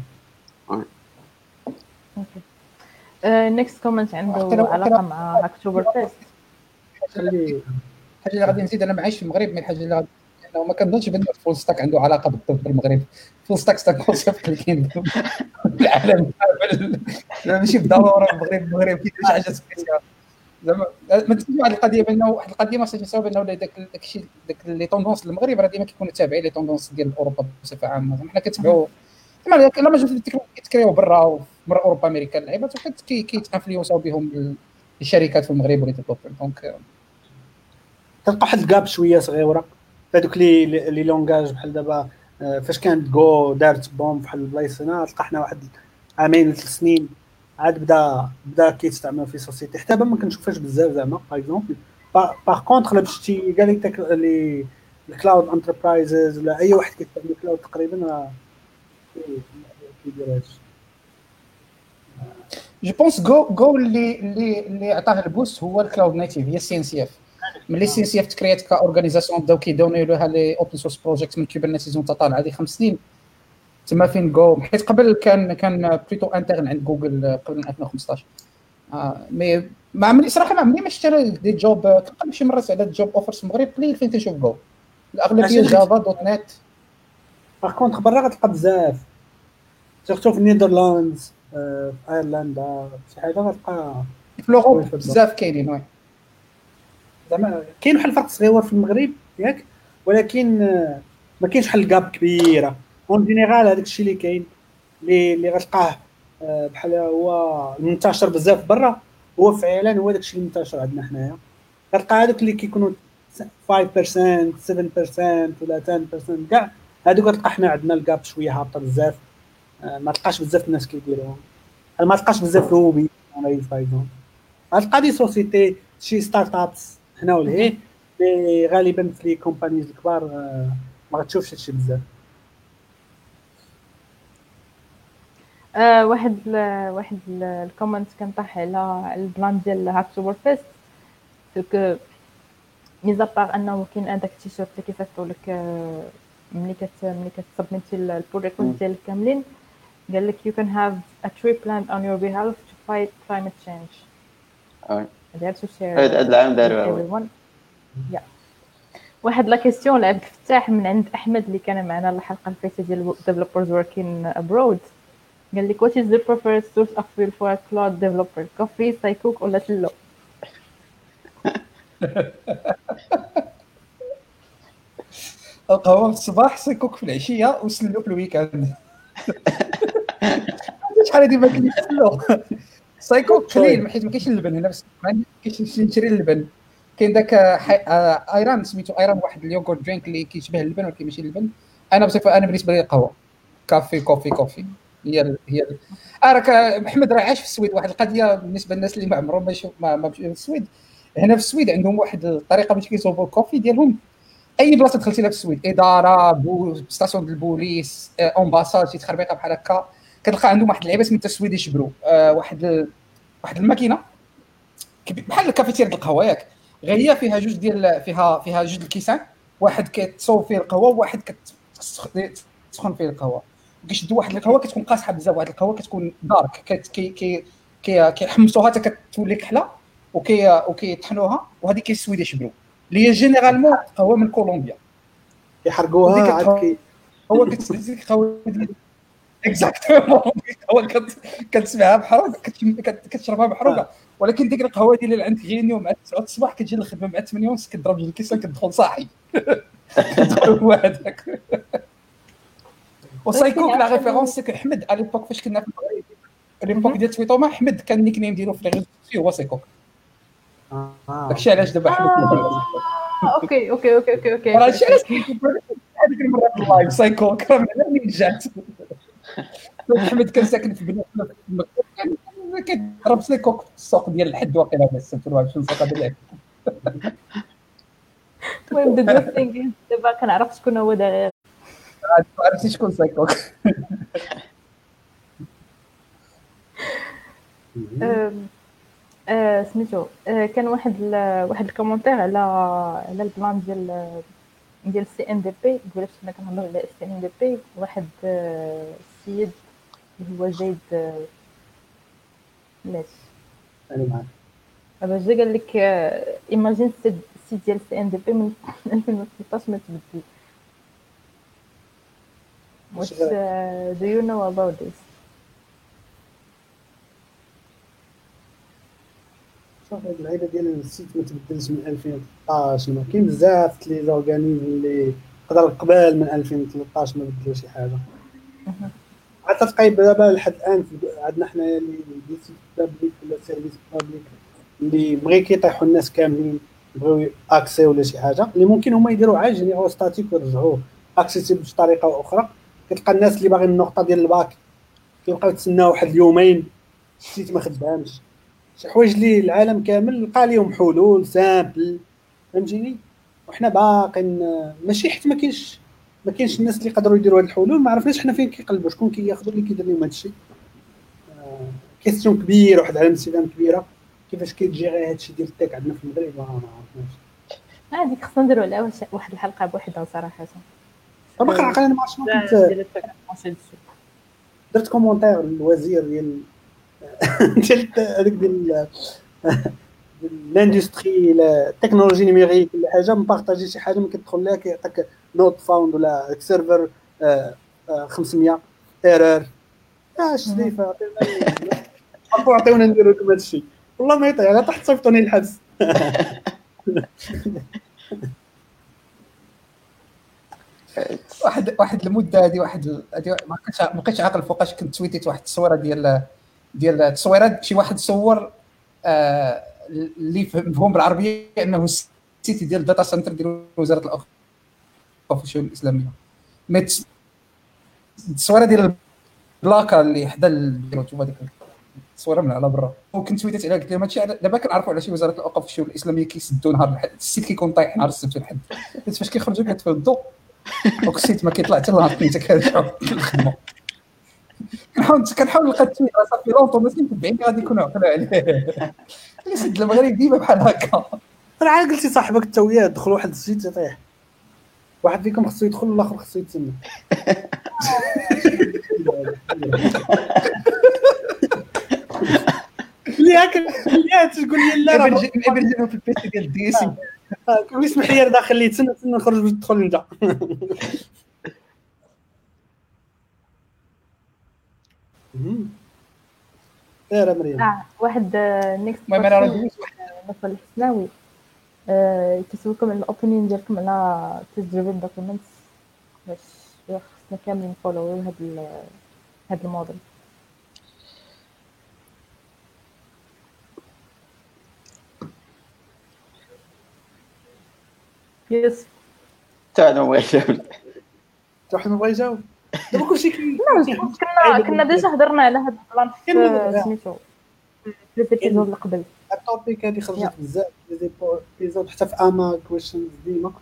نيكست كومنت عنده علاقه مع هاكتوبر فيست. الحاجه اللي غادي نزيد انا معايش في المغرب من الحاجه اللي غادي انه ما كنظنش بان الفول ستاك عنده علاقه بالطب بالمغرب. فول ستاك كونسيبت اللي كاين في العالم ماشي بالضروره المغرب كاين شي حاجه سبيسيال زعما ما تكونش واحد القضيه بانه واحد القضيه ما خصناش نساو بانه داكشي داك لي طوندونس المغرب راه ديما كيكونوا تابعين لي طوندونس ديال اوروبا بصفه عامه. حنا كنتبعوا زعما لا ما جوج كيتكريو برا اوروبا امريكا اللعيبات وحد كيتانفلونساو بهم الشركات في المغرب ولي ديفلوبر. دونك تلقى واحد الكاب شويه صغيره هذوك لي لونغاج بحال دابا فاش كانت جو دارت بوم بحال البلايص هنا تلقى حنا واحد عامين ولا 3 سنين عاد بدا كيستعمل في سوسيتي حتى ما كنشوفهاش بزاف زعما باغ اكزومبل. باغ كونطخ لا شتي قال لك لي الكلاود انتربرايزز ولا اي واحد كيستعمل كلاود تقريبا راه كيدير هادشي. جو بونس جو اللي عطاه البوست هو الكلاود نيتيف هي السي ان سي اف. ملي السي ان سي اف تكريات كاورغانيزاسيون بداو كيدونيو لها لي اوبن سورس بروجيكت من كوبرنيتيز وانت طالع هذه 5 سنين تما فين جو. حيت قبل كان بليتو انترن عند جوجل قبل 2015. مي ما عمري صراحه ما عمري ما اشتري دي جوب. كنقلب شي مرات على جوب اوفرز في المغرب قليل فين تنشوف جو الاغلبيه جافا دوت نت. باغ كونطخ برا غتلقى بزاف سيرتو في النيدرلاندز في ايرلندا شي حاجه غتلقى في لوروب بزاف كاينين. وي زعما كاين واحد الفرق صغير في المغرب ياك، ولكن ما كاينش واحد الكاب كبيره اون جينيرال. هذاك الشيء اللي كاين اللي غتلقاه بحال هو منتشر بزاف برا، هو فعلا هو داك الشيء اللي منتشر عندنا حنايا. غتلقى هذوك اللي كيكونوا 5% 7% ولا 10% كاع هذوك غتلقى حنا عندنا الكاب شويه هابطه بزاف. ما تلقاش بزاف الناس كيديروهم، ما تلقاش بزاف روبي فايزون. غتلقى دي سوسيتي شي ستارت ابس هنا ولهيه، مي غالبا في لي كومبانيز الكبار ما غتشوفش هادشي بزاف. واحد الكومنت كان طاح على البلان ديال هاكتوبر فيست، دونك ميزا باغ انه كاين هذاك التيشيرت اللي كيصيفطوا لك ملي كتسبميتي البول ريكورد ديالك كاملين، قال لك you can have a tree plant on your behalf to fight climate change. هذا to share هذا العام داروا everyone. واحد لا كيسيون لعبد الفتاح من عند احمد اللي كان معنا الحلقه الفايته ديال developers working abroad. قال لك what is the preferred source of fuel for a cloud developer, coffee, سايكوك ولا تلو؟ القهوه في الصباح، سايكوك في العشيه، وسلو في الويكاند. شحال هادي ما كاينش سلو. سايكوك قليل حيت ما كاينش اللبن هنا، بس ما كاينش نشري اللبن. كاين داك ايران سميتو ايران، واحد اليوغورت درينك اللي كيشبه اللبن ولكن ماشي اللبن. انا بصفه انا بالنسبه لي القهوه كوفي هي راك محمد راه عاش في السويد. واحد القضيه بالنسبه للناس اللي ما عمرهم ما مشاو للسويد، هنا في السويد عندهم واحد الطريقه باش كيصوبوا الكوفي ديالهم. اي بلاصه دخلتي لها في السويد، اداره ستاسيون ديال البوليس، امباساد، شي تخربيقه بحال هكا، كتلقى عندهم واحد اللعيبه سميتها سويديش برو. واحد الماكينه بحال الكافيتير ديال القهوه ياك، غير هي فيها جوج ديال فيها جوج الكيسان، واحد كتصوب فيه القهوه وواحد كتسخن فيه القهوه. كيشدوا واحد القهوه كتكون قاصحه بزاف، واحد القهوه كتكون دارك كيحمصوها حتى كتولي كحله وكيطحنوها، وهذه كاين سويديش برو اللي هي جينيرالمون قهوه من كولومبيا يحرقوها عاد هو كتسمع قهوه اكزاكتومون. هو كتسمعها محروقه، كتشربها محروقه، ولكن ديك القهوه ديال اللي عندك غينيو مع 9 الصباح كتجي للخدمه مع 8 ونص، كتضرب جوج الكيسان كتدخل صاحي. هو هذاك. وسايكوك لا ريفيرونس سي كو احمد على ليبوك فاش كنا في المغرب، ليبوك ديال تويتوما، احمد كان النيك نيم ديالو في ريزو سوسيو هو سايكوك. داكشي علاش دابا احمد اوكي راه شي علاش هذيك المره في اللايف سايكوك راه منين جات. احمد كان ساكن في بنات كيضرب سايكوك في السوق ديال الحد واقيلا، بس تقول شنو السوق هذا. المهم ذا جود ثينغ دابا كنعرف شكون هو داير. عرفتي شكون سايكوك؟ سميتو كان واحد الكومونتير على البلان ديال سي ان دي بي. قلت انا كنهضر على سي ان دي بي. واحد السيد اللي هو زيد ماشي انا معاك دابا جا قال لك ايماجين السيت ديال سي ان دي بي من 2013 ما تبدل. What do you know about this? شوف هاد اللعيبه ديال السيت ما تبدلش من 2013. ما كاين بزاف لي زورغانيزم اللي قدر قبل من 2013 ما بدلوا شي حاجه. حتى تقيب دابا لحد الان عندنا حنايا اللي ديسي بابليك ولا سيرفيس بابليك اللي بغي كيطيحوا الناس كاملين بغاو اكسي ولا شي حاجه اللي ممكن هما يديروا عاد جينيرو ستاتيك ويرجعوه اكسيسيبل بطريقه اخرى. كتلقى الناس اللي باغيين النقطه ديال الباك كيبقاو يتسناو واحد اليومين السيت ما خدامش. شي حوايج اللي العالم كامل لقى لهم حلول سامبل، فهمتيني؟ وحنا باقين ماشي حيت ما كاينش الناس اللي يقدروا يديروا هاد الحلول. ما عرفناش حنا فين كيقلبوا، شكون كياخذوا اللي كيدير لهم هادشي. كيستيون كبير، واحد علم استفهام كبيره كيفاش كيتجيري هادشي ديال التك عندنا في المغرب. ما عرفناش هذيك خصنا نديروا عليها واحد الحلقه بوحدها صراحه. طبعا عقل انا ما عرفتش كنت درت كومونتير للوزير ديال هذيك ديال الاندستري التكنولوجي نيميريك ولا حاجه، مبارطاجي شي حاجه ما كتدخل لها كيعطيك نوت فاوند ولا سيرفر 500 ايرور. اش ديفا عطيونا نديروا لكم هادشي. والله ما يطيح، انا تحت صيفطوني الحبس. واحد المده هذه ما بقيتش عاقل فوقاش كنت تويتيت واحد التصويره ديال التصويرات شي واحد صور اللي مفهوم بالعربيه انه السيتي ديال الداتا سنتر ديال وزاره الاوقاف والشؤون الاسلاميه. التصويره ديال البلاكه اللي حدا البيروت هذيك التصويره من على برا، وكنت تويتيت عليها قلت لهم هادشي دابا كنعرفوا على شي وزاره الاوقاف والشؤون الاسلاميه كيسدوا نهار الحد، السيت كيكون طايح نهار السبت والحد، حيت فاش كيخرجوا كيطفيو الضوء وكسيت ما كيطلع حتى نهار الاثنين كنرجعوا للخدمه. كنحاول نلقى التويت صافي لونطو ما متبعين غادي يكونوا عقلوا عليه. السد المغرب ديما بحال هكا. راه عاد قلتي صاحبك انت وياه دخلوا واحد الزيت يطيح، واحد فيكم خصو يدخل والاخر خصو يتسنى. اللي تقول لي لا راه نبرجلو في البيسي ديال الديسي كل اسم حير داخل لي تسنى نخرج باش تدخل انت. يا مريم واحد نيكست المهم انا راه مثلا الحسناوي كيسولكم على الاوبينيون ديالكم على تجربه الدوكيومنتس باش خصنا كاملين نفولو هاد الموديل. يس تاع ما يجاوب واحد ما بغا يجاوب دابا كلشي كنا ديجا هضرنا على هاد البلان في سميتو في الابيزود اللي قبل. التوبيك هذه خرجت بزاف لي ايبيزود حتى في اما كويشنز ديما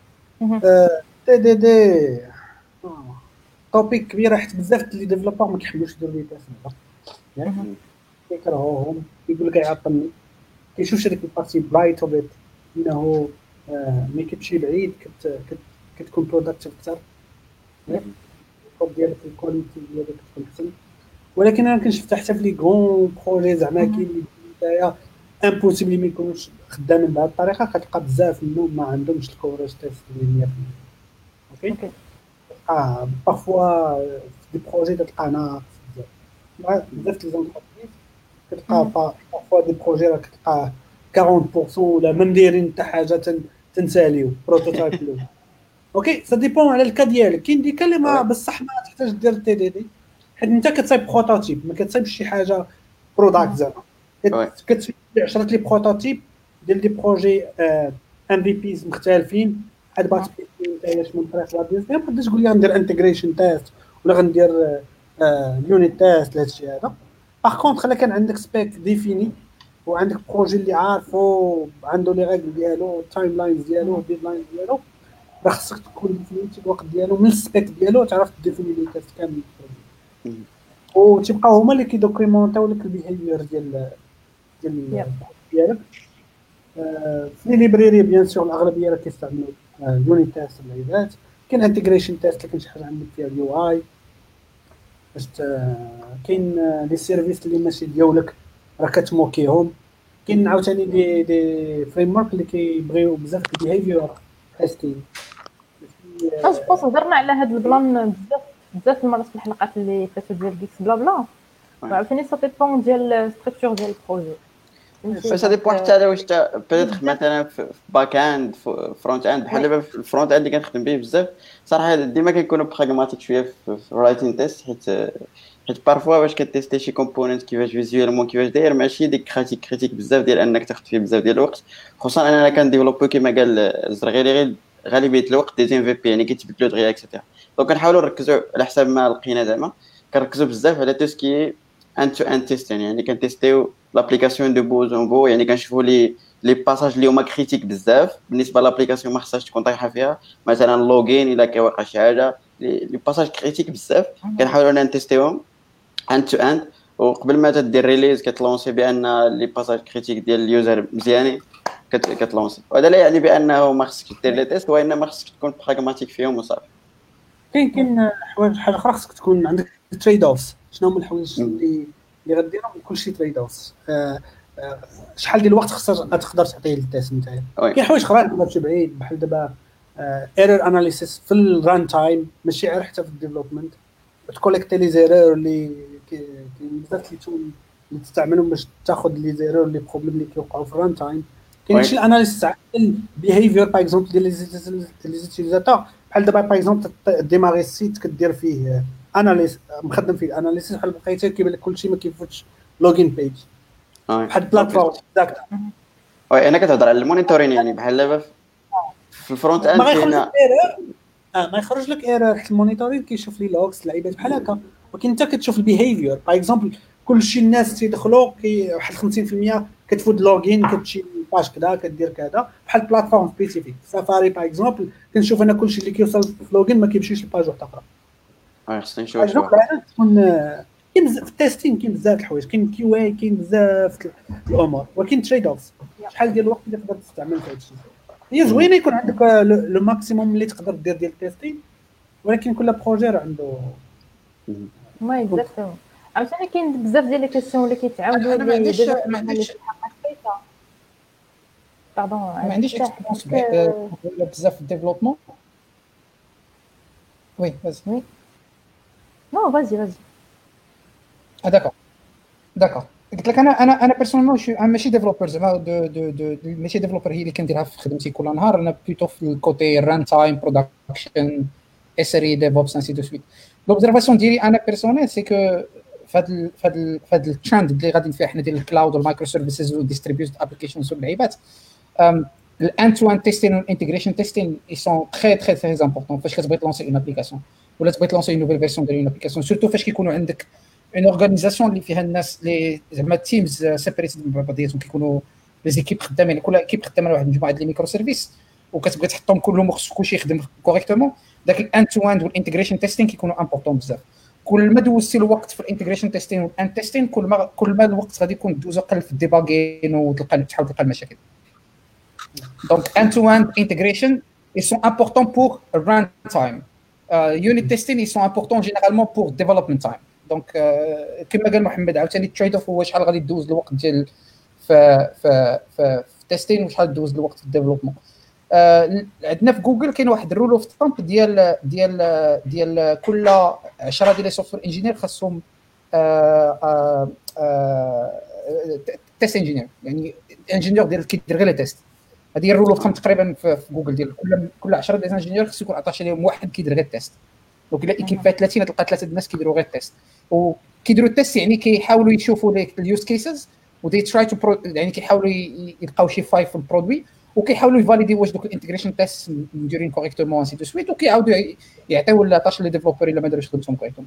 دي توبيك كبيره حيت بزاف لي ديفلوبر ما كيحبوش يديروا لي تيست ياك كيكرهوهم يقول لك يعطلني كيشوف هذيك البارتي برايت وبيت انه ملي كتمشي بعيد كتكون بروداكتيف اكثر ديالك الكواليتي ديالك كتكون احسن. ولكن انا كنشوف حتى في لي غون بروجي زعما كاين نتايا امبوسيبل ما يكونوش خدامين بهذه الطريقه كتلقى بزاف منهم ما عندهمش الكوراج تيست ديال 100%. اوكي بارفوا في دي بروجي تلقى ناقص بزاف لي زونتربريز كتلقى بارفوا دي بروجي راه كتلقى 40% ولا ما مديرين حتى حاجه تنساليو بروتوتايب لو. اوكي سا ديبون على الكا ديالك. كاين ديك اللي ما بصح ما تحتاج دير تي دي دي حيت انت كتصايب بروتوتيب ما كتصايبش شي حاجه بروداكت زعما كتصايب 10 لي بروتوتيب ديال دي بروجي ام في بيز مختلفين عاد باغي تبيع من طريق لا بيز ما تقدرش تقول لي غندير انتجريشن تيست ولا غندير يونيت تيست لهذا الشيء هذا. باغ كونطخ خلا كان عندك سبيك ديفيني وعندك بروجي اللي عارفو عنده لي ريغل ديالو التايم لاينز ديالو الديدلاين ديالو راه خصك تكون ديفينيتي الوقت ديالو من السبيك ديالو تعرف تديفيني لي تيست كامل وتبقاو هما اللي كيدوكيمونطيو لك البيهيفير ديالك. في لي ليبراري بيان سور الاغلبيه راه كيستعملوا يونيت تيست العيدات. كاين انتجريشن تيست اللي كاين شي حاجه عندك فيها اليو اي باش كاين لي سيرفيس اللي ماشي ديالك راه كتموكيهم. كاين عاوتاني دي فريم ورك اللي كيبغيو بزاف البيهيفير تيستين. اش بوص هضرنا على هذا البلان بزاف المرات في الحلقات اللي فاتوا ديال جيكس بلا بلا عاوتاني سا ديبون ديال ستركتور ديال البروجي فاش هذا بوحد حتى واش بيتر مثلا في باك اند فرونت اند بحال دابا في الفرونت اند اللي كنخدم به بزاف صراحه ديما كنكونوا براغماتيك شويه في رايتين تيست حيت بارفوا واش كتيستي شي كومبوننت كيفاش فيزوالمون كيفاش داير ماشي ديك كريتيك بزاف ديال انك تاخذ فيه بزاف ديال الوقت. خصوصا انا كنديفلوبو كما قال الزرغيري غالبيه الوقت دي ام في بي يعني كيتبدلوا دغيا اكسيتيرا. دونك كنحاولوا نركزوا على حسب ما لقينا زعما كنركزوا بزاف على تو سكي ان تو ان تيست يعني كنتيستيو لابليكاسيون دو بوز اون بو يعني كنشوفوا لي باساج اللي هما كريتيك بزاف بالنسبه لابليكاسيون ما خصهاش تكون طايحه فيها مثلا لوغين الا كيوقع شي حاجه لي باساج كريتيك بزاف كنحاولوا نتيستيوهم ان تو ان وقبل ما تدير ريليز كتلونسي بان لي باساج كريتيك ديال اليوزر مزيانين كتلونسي. وهذا لا يعني بانه ما خصك دير لي تيست وانما خصك تكون براغماتيك فيهم وصافي. كاين حاجه اخرى خصك تكون عندك تريد اوفز. شنو هما الحوايج اللي غديرهم كلشي تريد اوفز شحال ديال الوقت خصك تقدر تعطيه للتيست نتاعك. كاين حوايج اخرى تقدر تمشي بعيد بحال دابا ايرور اناليسيس في الران تايم ماشي غير حتى في الديفلوبمنت تكوليكتي لي زيرور اللي كاين بزاف اللي تستعملهم باش تاخذ لي زيرور لي بروبليم اللي كيوقعوا في الران تايم كاين وي. شي الاناليسيس تاع البيهيفير باغ اكزومبل ديال لي زيتيزاتور بحال دابا باغ اكزومبل ديماري السيت كدير فيه اناليز مخدم فيه الاناليسيس بحال بقيتي كيبان لك كلشي ما كيفوتش لوغين بيج وي. بحال بلاتفورم داك وي انا كتهضر على المونيتورين يعني بحال دابا في الفرونت اند ما غيخرج لك كاين ايرور ما يخرج لك ايرور حيت المونيتورين كيشوف لي لوكس اللعيبات بحال هكا ولكن انت كتشوف البيهيفير باغ اكزومبل كلشي الناس تيدخلوا واحد 50% كتفوت لوغين كتمشي باش كذا كدير كذا بحال بلاتفورم سبيسيفيك سافاري باغ اكزومبل كنشوف انا كلشي اللي كيوصل في لوغين ما كيمشيش لباج واحده اخرى وي خصني نشوف باغ شي اكزومبل واحد انا تكون كاين بزاف في التيستين كاين بزاف الحوايج كاين كيو اي كاين بزاف الامور ولكن تريد اوفز شحال ديال الوقت اللي تقدر تستعمل في هذا الشيء هي زوينه يكون عندك لو ماكسيموم اللي تقدر دير ديال التيستين ولكن كل بروجي راه عنده ما اكزاكتومون عاوتاني كاين بزاف ديال لي كيسيون اللي كيتعاودوا أنا ما عنديش- دابا ما عنديش- باردون ما عنديش اكسبيرونس بزاف في الديفلوبمون. وي vas-y. نو فازي داكور قلت لك انا بيرسونيلمون ماشي ديفلوبر زعما دو ماشي ديفلوبر هي اللي كنديرها في خدمتي كل نهار. انا بلوتو في الكوتي ران تايم برودكشن اس ار اي ديفوبس انسي دو سويت. لوبزرفاسيون ديالي انا بيرسونيل سي كو فهاد الترند اللي غادي فيه حنا ديال الكلاود والمايكرو سيرفيسز والديستريبيوتد ابليكيشنز واللعيبات الان تو ان تيستين والانتجريشن تيستين اي سون تري تري تري امبورطون فاش كتبغي تلونسي اون ابليكاسيون ولا تبغي تلونسي اون نوفيل فيرسيون ديال اون ابليكاسيون سورتو فاش كيكونوا عندك اون اورغانيزاسيون اللي فيها الناس اللي زعما تيمز سيبريتد من بعضياتهم كيكونوا لي زيكيب خدامين كل ايكيب خدامه على واحد المجموعه ديال الميكرو سيرفيس وكتبغي تحطهم كلهم خص كلشي يخدم كوريكتومون داك الان تو اند والانتجريشن تيستين كيكونوا امبورطون بزاف. كل ما دوزتي الوقت في الانتجريشن تيستين والان تيستين كل ما الوقت غادي يكون دوزو قل في الديباغين وتلقى تحاول تلقى المشاكل. Donc end-to-end integration, ils sont importants pour runtime. Unit testing, ils sont importants généralement pour development time. Donc كما قال محمد عاوتاني التريد اوف هو شحال غادي تدوز الوقت ديال في التيستين وشحال تدوز الوقت في الديفلوبمون. عندنا في جوجل كاين واحد الرول اوف ثامب ديال كل 10 ديال لي سوفتوير انجينير خاصهم تيست انجينير يعني انجينير ديال كيدير غير لي تيست. هذه الرول اوف ثامب تقريبا في جوجل ديال كل 10 ديال الانجينير خصو يكون عطاش عليهم واحد كيدير غير التيست. دونك الا ايكيب فيها 30 تلقى 3 الناس كيديروا غير التيست وكيديروا التيست يعني كيحاولوا يشوفوا اليوز كيسز ودي تراي تو يعني كيحاولوا يلقاو شي فاي في البرودوي وكيحاولوا يفاليدي واش دوك الانتجريشن تيست مديرين كوريكتومون انسي دو سويت وكيعاودوا يعطيو لاطاش لي ديفلوبر الا ما داروش خدمتهم كوريكتومون.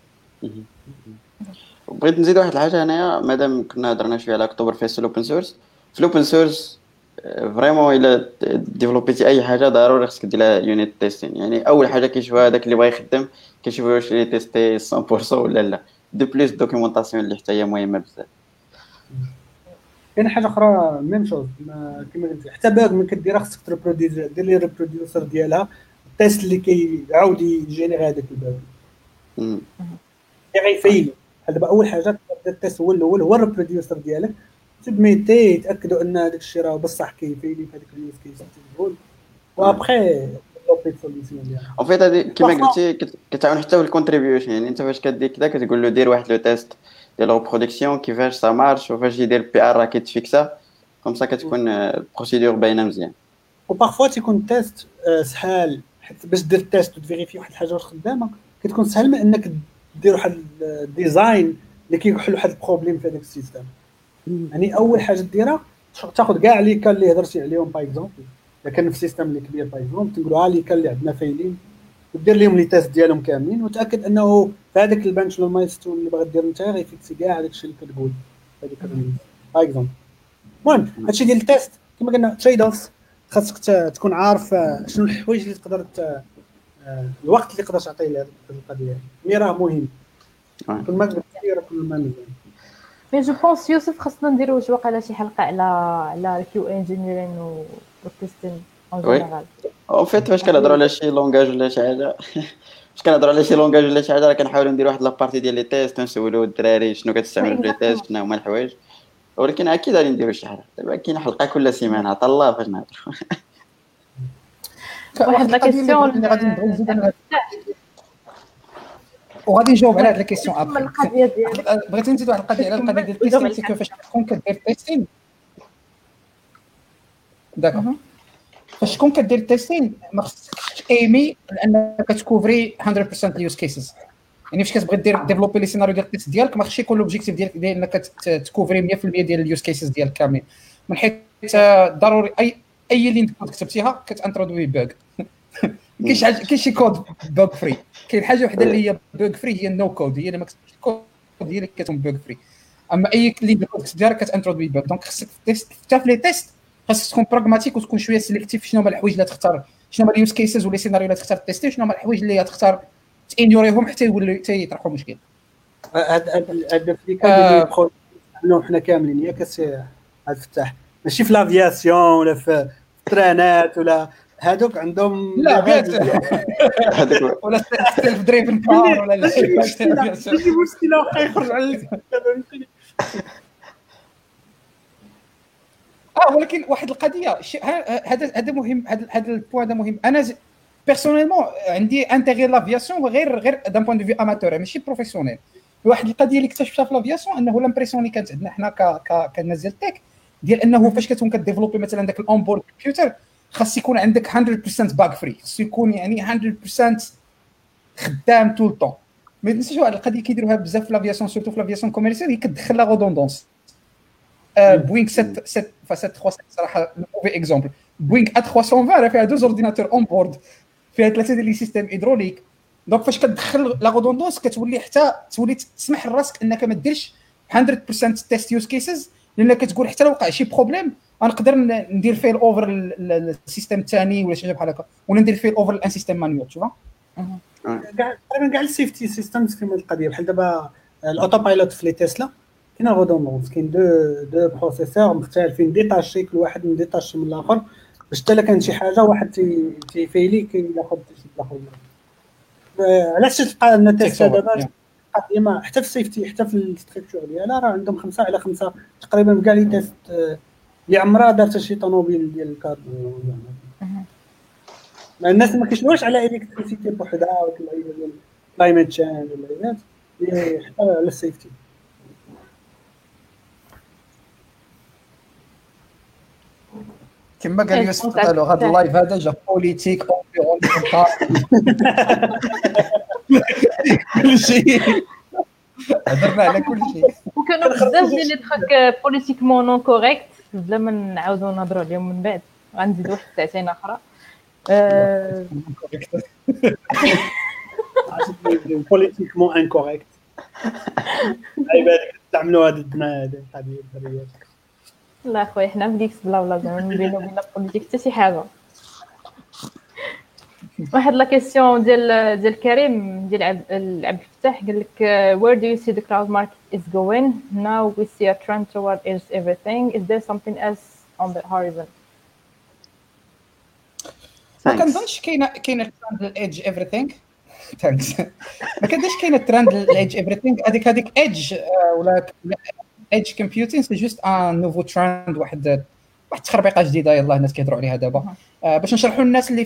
بغيت نزيد واحد الحاجه هنايا مادام كنا هضرنا شويه على اكتوبر فيست الاوبن سورس في الاوبن سورس فريمون الا ديفلوبيتي اي حاجه ضروري خصك دير لها يونيت تيستين يعني اول حاجه كيشوفها هذاك اللي بغا يخدم كيشوف واش لي تيستي 100% ولا لا دو بليس دوكيومونطاسيون اللي حتى هي مهمه بزاف. كاين حاجه اخرى ميم شوز كما قلت حتى باغ من كديرها خصك تريبروديوسر دير لي ريبروديوسر ديالها التيست اللي كيعاود يجينيري هذاك الباغ اللي غيفيل. دابا اول حاجه تبدا التيست هو الاول هو الريبروديوسر ديالك تبميتي يتاكدوا ان هذاك الشيء راه بصح كيفيلي في هذيك اليوز كيس تقول وابخي ديفلوبي سوليسيون ديالها. اون فيت هذه كما قلتي كتعاون حتى في الكونتريبيوشن يعني انت فاش كدير كذا كتقول له دير واحد لو تيست ديال البرودكسيون كيفاش سا مارش وفاش يدير بي ار راه كيتفيكسا كوم سا كتكون البروسيدور باينه مزيان. وبارفوا تيكون التيست سهل حيت باش دير التيست وتفيريفي واحد الحاجه واش خدامه كتكون سهل من انك دير واحد الديزاين اللي كيحل واحد البروبليم في هذاك السيستم. يعني اول حاجه ديرها تاخذ كاع لي كان اللي هضرتي عليهم باغ اكزومبل الا كان في سيستم اللي كبير باغ اكزومبل تنقولوا لي كان اللي عندنا فايلين ودير لهم لي تيست ديالهم كاملين وتاكد انه في هذاك البنش ولا المايلستون اللي باغي دير انت غيفيكسي كاع هذاك الشيء اللي كتقول هذيك الريليز باغ اكزومبل. المهم هادشي ديال التيست كما قلنا تريد اوف خاصك تكون عارف شنو الحوايج اللي تقدر الوقت اللي تقدر تعطيه لهذه القضيه مي راه مهم كل ما قلت كل ما مزيان. مي جو بونس يوسف خاصنا نديرو واش واقيلا شي حلقه على الكيو انجينيرين والتيستين اون جينيرال. اون فيت فاش كنهضروا على شي لونغاج ولا شي حاجه فاش كنهضروا على شي لونغاج ولا شي حاجه راه كنحاولوا نديروا واحد لابارتي ديال لي تيست نسولوا الدراري شنو كتستعمل في لي تيست شنو هما الحوايج ولكن اكيد غادي نديروا شي حاجه. دابا كاين حلقه كل سيمانه عطا الله فاش نهضروا. واحد لا كيسيون اللي غادي نبغي نزيد انا وغادي نجاوب على هاد لا كيسيون ابري. القضيه ديالك بغيت نزيد واحد القضيه على القضيه ديال التيستين سي كو فاش كتكون كدير تيستين داكوغ فاش تكون كدير التيستين ما خصكش ايمي لانك كتكوفري 100% اليوز كيسز يعني فاش كتبغي دير ديفلوبي لي سيناريو ديال التيست ديالك ما خصش يكون لوبجيكتيف ديالك انك تكوفري 100% ديال اليوز كيسز ديالك كاملين من حيث ضروري اي لين كود كتبتيها كتانترودوي بوغ كاين شي كود بوغ فري كاين حاجه وحده اللي هي بوغ فري هي النو كود هي اللي ما كتبتش الكود هي اللي كتكون بوغ فري اما اي لين كود كتدير كتانترودوي بوغ دونك خصك حتى في لي تيست خاصك تكون براغماتيك وتكون شويه سيليكتيف شنو هما الحوايج اللي تختار شنو هما اليوز كيسز ولا سيناريو اللي تختار تيستي شنو هما الحوايج اللي تختار تانيوريهم حتى يولوا حتى يطرحوا مشكل هذا في كان نحن حنا كاملين ياك سي الفتاح ماشي في لافياسيون ولا في الترانات ولا هادوك عندهم لا بيت ولا سيلف دريفن كار ولا لا ماشي مشكله واخا يخرج على ولكن واحد القضيه هذا مهم هذا البوان هذا مهم انا بيرسونيلمون عندي انتيغي لافياسيون غير دان بوين دو في اماتور ماشي بروفيسيونيل واحد القضيه اللي اكتشفتها في لافياسيون انه لامبريسيون اللي كانت عندنا حنا كناس ديال التك ديال انه فاش كتكون كديفلوبي مثلا داك الاونبورد كمبيوتر خاص يكون عندك 100% باك فري خاص يكون يعني 100% خدام طول الطون ما تنساش واحد القضيه كيديروها بزاف في لافياسيون سورتو في لافياسيون كوميرسيال هي كتدخل لا ريدوندونس بوينغ 737 صراحه موفي اكزامبل بوينغ A320 راه فيها دو اورديناتور اون بورد فيها 3 ديال لي سيستيم هيدروليك دونك فاش كتدخل لا ريدوندونس كتولي حتى تولي تسمح لراسك انك ما ديرش 100% تيست يوز كيسز لانك كتقول حتى لو وقع شي بروبليم غنقدر ندير فيل اوفر السيستم الثاني ولا شي حاجه بحال هكا ولا ندير فيل اوفر الان سيستم مانيوال تشوفها كاع السيفتي سيستمز كيما القضيه بحال دابا الاوتو بايلوت في لي تسلا كاين ريدوندونس كاين دو بروسيسور مختلفين ديتاشي كل واحد من ديتاشي من الاخر باش حتى كان شي حاجه واحد تيفيلي كياخذ شي الاخر علاش تلقى ان تيست دابا ديما حتى في السيفتي حتى في الاستركتور ديالها راه عندهم 5 على 5 تقريبا كاع لي تيست اللي عمرها دارت شي طوموبيل ديال الكاربون الناس ما كيشوفوش على الكتريسيتي بوحدها ولا ديال كلايمت تشينج ولا حتى على السيفتي كما قال يوسف قالوا هذا اللايف هذا جا بوليتيك كل شيء هضرنا على كل شيء وكانوا بزاف ديال لي تراك بوليتيكمون نون كوريكت بلا ما نعاودوا نهضروا عليهم من بعد غنزيد واحد ساعتين اخرى بوليتيكمون انكوريكت عيبات تعملوا هذا الدنا هذه الحريات لا خويا حنا في ديكس بلا زعما بينو وبين البوليتيك حتى شي حاجه واحد لا كيسيون ديال كريم ديال عبد الفتاح قال لك where do you see the cloud market is going now we see a trend toward edge everything is there something else on the horizon ما كنظنش كاينه ترند للإيدج everything ثانكس ما كنظنش كاينه ترند للإيدج everything هذيك ايدج ولا ايدج كومبيوتين سي جوست ان نوفو ترند واحد تخربيقه جديده يلاه الناس كيهضروا عليها دابا باش نشرحوا للناس اللي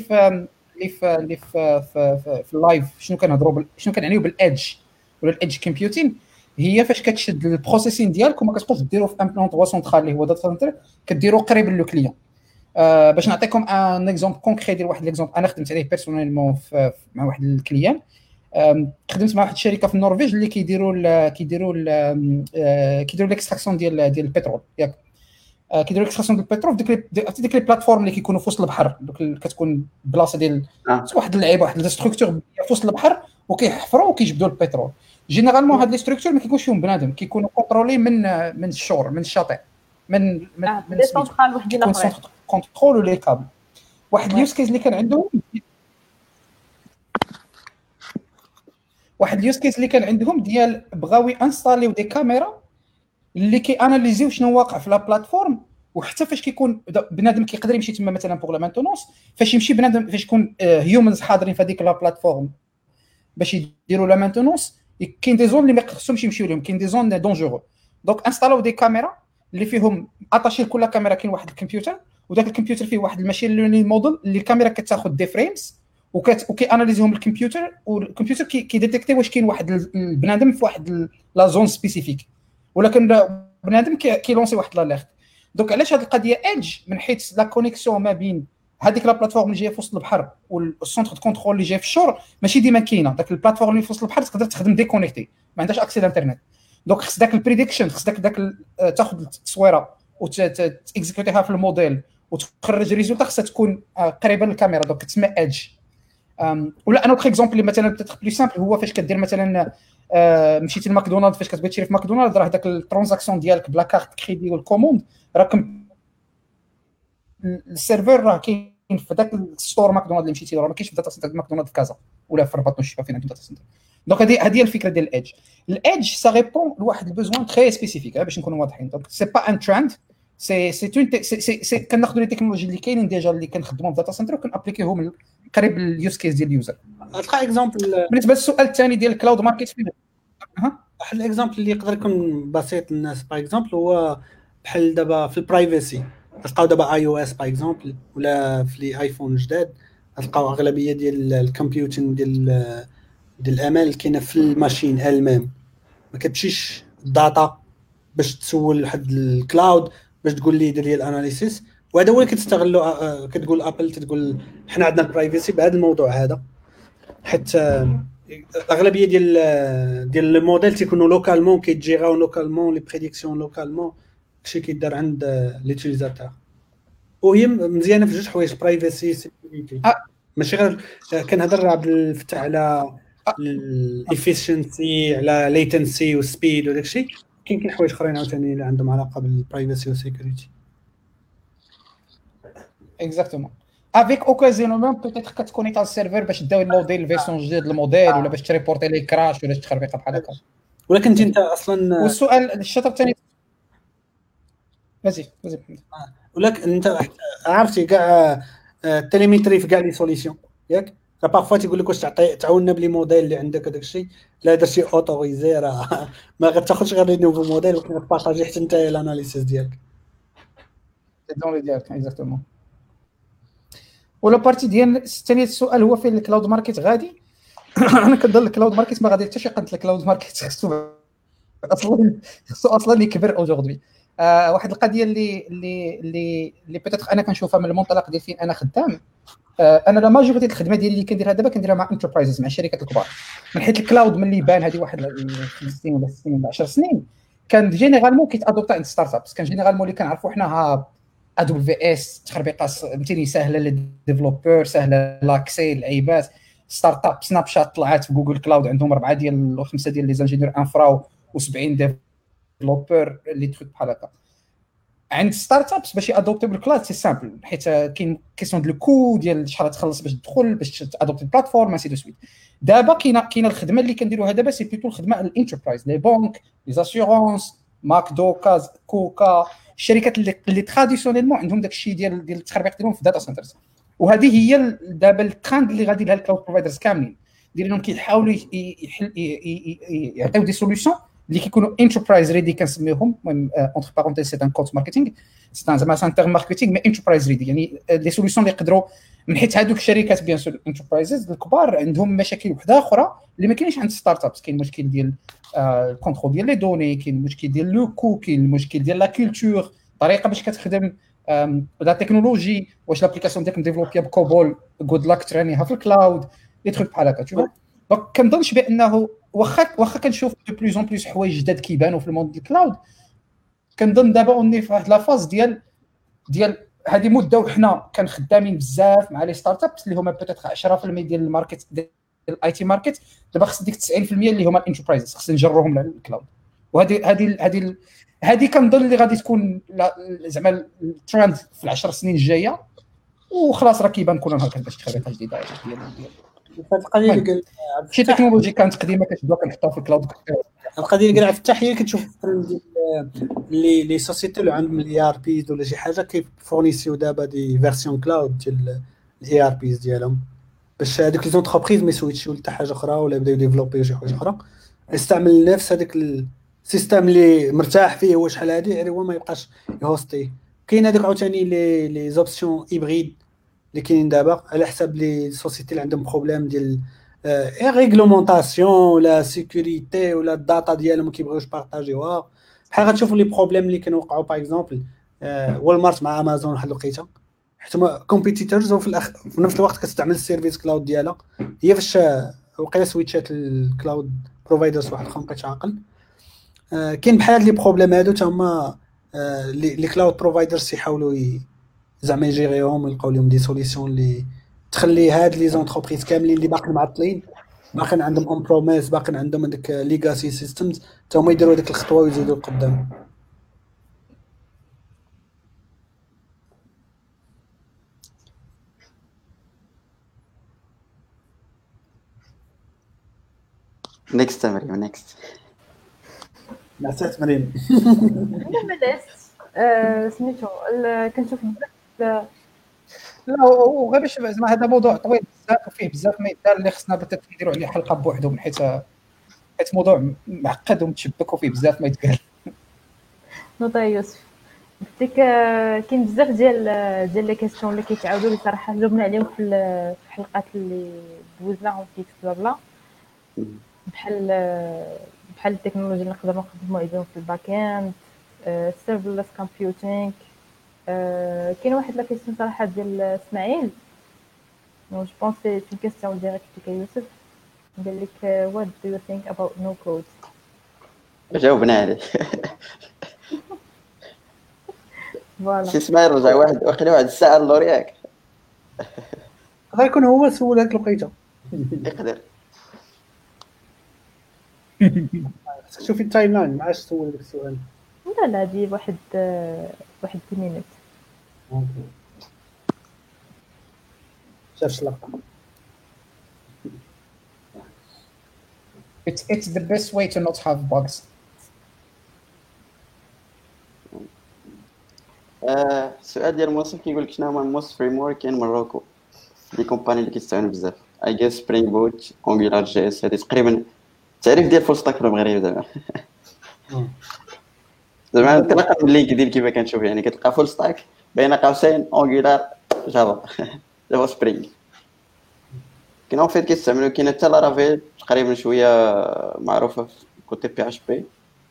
في اللايف شنو كنهضروا شنو كنعنيو بالايدج ولا الايدج كومبيوتين هي فاش كتشد البروسيسين ديالك وما كتبقاش ديروا في امبلونطوا سونترال اللي هو داتا سنتر كديروا قريب للو كليون باش نعطيكم ان اكزومبل كونكري ديال واحد ليكزومبل انا خدمت عليه بيرسونيلمون مع واحد الكليان خدمت مع واحد الشركه في النرويج اللي كيديروا الاكستراكسيون ديال البترول ياك كيديروا الاكستراكسيون ديال البترول ديك لي بلاتفورم اللي كيكونوا في وسط البحر دوك كتكون بلاصه ديال واحد اللعيبه واحد الستركتور في وسط البحر وكيحفروا وكيجبدوا البترول جينيرالمون هاد لي ستركتور ما كيكونش فيهم بنادم كيكونوا كونترولي من الشور من الشاطئ من لي سونترال وحدين اخرين كونترول لي كابل واحد اليوز كيس اللي كان عندهم ديال بغاوي انستاليو دي كاميرا اللي كياناليزيو شنو واقع في لا بلاتفورم وحتى فاش كيكون بنادم كيقدر يمشي تما مثلا بوغ لا مانتونونس فاش يمشي بنادم فاش يكون هيومنز حاضرين في هذيك لا بلاتفورم باش يديروا لا مانتونونس كاين دي زون اللي ما خصهمش يمشيو لهم كاين دي زون دونجورو دونك انستاليو دي كاميرا اللي فيهم اتاشي لكل كاميرا كاين واحد الكمبيوتر وداك الكمبيوتر فيه واحد الماشين ليرنين موديل اللي الكاميرا كتاخذ دي فريمز وكياناليزيهم الكمبيوتر والكمبيوتر كيديتيكتي واش كاين واحد البنادم في واحد لا زون سبيسيفيك ولكن بنادم كيلونسي واحد لاليرت دونك علاش هذه القضيه ايدج من حيث لا كونيكسيون ما بين هذيك لا بلاتفورم اللي جايه في وسط البحر والسونتر دو كونترول اللي جاي في الشور ماشي ديما كاينه. داك البلاتفورم اللي في وسط البحر تقدر تخدم ديكونيكتي ما عندهاش اكسي للانترنت. دونك خص داك البريديكشن، خص داك تاخذ التصويره وتاكزيكوتيها في الموديل وتخرج ريزولتا خصها تكون قريبه للكاميرا. دونك تسمى ايدج. ولا انا اوتر اكزومبل اللي مثلا بتاتر بلي سامبل هو فاش كدير مثلا مشيتي لماكدونالد، فاش كتبغي تشري في ماكدونالد راه داك الترانزاكسيون ديالك بلا كارت كريدي والكوموند راكم السيرفر راه كاين في داك الستور ماكدونالد اللي مشيتي راه ما كاينش في داتا سنتر ماكدونالد في كازا ولا في الرباط نشوفها فين عندهم داتا سنتر. دونك هذه هي الفكره ديال الايدج. الايدج سا ريبون لواحد البوزوان تري سبيسيفيك باش نكونوا واضحين. دونك سي با ان ترند، سي كناخذوا لي تكنولوجي اللي كاينين ديجا اللي كنخدموهم في داتا سنتر وكنابليكيوهم قريب لليوز كيس ديال اليوزر. تلقى اكزامبل بالنسبه للسؤال الثاني ديال الكلاود ماركت فين واحد الاكزامبل اللي يقدر يكون بسيط للناس باغ اكزامبل هو بحال دابا في البرايفسي. تلقاو دابا اي او اس باغ اكزامبل ولا في لي ايفون جداد تلقاو اغلبيه ديال الكمبيوتين ديال الامال كاينه في الماشين المام. ما كتمشيش الداتا باش تسول واحد الكلاود باش تقول لي دير لي الاناليسيس. وهذا هو اللي كتستغلوا كتقول ابل تقول حنا عندنا البرايفسي بهذا الموضوع هذا. حتى الاغلبيه ديال الموديل تيكونوا لوكالمون كيتجيراو لوكالمون لي بريديكسيون لوكالمون كلشي كيدار عند ليوتيليزاتور. وهي مزيانه في جوج حوايج برايفسي سيكوريتي. ماشي غير كنهضر عبد الفتح على الافيشنسي على ليتنسي وسبيد وداك الشيء. كاين حوايج اخرين عاوتاني اللي عندهم علاقه بالبرايفسي والسيكوريتي. اكزاكتومون افيك اوكازيونمون بوتيتر كتكونيكت على السيرفر باش داو الموديل الفيرسون جديد الموديل ولا باش تريبورتي لي كراش ولا شي تخربيقه بحال هكا. ولكن انت اصلا والسؤال الشطر الثاني ماشي ولكن انت عرفتي كاع التليمتري في كاع لي سوليسيون ياك بارفوا تيقول لك واش تعاوننا بلي موديل اللي عندك هذاك الشيء لا درتي اوتوريزي راه ما غتاخذش غير لي نوفو موديل ولكن غتبارطاجي حتى انت الاناليسيس ديالك دون ديالك اكزاكتومون. ولا بارتي ديال الثاني السؤال هو فين الكلاود ماركت غادي. انا كنظن الكلاود ماركت ما غادي حتى شي قنت الكلاود ماركت خصو اصلا يكبر اوجوردي. واحد القضيه اللي بيتيتر انا كنشوفها من المنطلق ديال فين انا خدام. انا لا ماجوريتي الخدمه ديالي اللي كنديرها دابا كنديرها مع انتربرايزز مع الشركات الكبار. من حيث الكلاود ملي بان هذه واحد 5 سنين ولا 6 سنين ولا 10 سنين كان جينيرالمون كيتادوبتا عند ستارت ابس. كان جينيرالمون اللي كنعرفوا حنا ادوبي في اس تخربيقه فهمتيني سهله للديفلوبر سهله لاكسي العيبات. ستارت اب سناب شات طلعت في جوجل كلاود عندهم 4 ديال 5 ديال لي زانجينيور انفرا و70 ديفلوبر اللي تخدم بحال هكا. عند ستارت ابس باش يادوبتي بالكلاود سي سامبل حيت كاين كيسيون ديال الكود ديال شحال تخلص باش تدخل باش تادوبتي البلاتفورم ماشي دو سويت. دابا كاينه الخدمه اللي كنديروها دابا سي بلوتو الخدمه الانتربرايز لي بانك لي زاسيورونس ماكدو كاز كوكا الشركات اللي تراديسيونيلمون عندهم داك الشيء ديال التخربيق ديالهم في الداتا سنترز. وهذه هي دابا الترند اللي غادي لها الكلاود بروفايدرز كاملين ديالهم كيحاولوا يعطيو دي سوليوشن اللي كيكونوا انتربرايز ريدي كنسميوهم اونتر بارونتيز سي ان كود ماركتينغ سي زعما سان تيرم ماركتينغ مي انتربرايز ريدي يعني لي سوليوشن اللي يقدروا من حيت هذوك الشركات بيان سور انتربرايزز الكبار عندهم مشاكل وحده اخرى اللي ما كاينش عند ستارت ابس. كاين مشكل ديال الكونترول ديال لي دوني كاين مشكل ديال لو كو كاين المشكل ديال لا كولتور طريقه باش كتخدم لا تكنولوجي واش لابليكاسيون ديالك مديفلوبيا بكوبول غود لاك ترانيها في الكلاود لي تروك بحال هكا تشوف. دونك كنظنش بانه واخا كنشوف دو بلوز اون بلوس حوايج جداد كيبانوا في الموند ديال الكلاود. كنظن دابا اوني في واحد لافاز ديال هذه مده وحنا كنخدامين بزاف مع لي ستارت ابس اللي هما بوتيتر 10% ديال الماركت ديال الاي تي ماركت. دابا خص ديك 90% اللي هما الانتربرايزز خص نجرهم للكلاود. وهذه كنظن اللي غادي تكون زعما الترند في العشر سنين الجايه وخلاص راه كيبان كلنا هكا باش تخربيقه جديده ديال القضيه اللي قال شي تكنولوجي كانت قديمه كتبدا كنحطها في الكلاود. القضيه اللي قال عبد الفتاح هي كتشوف الترند ديال لي سوسيتي اللي عندهم الاي ار بيز ولا شي حاجه كيفورنيسيو دابا دي فيرسيون كلاود ديال الاي ار بيز ديالهم باش هذوك لي زونتربريز ما يسويتشوا لحتى حاجه اخرى ولا يبداو ديفلوبيو شي حاجه اخرى يستعمل نفس هذاك السيستم اللي مرتاح فيه هو شحال هادي غير هو ما يبقاش يهوستي. كاين هذوك عاوتاني لي زوبسيون هيبريد اللي كاينين دابا على حساب لي سوسيتي اللي عندهم بروبليم ديال ريغلومونطاسيون ولا سيكوريتي ولا الداتا ديالهم ما كيبغيوش بارطاجيوها. بحال غتشوفوا لي بروبليم اللي كانوا وقعوا باغ اكزومبل والمارت مع امازون واحد الوقيته حيت هما كومبيتيتورز، وفي في نفس الوقت كتستعمل السيرفيس كلاود ديالها. هي فاش وقيله سويتشات الكلاود بروفايدرز واحد اخر مابقيتش عاقل. كاين بحال لي بروبليم هادو تا هما لي كلاود بروفايدرز يحاولوا زعما يجيريهم ويلقاو لهم دي سوليسيون اللي تخلي هاد لي زونتربريز كاملين اللي باقي معطلين، باقي عندهم اون بروميس، باقي عندهم هذيك ليغاسي سيستمز، تا هما يديروا ديك الخطوه ويزيدوا لقدام. نيكست مريم نيكست. نعسات مريم. انا بدات سميتو كنشوف بزاف لا وغير باش زعما هذا موضوع طويل بزاف وفيه بزاف ما يدار اللي خصنا بتا نديروا عليه حلقه بوحدو، من حيت موضوع معقد ومتشبك وفيه بزاف ما يتقال. نوضه يوسف ديك كاين بزاف ديال لي كيسيون اللي كيتعاودوا لي صراحه جاوبنا عليهم في الحلقات اللي دوزناهم في بلا بحال التكنولوجيا اللي نقدروا نخدموا عليهم في الباك اند، سيرفرلس كومبيوتينغ. كاين واحد لا كيسيون صراحه ديال اسماعيل، جو بونس سي اون كيسيون ديريكت لك يوسف، قال لك what do you think about no code. جاوبنا عليه. فوالا سي اسماعيل رجع واحد وقيله واحد الساعه اللور ياك غير يكون هو سول هاد الوقيته. يقدر. شوفي التايم لاين ما عادش سول داك السؤال. لا هادي واحد 2 مينوت. شاف اللقطه. It's the best way to not have bugs. السؤال ديال موصف كيقول لك شنو هما الموست فريم ورك كاين مروكو لي كومباني اللي كيستعملوا بزاف. اي جيس سبرينغ بوت، انجولار جي اس، هذه تقريبا التعريف ديال فول ستاك في المغرب زعما. زعما تلقى من لينكدين كيما كنشوف، يعني كتلقى فول ستاك بين قوسين انجولار جافا جافا سبرينغ. كاين اون فيت كيستعملوا، كاين حتى لارافيل تقريبا شويه معروفه في كوتي بي اش بي.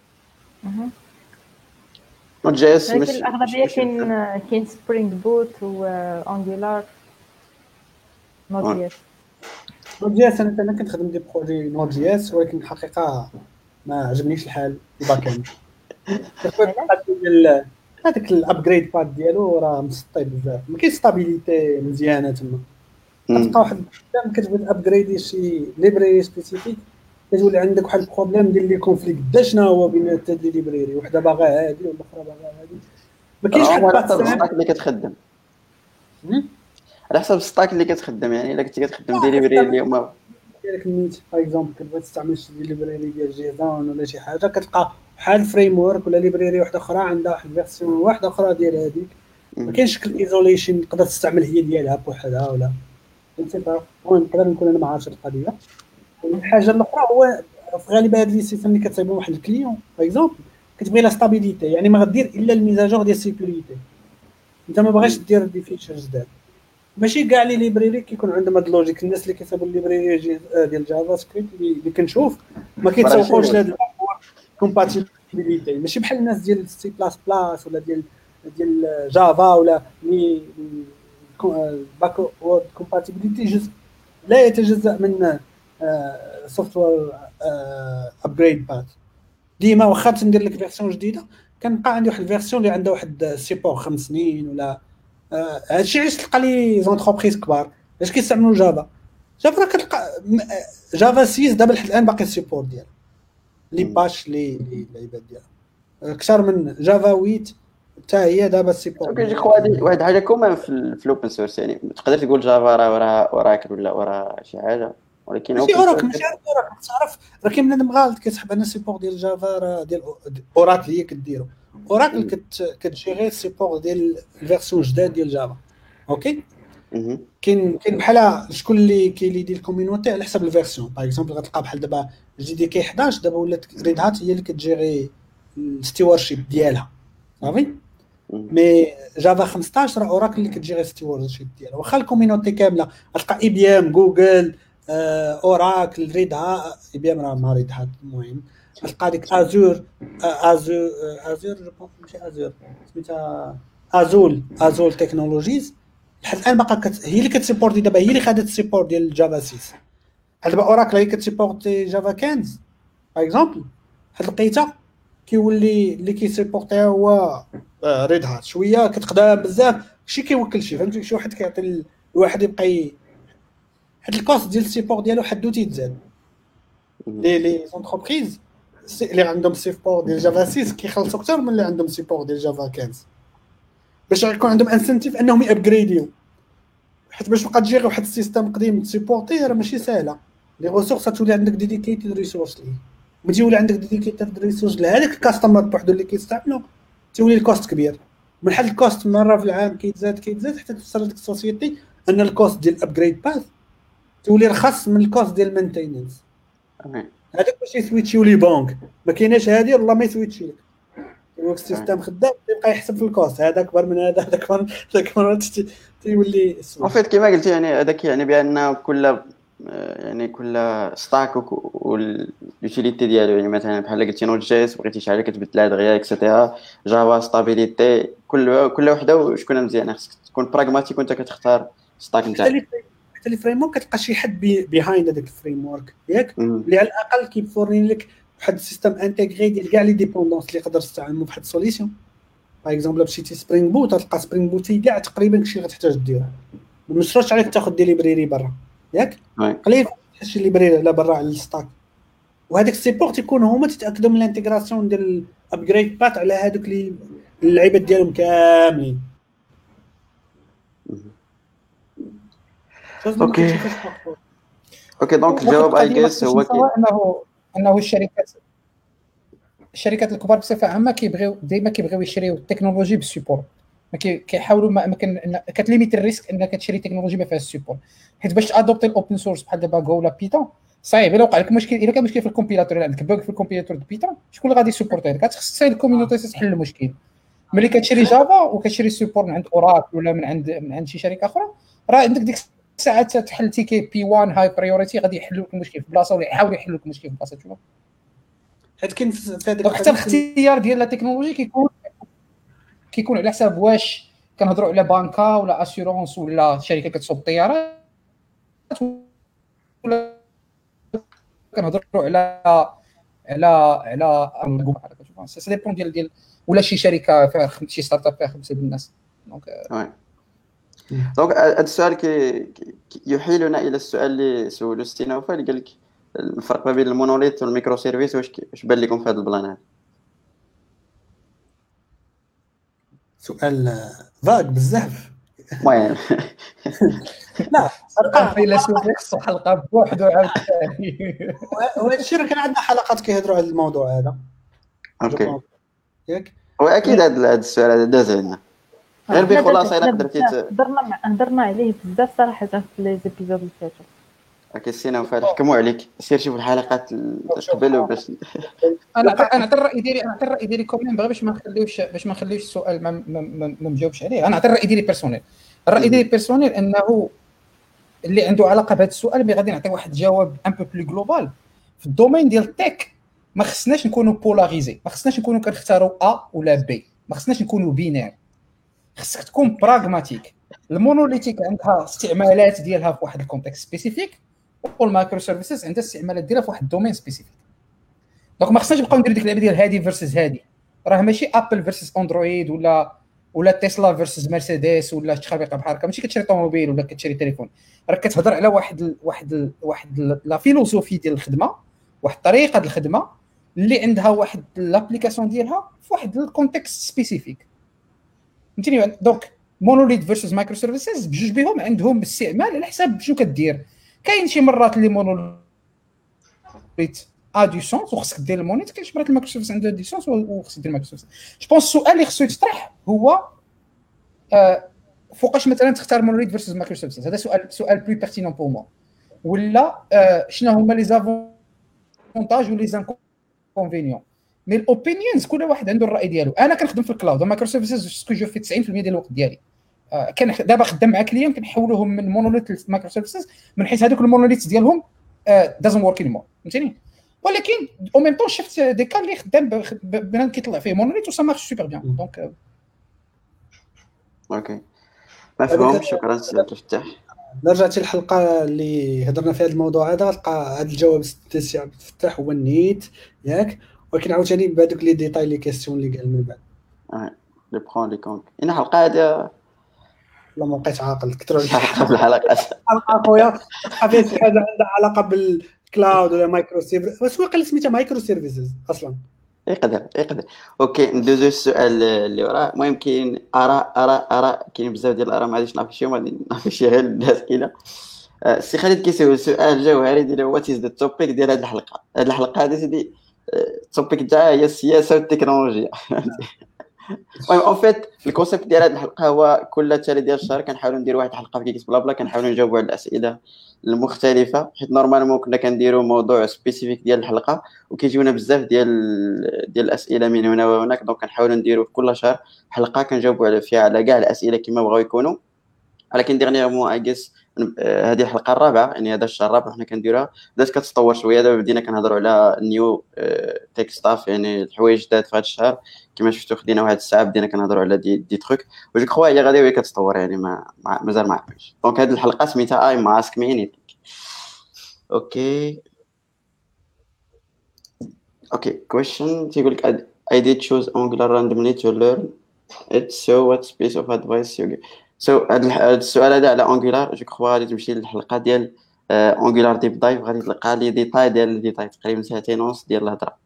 نوت جي اس لكن مش الاغلبيه كاين سبرينغ بوت وانجولار نوت جي اس. نوت جي اس انا كنخدم دي بروجي نوت جي اس، ولكن الحقيقه ما عجبنيش الحال الباك اند. هذاك الابجريد باد ديالو راه مسطي بزاف، ما كاينش ستابيليتي مزيانه تما. كتلقى واحد البروبليم كتبغي تابجريدي شي ليبراري سبيسيفيك، كتولي عندك واحد البروبليم ديال لي كونفليكت دا شنو هو بين هاد لي ليبراري، وحده باغا هادي والاخرى باغا هادي، ما كاينش حد على حسب الستاك اللي كتخدم. على حسب الستاك اللي كتخدم، يعني الا كنتي كتخدم ديليفري اللي هما ديالك الميت باغ اكزومبل كتبغي تستعمل شي ليبراري ديال جيزون ولا شي حاجه، كتلقى بحال فريم ورك ولا ليبراري واحده اخرى عندها واحد الفيرسيون واحده اخرى ديال هذيك، ما كاينش شكل ايزوليشن تقدر تستعمل هي ديالها بوحدها ولا فهمتي. المهم نقدر نكون انا ما عارفش القضيه. الحاجه الاخرى هو في غالبا هاد لي سيستم اللي كتصايبهم واحد الكليون باغ اكزومبل كتبغي لا ستابيليتي، يعني ما غدير الا الميزاجور ديال السيكوريتي، انت ما باغيش دير دي فيتشرز جداد. ماشي كاع لي ليبراري كيكون عندهم هاد اللوجيك. الناس اللي كيصايبوا الليبراري ديال جافا سكريبت اللي كنشوف ما كيتسوقوش لهاد كومباتيبيليتي، ماشي بحال الناس ديال سي بلاس بلاس ولا ديال جافا ولا مي باك وورد كومباتيبيليتي جزء لا يتجزأ من سوفتوير ابجريد بات. ديما واخا تندير لك فيرسيون جديده كنبقى عندي واحد الفيرسيون اللي عندها واحد سيبور 5 سنين ولا هادشي علاش تلقى لي زونتربريز كبار باش كيستعملوا جافا كتلقى جافا 6 دابا لحد الان باقي السيبور ديالها لي باش لي العباد ديالها اكثر من جافا 8 حتى هي دابا السيبور. كيجي خوادي واحد حاجه كومان في الاوبن سورس، يعني تقدر تقول جافا راه وراك ولا ورا شي حاجه، ولكن ماشي اوراكل تعرف راه كاين بنادم غالط كيسحب على السيبور ديال جافا راه ديال اوراكل هي كديرو. اوراكل كتجيري السيبور ديال الفيرسيون جداد ديال جافا. اوكي كاين بحال شكون اللي كيليدي الكوميونيتي على حسب الفيرسيون. باغ اكزومبل غتلقى بحال دابا جي دي كي 11 دابا ولات ريد هات هي اللي كتجيري الستيورشيب ديالها صافي. مي جافا 15 راه اوراكل اللي كتجيري الستيورشيب ديالها، واخا الكوميونيتي كامله غتلقى اي بي ام جوجل اوراكل ريد هات. اي بي ام راه ما ريد هات المهم تلقى ديك ازور جو بونس ماشي ازور سميتها ازول تكنولوجيز لحد الان باقا هي اللي كتسيبورتي دابا، هي اللي خدت السيبورت ديال الجافا 6. دابا اوراكل هي كتسيبورتي جافا 15 باغ اكزومبل، هاد لقيتها كيولي اللي كيسيبورتيها هو ريد هات شويه كتقدم بزاف، شي كيوكل شي فهمتي، شي واحد كيعطي الواحد يبقى هاد الكوست ديال السيبور ديالو حدو تيتزاد. لي زونتربريز اللي عندهم سيبور ديال جافا 6 كيخلصوا اكثر من اللي عندهم سيبور ديال جافا 15 باش يكون عندهم انسنتيف انهم يابغريديو، حيت باش تبقى تجي غير واحد السيستم قديم تسيبورتي راه ماشي ساهله. لي ريسورس تولي عندك ديديكيتد ريسورس ليه، ملي تولي عندك ديديكيتد ريسورس لهذاك الكاستمر بوحدو اللي كيستعملوا تولي الكوست كبير. من حد الكوست مره في العام كيتزاد حتى توصل لديك السوسيتي ان الكوست ديال الابجريد باث تولي رخص من الكوست ديال المينتيننس. هذاك باش يسويتش يولي بانك ما كايناش هذه والله ما يسويتش لك الوقت السيستم خدام يبقى يحسب في الكوست هذا اكبر من هذا اكبر تيولي اون فيت كما قلتي يعني هذاك يعني بان كل ستاك واليوتيليتي ديالو، يعني مثلا بحال قلتي نوت جي اس بغيتي شي حاجه كتبدلها دغيا اكسيتيرا، جافا ستابيليتي كل وحده وشكون مزيانه، خصك تكون براغماتيك وانت كتختار ستاك نتاعك. حتى لي فريم ورك كتلقى شي حد بيهايند هذاك الفريم ورك ياك اللي على الاقل كيفورني لك واحد السيستم انتيغري ديال كاع لي ديبوندونس اللي يقدر تستعملوا بواحد السوليسيون. باغ اكزومبل مشيتي سبرينغ بوت تلقى سبرينغ بوت كاع تقريبا كلشي غتحتاج دير، ما مشروش عليك تاخذ دي ليبريري برا ياك قليل شي ليبريري على برا على الستاك. وهذاك السيبور تيكون هما تتاكدوا من الانتيغراسيون ديال الابجريد بات على هذوك اللعيبات ديالهم كاملين. اوكي دونك الجواب اي جيس هو انه الشركات الكبار بصفه عامه كيبغيو يشريو التكنولوجي بالسيبور، ما كيحاولوا ما كتليميت الريسك انك تشري تكنولوجي ما فيهاش السيبور، حيت باش ادوبتي الاوبن سورس بحال دابا جو ولا بيتون صعيب. الا وقع لك مشكل، الا كان مشكل في الكومبيلاتور، عندك بوغ في الكومبيلاتور ديال بيتون، شكون اللي غادي يسيبورتي لك؟ خصك تسال الكوميونيتي تحل المشكل. ملي كتشري جافا وكتشري السيبور من عند اوراكل ولا من عند شي شركه اخرى، راه عندك ديك الساعات تحل تيكي بي 1 هاي بريوريتي غادي يحلوا لك المشكل في بلاصه ولا يحاولوا يحلوا لك المشكل في بلاصه. شوف حيت كاين في هذيك حتى الاختيار ديال التكنولوجي كيكون على حساب واش كنهضروا على بانكا ولا اسيورونس ولا شركه كتصوب الطيارات، ولا كنهضروا على شوف سي ديبون ديال ولا شي شركه فيها شي ستارت اب فيها 5 الناس. دونك هذا السؤال يحيلنا الى السؤال اللي سولو ستينوفا اللي قال لك الفرق ما بين المونوليث والميكرو سيرفيس، واش بان لكم في هذا البلان هذا؟ سؤال فاق بزاف. المهم لا فيلسوف يخصو حلقه بوحدو عاوتاني. وهذا الشيء راه كان عندنا حلقات كيهضروا على الموضوع هذا. اوكي ياك واكيد هذا السؤال هذا داز عندنا غير بخلاصه الا قدرتي هضرنا عليه بزاف صراحه في لي زيبيزود اللي فاتوا. اوكي سينا وفال حكموا عليك، سير شوف الحلقات قبل وباش انا نعطي الراي ديالي كومين باش ما نخليوش السؤال ما مجاوبش عليه. انا نعطي الراي ديالي بيرسونيل. الراي ديالي بيرسونيل انه اللي عنده علاقه بهذا السؤال مي غادي نعطي واحد الجواب ان بو بلو جلوبال. في الدومين ديال التك ما خصناش نكونوا بولاريزي، ما خصناش نكونوا كنختاروا ا ولا بي، ما خصناش نكونوا بينير. خصك تكون براغماتيك. المونوليتيك عندها استعمالات ديالها في واحد الكونتكست سبيسيفيك، والمايكرو سيرفيسز عندها استعمالات ديالها في واحد الدومين سبيسيفيك. دونك ما خصناش نبقاو نديروا ديك اللعبه ديال هادي فيرسز هادي. راه ماشي ابل فيرسز اندرويد ولا تسلا فيرسز مرسيدس ولا تخربيقه بحال هكا. ماشي كتشري طوموبيل ولا كتشري تليفون، راه كتهضر على واحد لا فيلوسوفي ديال الخدمه، واحد طريقه ديال الخدمه اللي عندها واحد لابليكاسيون ديالها في واحد الكونتكست سبيسيفيك. فهمتيني؟ دونك مونوليت فيرسز مايكرو سيرفيسز بجوج بهم عندهم استعمال على حساب شنو كدير. كاين شي مرات اللي مونوليت ا دو سونس وخصك دير المونيت، كاين شي مرات المايكرو سيرفيس عنده دي سونس وخصك دير المايكرو سيرفيس. جو بونس السؤال اللي خصو يتطرح هو فوقاش مثلا تختار مونوليت فيرسز مايكرو سيرفيسز. هذا سؤال بلو بيرتينون بور مو. ولا شنو هما لي زافونتاج ولي زانكونفينيون. مي الاوبينيونز كل واحد عنده الراي ديالو. انا كنخدم في الكلاود ومايكرو سيرفيسز سكو جو في 90% ديال الوقت ديالي. كان دابا خدام مع كليون كنحولوهم من مونوليت لمايكرو سيرفيسز من حيث هذوك المونوليت ديالهم doesn't work anymore. فهمتيني؟ ولكن او ميم طون شفت دي كان اللي خدام بنادم كيطلع فيه مونوليت وسا مارش سوبر بيان. دونك اوكي مفهوم. شكرا سي عبد الفتاح. رجعتي الحلقه اللي هضرنا فيها الموضوع هذا، تلقى هذا الجواب سي عبد الفتاح هو النيت ياك، ولكن عاوتاني بهذوك لي ديتاي لي كيسيون اللي قال من بعد لي برون لي كونك. ان الحلقه هذه لا ما بقيت عاقل كثر حلقه الحلقات الحلقه خويا تلقى فيها شي حاجه عندها علاقه بالكلاود ولا مايكرو سيرفيس، واش واقيلا سميتها مايكرو سيرفيسز اصلا. يقدر اوكي ندوزو السؤال اللي وراه. المهم كاين اراء كاين بزاف ديال الاراء، ما غاديش نعرف شي، غادي نعرف شي غير الاسئله. السي خالد كيسول سؤال جوهري ديال وات از ذا توبيك ديال هذه الحلقه. هذه الحلقه هذه سيدي التوبيك تاعها هي السياسه والتكنولوجيا. المهم اون فيت الكونسيبت ديال هذه الحلقه هو كل تالي ديال الشهر كنحاولوا نديروا واحد الحلقه في كيكس بلا بلا، كنحاولوا نجاوبوا على الاسئله المختلفه، حيت نورمالمون كنا كنديروا موضوع سبيسيفيك ديال الحلقه وكيجيونا بزاف ديال الاسئله من هنا وهناك. دونك كنحاولوا نديروا كل شهر حلقه كنجاوبوا فيها على كاع الاسئله كما بغاو يكونوا. ولكن ديغنيغمون اجيس هذه الحلقه الرابعه، يعني هذا الشهر الرابع حنا كنديروها، بدات كتطور شويه. دابا بدينا كنهضروا على نيو تيك ستاف، يعني الحوايج جداد في هذا الشهر كما شفتوا. خدينا واحد الساعه بدينا كنهضروا على دي تروك، وجو كخوا هي غادي وهي كتطور، يعني مازال ما عرفتش. دونك هذه الحلقه سميتها اي ماسك مي انيثينغ. اوكي question تيقول لك I did choose Angular randomly to learn it, so what piece of advice you give. هذا السؤال هذا على Angular جو كخوا غادي تمشي للحلقه ديال Angular ديب دايف، غادي تلقى لي ديتاي ديال الديتاي تقريبا 2 ونص ديال الهضره.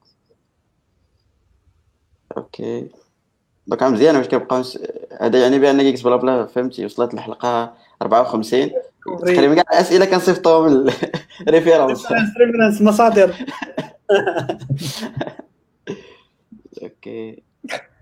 اوكي دونك مزيان. واش كيبقاو هذا يعني بان كيكس بلا بلا فهمتي وصلت الحلقه 54 تقريبا كاع الاسئله كنصيفطوهم من ريفيرونس مصادر. اوكي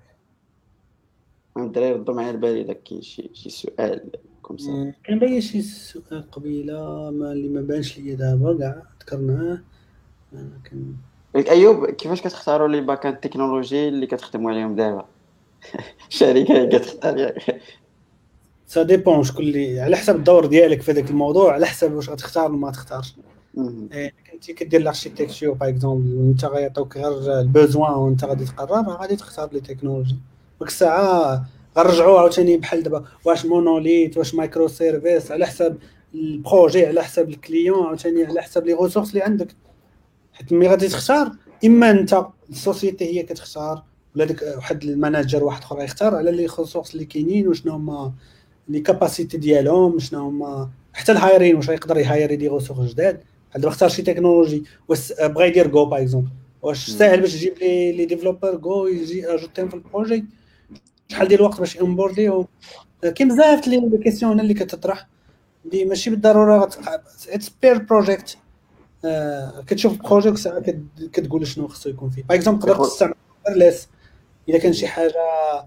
الدراري ردوا معايا البال الا كاين شي سؤال كوم. كان باين شي سؤال قبيله اللي ما بانش ليا دابا كاع ذكرناه. كان ايوب كيفاش كتختاروا لي باكان التكنولوجي اللي كتخدموا عليهم دابا؟ الشركه اللي كتختار ياك سا ديبون شكون اللي على حسب الدور ديالك في هذاك الموضوع، على حسب واش غتختار ولا ما تختارش. كنتي كدير لاركتيكتور باغ اكزومبل وانت غيعطوك غير البوزوان وانت غادي تقرر، غادي تختار لي تكنولوجي. ديك الساعه غنرجعوا عاوتاني بحال دابا واش مونوليت واش مايكرو سيرفيس، على حسب البروجي على حسب الكليون عاوتاني على حسب لي ريسورس اللي عندك. حيت ملي غادي تختار اما انت السوسيتي هي كتختار ولا داك واحد الماناجر واحد اخر يختار على لي ريسورس اللي كاينين وشنو هما لي كاباسيتي ديالهم، شنو هما حتى الهايرين واش يقدر يهايري دي ريسورس جداد. بحال دابا اختار شي تكنولوجي واش بغا يدير جو باغ اكزومبل، واش ساهل باش تجيب لي ديفلوبر جو يجي اجوتيهم في البروجي، شحال ديال الوقت باش امبورديو. كاين بزاف لي كيسيون اللي كتطرح اللي ماشي بالضروره اتس بير بروجيكت. كتشوف البروجي وساعه كتقول شنو خصو يكون فيه. باغ اكزومبل تقدر تستعمل ليس الا كان شي حاجه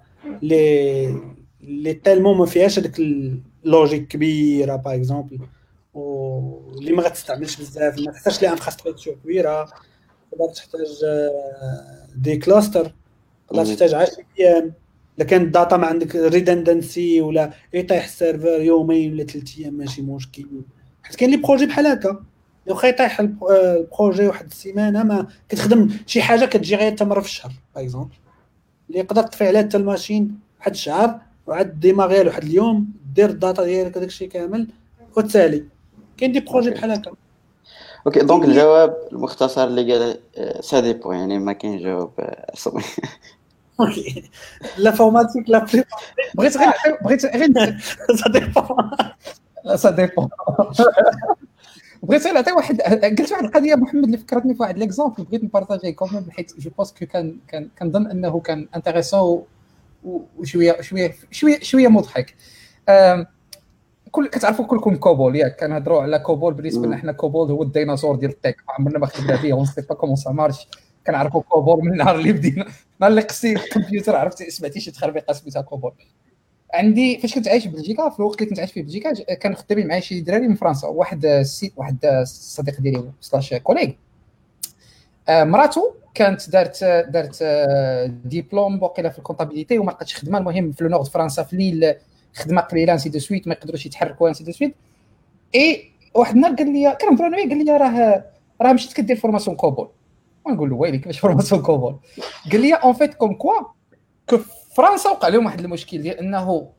لي تالمون ما فيهاش هذيك اللوجيك كبيره باغ اكزومبل، واللي ما غتستعملش بزاف، ما تحتاجش لي انفراستركتور كبيره، تقدر تحتاج دي كلاستر، تقدر تحتاج 10 ايام. الا كان الداتا ما عندك ريدندنسي ولا يطيح السيرفر يومين ولا 3 ايام ماشي مشكل. حيت كاين لي بروجي بحال هكا لو يطيح البروجي واحد السيمانه ما كتخدم شي حاجه كتجي غير تمر في الشهر باغ اكزومبل اللي يقدر تطفي عليها حتى الماشين واحد الشهر وعاد ديماغي واحد اليوم دير الداتا ديالك داكشي كامل وتسالي. كاين دي بروجي بحال هكا. اوكي دونك الجواب المختصر اللي قال سا ديبو، يعني ما كاين جواب عصبي. اوكي لا فورماتيك لا بغيت غير سا ديبو بغيت نعطي واحد قلت واحد القضيه محمد اللي فكرتني في واحد ليكزامبل بغيت نبارطاجيه كوم، حيت جو بونس كو كنظن انه كان انتريسون وشويه مضحك. كتعرفوا كلكم كوبول ياك، كنهضروا على كوبول. بالنسبه لنا حنا كوبول هو الديناصور ديال التك، عمرنا ما خدمنا به اون سي با كومون سا مارش. كنعرفوا كوبول من النهار اللي بدينا، نهار اللي قصيت الكمبيوتر عرفتي سمعتي شي تخربيقه سميتها كوبول. عندي فاش كنت عايش في بلجيكا، في الوقت اللي كنت عايش فيه في بلجيكا كانوا خدامين معايا شي دراري من فرنسا. واحد صديق ديالي سلاش كوليغ مراتو كانت دارت ديبلوم وقيله في الكونطابيليتي وما لقاتش خدمه. المهم في نورد فرنسا في ليل خدمه قليله انسي دو سويت، ما يقدروش يتحركوا انسي دو سويت. اي واحد النهار قال لي كنهضروا انا قال لي راه مشيت كدير فورماسيون كوبول. ونقول له ويلي كيفاش فورماسيون كوبول. قال لي اون فيت كوم كوا كو فرنسا وقع لهم واحد المشكل ديال انه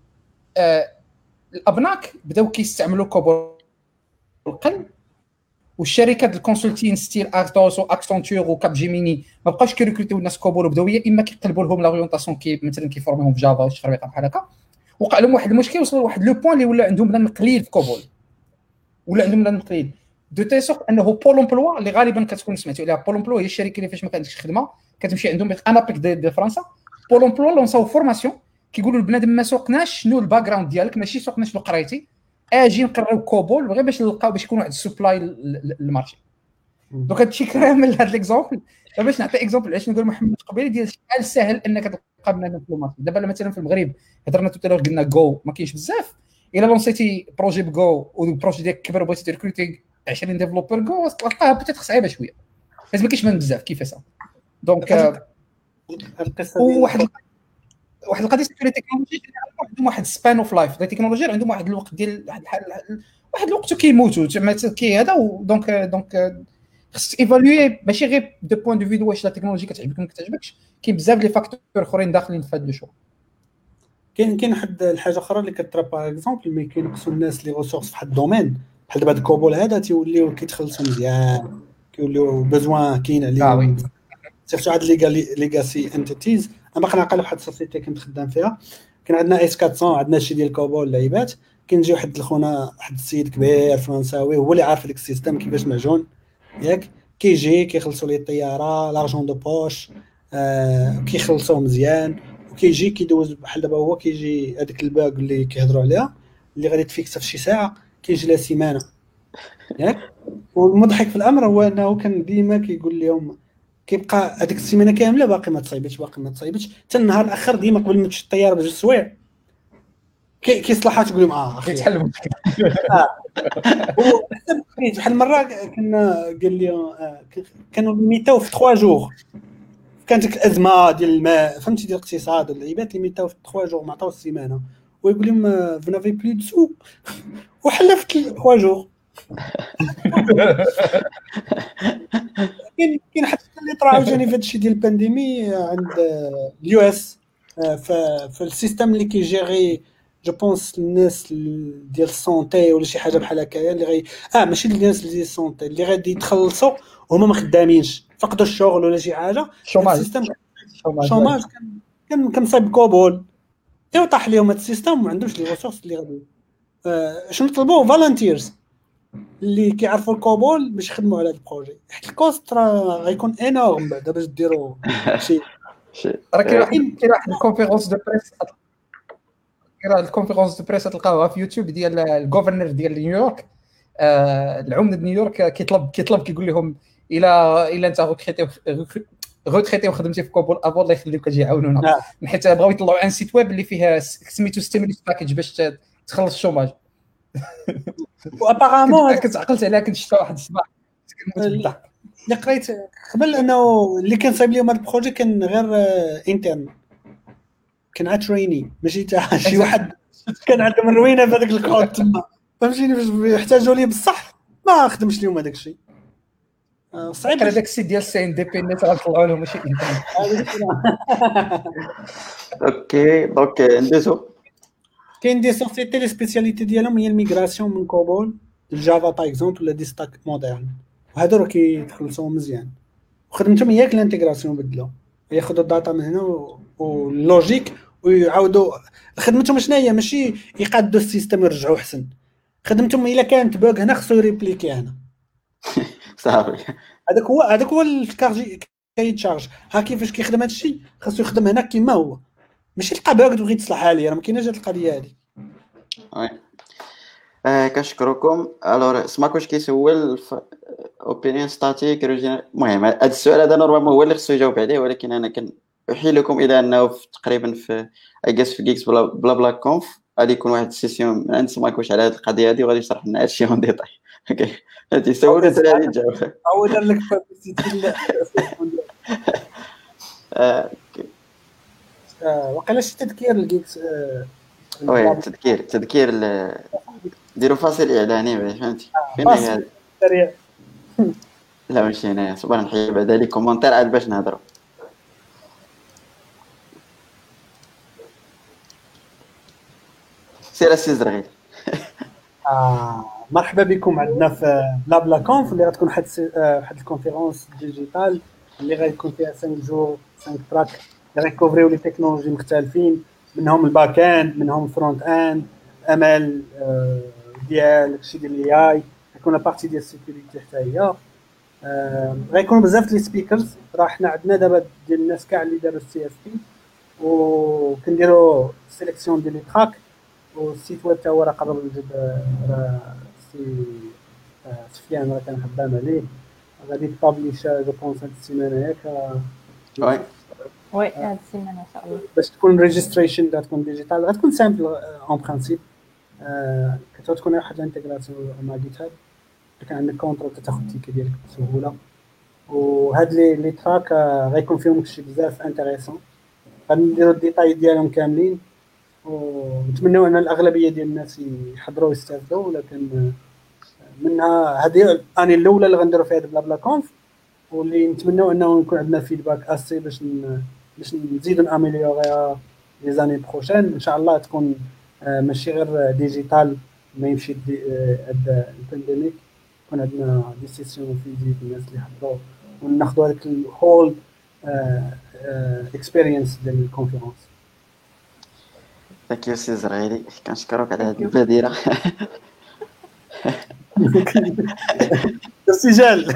الابناك بداو كيستعملوا كوبول القل، والشركات الكونسلتين ستيل ارتوس واكسنتور وكاب جيميني ما بقاوش كيريكروتيو الناس كوبول، وبداو يا اما كيقلبوا لهم لاغيونطاسيون كي مثلا كيفورميهم في جافا وشي خربيقه بحال هكا. وقع لهم واحد المشكل، وصلوا لواحد لو بوين اللي ولا عندهم بنادم قليل في كوبول، ولا عندهم بنادم قليل دو تي سورت انه بول امبلوا اللي غالبا كتكون سمعتوا عليها. بول امبلوا هي الشركه اللي فاش ما كانتش خدمه كتمشي عندهم انا بيك دي فرنسا. بول امبلوا لونساو فورماسيون كيقولوا البنادم ما سوقناش شنو الباك جراوند ديالك، ماشي سوقنا شنو قريتي، اجي نقراو كوبول غير باش نلقاو باش يكون واحد السبلاي للمارشي. دونك هادشي كامل هاد ليكزامبل باش نعطي اكزامبل علاش نقول محمد قبيله ديال شحال ساهل انك تلقى بنادم في المارشي. دابا مثلا في المغرب هضرنا توتالور قلنا جو ما كاينش بزاف، الا لونسيتي بروجي بجو والبروجي ديالك كبر بغيتي تريكروتي 20 ديفلوبر جو تلقاها بوتيت صعيبه شويه، حيت ما كاينش من بزاف كيفاش. دونك القصه واحد القضيه سيكوريتي تكنولوجي عندهم واحد سبان اوف لايف، دي تكنولوجي عندهم واحد الوقت ديال واحد الوقت كيموتوا زعما كي هذا. دونك خصك ايفالوي ماشي غير دو بوين دو فيديو واش لا تكنولوجي كتعجبك ما كتعجبكش، كاين بزاف لي فاكتور اخرين داخلين في هذا لو شو. كاين واحد الحاجه اخرى اللي كترا باغ اكزومبل ملي كينقصوا الناس لي ريسورس في واحد الدومين بحال دابا الكوبول هذا تيوليو كيتخلصوا مزيان، كيوليو بزوان كاين عليهم سيرتو هاد ليغاسي انتيتيز. انا باقي نعقل واحد السوسيتي كنت خدام فيها، كان عندنا اس 400 عندنا شي ديال كوبول لعيبات، كنجي واحد الخونا واحد السيد كبير فرنساوي هو اللي عارف ديك السيستم كيفاش معجون ياك، كيجي كيخلصوا ليه الطياره لارجون دو بوش كيخلصوه مزيان، وكيجي كيدوز بحال دابا هو كيجي هذيك الباغ اللي كيهضروا عليها اللي غادي تفيكسها في شي ساعه كيجي لا سيمانه ياك. والمضحك في الامر هو انه كان ديما كيقول لهم كيبقى هذيك السيمانه كامله باقي ما تصايبتش حتى النهار الاخر ديما قبل ما تمشي الطياره بجوج سوايع كيصلحها تقول لهم اخي كيتحل المشكل. بحال مره كنا قال لي كانوا ميتاو في 3 جوغ، كانت ديك الازمه ديال الماء فهمتي ديال الاقتصاد والعيبات اللي ميتاو في 3 جوغ ما عطاو السيمانه، ويقول لهم فنافي بلو دسو وحلا في 3 جوغ. كاين حتى اللي طرا عاوتاني في هادشي ديال البانديمي عند اليو اس في السيستم اللي كيجيري جو بونس الناس ديال السونتي ولا شي حاجه بحال هكايا اللي غي ماشي الناس ديال السونتي اللي غادي يتخلصوا وهما ما خدامينش فقدوا الشغل ولا شي حاجه. السيستم شوماج كان مصايب كوبول ايوا طاح لهم هذا السيستم، ما عندوش لي ريسورس اللي غادي شنو طلبوا فالنتيرز اللي كيعرفوا الكوبول باش يخدموا على هذا البروجي، حيت الكوست راه غيكون انورم بعدا باش ديروا شي راه كاين واحد الكونفيرونس دو بريس، الكونفيرونس دو بريس تلقاوها في يوتيوب ديال الغوفرنر ديال نيويورك، العمده نيويورك كيطلب كيقول لهم الا انت غوتريتي وخدمتي في كوبول ابو الله يخليك اجي يعاونونا، حيت بغاو يطلعوا ان سيت ويب اللي فيها سميتو ستيموليس باكيج باش تخلص الشوماج. وابارامون كنت عقلت عليها كنت شفت واحد الصباح اللي قريت قبل انه اللي كان صايب لهم هذا البروجي كان غير انترن، كان عاد تريني ماشي تاع شي واحد كان عندهم الروينه في هذاك الكود تما فهمتيني باش يحتاجوا ليه بصح ما خدمش لهم هذاك الشيء صعيب. هذاك السيت ديال سي ان دي بي نت غنطلعوا لهم ماشي انترن. اوكي دونك ندوزو كاين دي سوسيتي لي سبيسياليتي ديالهم هي الميغراسيون من كوبول الجافا باغ اكزومبل ولا دي ستاك مودرن، وهادو راه كيتخلصوا مزيان وخدمتهم هي الانتيغراسيون بدلوا ياخذوا الداتا من هنا واللوجيك ويعاودوا خدمتهم شنو هي ماشي يقادوا السيستم يرجعوا احسن، خدمتهم الا كانت بوغ هنا خصو يريبليكي هنا صافي. هذاك هو الكارجي كيتشارج ها كيفاش كيخدم هذا الشيء خاصو يخدم هنا كما هو، ماشي تلقى بوغ تبغي تصلحها لي راه ما كايناش هذه القضيه هذه. وي كنشكركم. الوغ سماكوش كيسول اوبينيون ستاتيك المهم هذا السؤال هذا نورمالمون هو اللي خصو يجاوب عليه، ولكن انا كنحيل لكم الى انه تقريبا في اجاس في جيكس بلا بلا كونف غادي يكون واحد السيسيون عند سماكوش على هذه القضيه هذه وغادي يشرح لنا هادشي اون ديتاي. اوكي هادي سولوا انت غادي تجاوب او دار لك بابيسيتي وقيلا شي تذكير الجيكس وي تذكير ديروا فاصل اعلاني فهمتي فين هذا سريع لا ماشي هنايا صبر نحيي بعدا لي كومونتير عاد باش نهضروا. سير السي زرغيل. مرحبا بكم عندنا في بلا كونف اللي غتكون واحد الكونفيرونس ديجيتال اللي غيكون فيها 5 جور 5 تراك اللي غيكوفريو لي تكنولوجي مختلفين، منهم الباك اند، منهم الفرونت اند، امل ديال الشيء ديال الاي اي، غيكون بارتي ديال السيكوريتي حتى هي. غيكونوا بزاف لي سبيكرز. راه حنا عندنا دابا ديال الناس كاع اللي داروا السي اف بي وكنديروا سيليكسيون ديال لي تراك، والسيت ويب تا هو راه قرب نجيب راه سي سفيان راه كان خدام عليه غادي تبابليش جو بونس هاد السيمانه ياك وي وي هاد السيمانه ان شاء الله. باش تكون ريجستريشن غتكون ديجيتال، غتكون سامبل اون برانسيب. كتكون واحد الانتيغراسيون مع جيت هاب، كان عندك كونترول تاخذ التيكي ديالك بسهوله. وهاد لي تراك غيكون فيهم شي بزاف انتريسون، غنديروا الديتاي ديالهم كاملين ونتمنوا ان الاغلبيه ديال الناس يحضروا ويستافدوا. ولكن منها هذه الاني الاولى اللي غنديروا فيها بلا بلا كونف، واللي نتمنوا انه يكون عندنا فيدباك اسي باش نزيدوا ناميليوريها لي زاني بروشين ان شاء الله. تكون ماشي غير ديجيتال ما يمشي هاد البانديميك، يكون عندنا دي سيسيون فيزيك الناس اللي حضروا وناخذوا هذاك الهول اكسبيرينس ديال الكونفيرونس. ثانك يو سي زرغيلي، كنشكرك على هذه البادره. السجال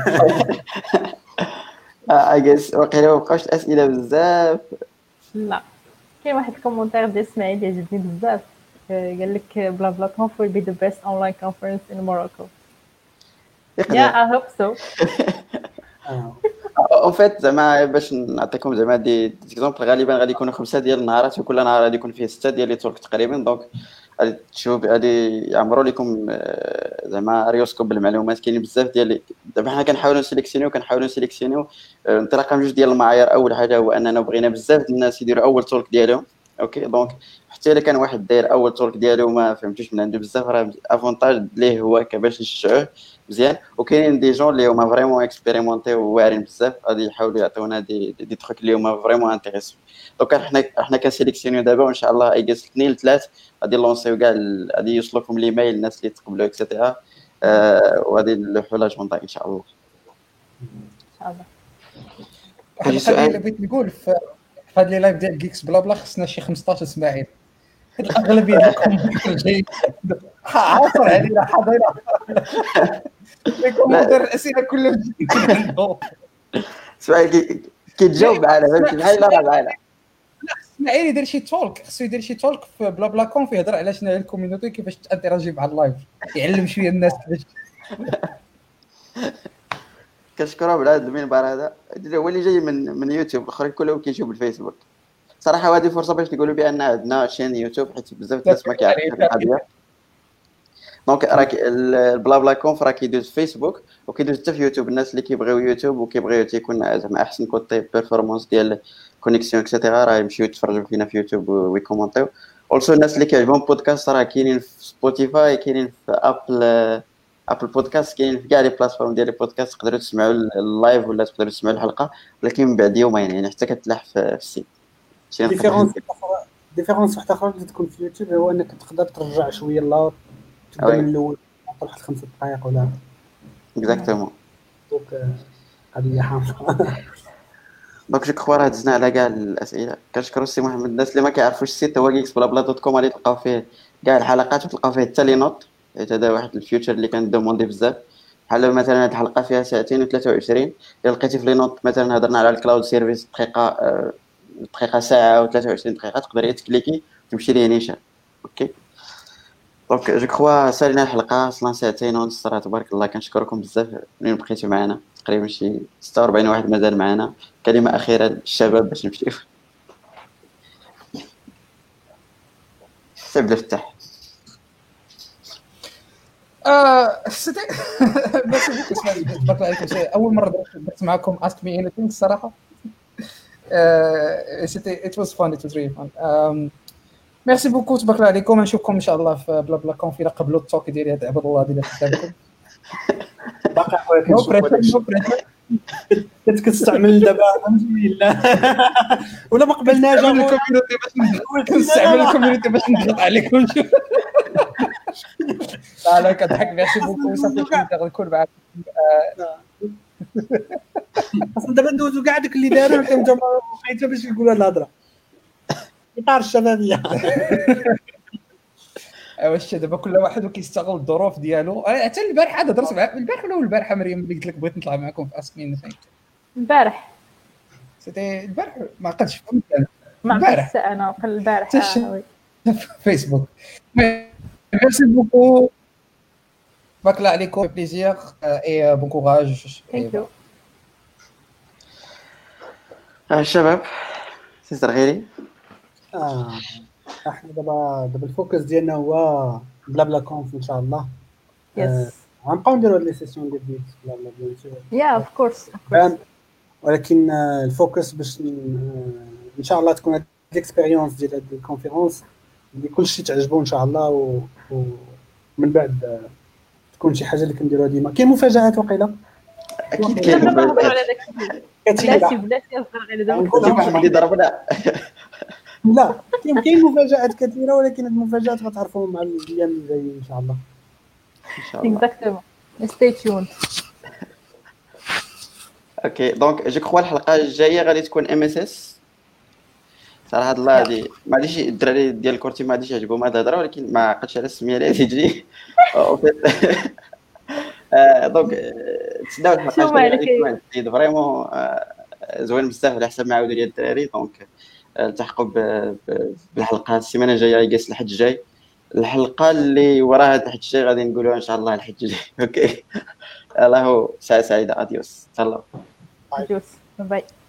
اجلس واقيلا ما بقاوش الاسئله بزاف. لا كاين واحد الكومونتير ديال اسماعيل عجبني بزاف، قال لك بلا بلا كونف will be the best online conference in Morocco. Yeah, I hope so. اون فيت زعما باش نعطيكم زعما دي اكزومبل، غالبا غادي يكونوا 5 ديال النهارات وكل نهار غادي يكون فيه 6 ديال لي تورك تقريبا. دونك غادي تشوف غادي يعمروا لكم زعما ريوسكوب بالمعلومات. كاينين بزاف ديال دابا حنا كنحاولوا نسيليكسيونيو انطلاقا من جوج ديال المعايير. اول حاجه هو اننا بغينا بزاف ديال الناس يديروا اول تورك ديالهم. اوكي دونك حتى الا كان واحد داير اول تورك ديالو ما فهمتوش من عنده بزاف، راه افونتاج ليه هو باش نشجعوه مزيان. وكاينين دي جون اللي هما فريمون اكسبيريمونتي وواعرين بزاف غادي يحاولوا يعطيونا دي تروك اللي هما فريمون انتريسون. دونك حنا كنسيليكسيونيو دابا وان شاء الله ايجاس 2 ل 3 غادي نلونسيو كاع غادي يوصلوكم ليميل الناس اللي تقبلوا اكسيتيرا، وغادي نلوحوا لا جوندا ان شاء الله. ان شاء الله. واحد القضيه اللي بغيت نقول في هاد لي لايف ديال جيكس بلا بلا خصنا شي 15 اسماعيل. هاد الاغلبيه ديالكم جاي عاصر علينا حاضرين لكم مدير الاسئله كلهم عنده سؤال كيتجاوب معنا فهمتي بحال راه معنا. اسماعيل يدير شي تولك، خصو يدير شي تولك في بلا بلا كونف يهضر على شنو هي الكوميونيتي كيفاش تانتيراجي مع اللايف، يعلم شويه الناس كيفاش. كنشكرهم على هذا المنبر هذا، هو اللي جاي من يوتيوب، الاخرين كلهم كيجيو بالفيسبوك صراحه. هذه فرصه باش نقولوا بان عندنا شين يوتيوب حيت بزاف الناس ما كيعرفوش القضيه. دونك راك البلا بلا كونف راه كيدوز في فيسبوك وكيدوز حتى في يوتيوب. الناس اللي كيبغيو يوتيوب وكيبغيو تيكون زعما احسن كوتي بيرفورمانس ديال كونيكسيون اكسيتيرا راه يمشيو يتفرجوا فينا في يوتيوب ويكومونطيو. اولسو الناس اللي كيعجبهم بودكاست راه كاينين في سبوتيفاي، كاينين في ابل بودكاست، كاين في كاع لي بلاتفورم ديال البودكاست. تقدروا تسمعوا اللايف ولا تقدروا تسمعوا الحلقه، ولكن من بعد يومين يعني حتى كتلاح في السيت. ديفيرونس واحده اخرى اللي تكون في يوتيوب هو انك تقدر ترجع شويه اللور تبدا من الاول واحد 5 دقائق ولا اكزاكتومون. دونك قضيه حامضه. دونك جو كخوا راه دزنا على كاع الاسئله. كنشكروا السي محمد. الناس اللي ما كيعرفوش السيت هو geeksblabla.com غادي تلقاو فيه كاع الحلقات وتلقاو فيه حتى لي نوت. هذا واحد الفيوتشر اللي كندوموندي بزاف. بحال مثلا هاد الحلقه فيها 2 و23 الا لقيتي في لي نوت مثلا هضرنا على الكلاود سيرفيس دقيقه ساعه و23 دقيقه تقدري تكليكي تمشي ليه نيشان. اوكي دونك جو كخوا سالينا الحلقه اصلا 2 ساعة ونص. راه تبارك الله كنشكركم بزاف منين بقيتوا معنا. تقريبا شي 46 واحد مازال معنا. كلمه اخيره للشباب باش نمشيو. سيب الفتح. سيتي بس تبارك عليكم. اول مره درت معكم ask me anything الصراحه. سيتي it was fun, it was really fun. ميرسي بوكو تبارك عليكم. نشوفكم ان شاء الله في بلا بلا كونف الى قبلوا التوك ديالي هذا عبد الله ديال قدامكم. باقي خويا نو كنشوف هذاك بريشر، الشيء. نو بريشر. كنت كتستعمل دابا الحمد لله ولا ما قبلناش نستعمل الكوميونيتي باش نستعمل الكوميونيتي باش نضغط عليكم. لا لا كضحك ميرسي بوكو، صافي نقدر نكون معاك. اصلا دابا ندوزو كاع داك اللي داروا كنت حيت باش يقولوا هاد الهضره اطار الشبابيه. ايوا الشيء دابا كل واحد وكيستغل الظروف ديالو. حتى البارح هذا درت معاك البارح ولا البارحه مريم اللي قلت لك بغيت نطلع معكم في اسكين فين البارح سيتي البارح ما عقلتش فهمت ما البارح. عرفتش انا وقال البارح تش- وي. فيسبوك. ميرسي بوكو، باكلا عليكم بليزير اي بون كوراج. ثانك يو. الشباب سيستر غيري احنا دابا الفوكس ديالنا هو بلا بلا كونف ان شاء الله. يس غنبقاو نديرو لي سيسيون ديال بيت بلا بلا بيان سور، يا اوف كورس ولكن الفوكس باش ان شاء الله تكون هاد الاكسبيريونس ديال هاد الكونفيرونس اللي كلشي تعجبو ان شاء الله ومن بعد تكون شي حاجه اللي كنديروها ديما. كاين مفاجآت وقيله اكيد دابا كاين نهضروا على داك الشيء. بلاتي كثيره. بلاتي نهضروا على دابا. نقول شي واحد اللي ضربنا لا كاين مفاجآت كثيره، ولكن هاد المفاجآت غتعرفوهم مع الايام الجايه ان شاء الله. ان شاء الله. اكزاكتومون ستي تيون. اوكي دونك جو كخوا الحلقه الجايه غادي تكون ام اس اس. صراحه الله هادي ما غاديش الدراري ديال الكورتي ما غاديش يعجبهم هاد الهضره، ولكن ما عقلتش على السميه اللي غادي تجي. دونك تسناو الحلقه شو الجايه مالك غادي تكون جديد فريمون زوين بزاف على حسب ما عاودوا لي الدراري. دونك التحقوا بالحلقه السيمانه الجايه يقاس الحد الجاي. الحلقه اللي وراها الحد الجاي غادي نقولوها ان شاء الله الحد الجاي. اوكي الله ساعه سعيده. اديوس تهلاو. جوس باي.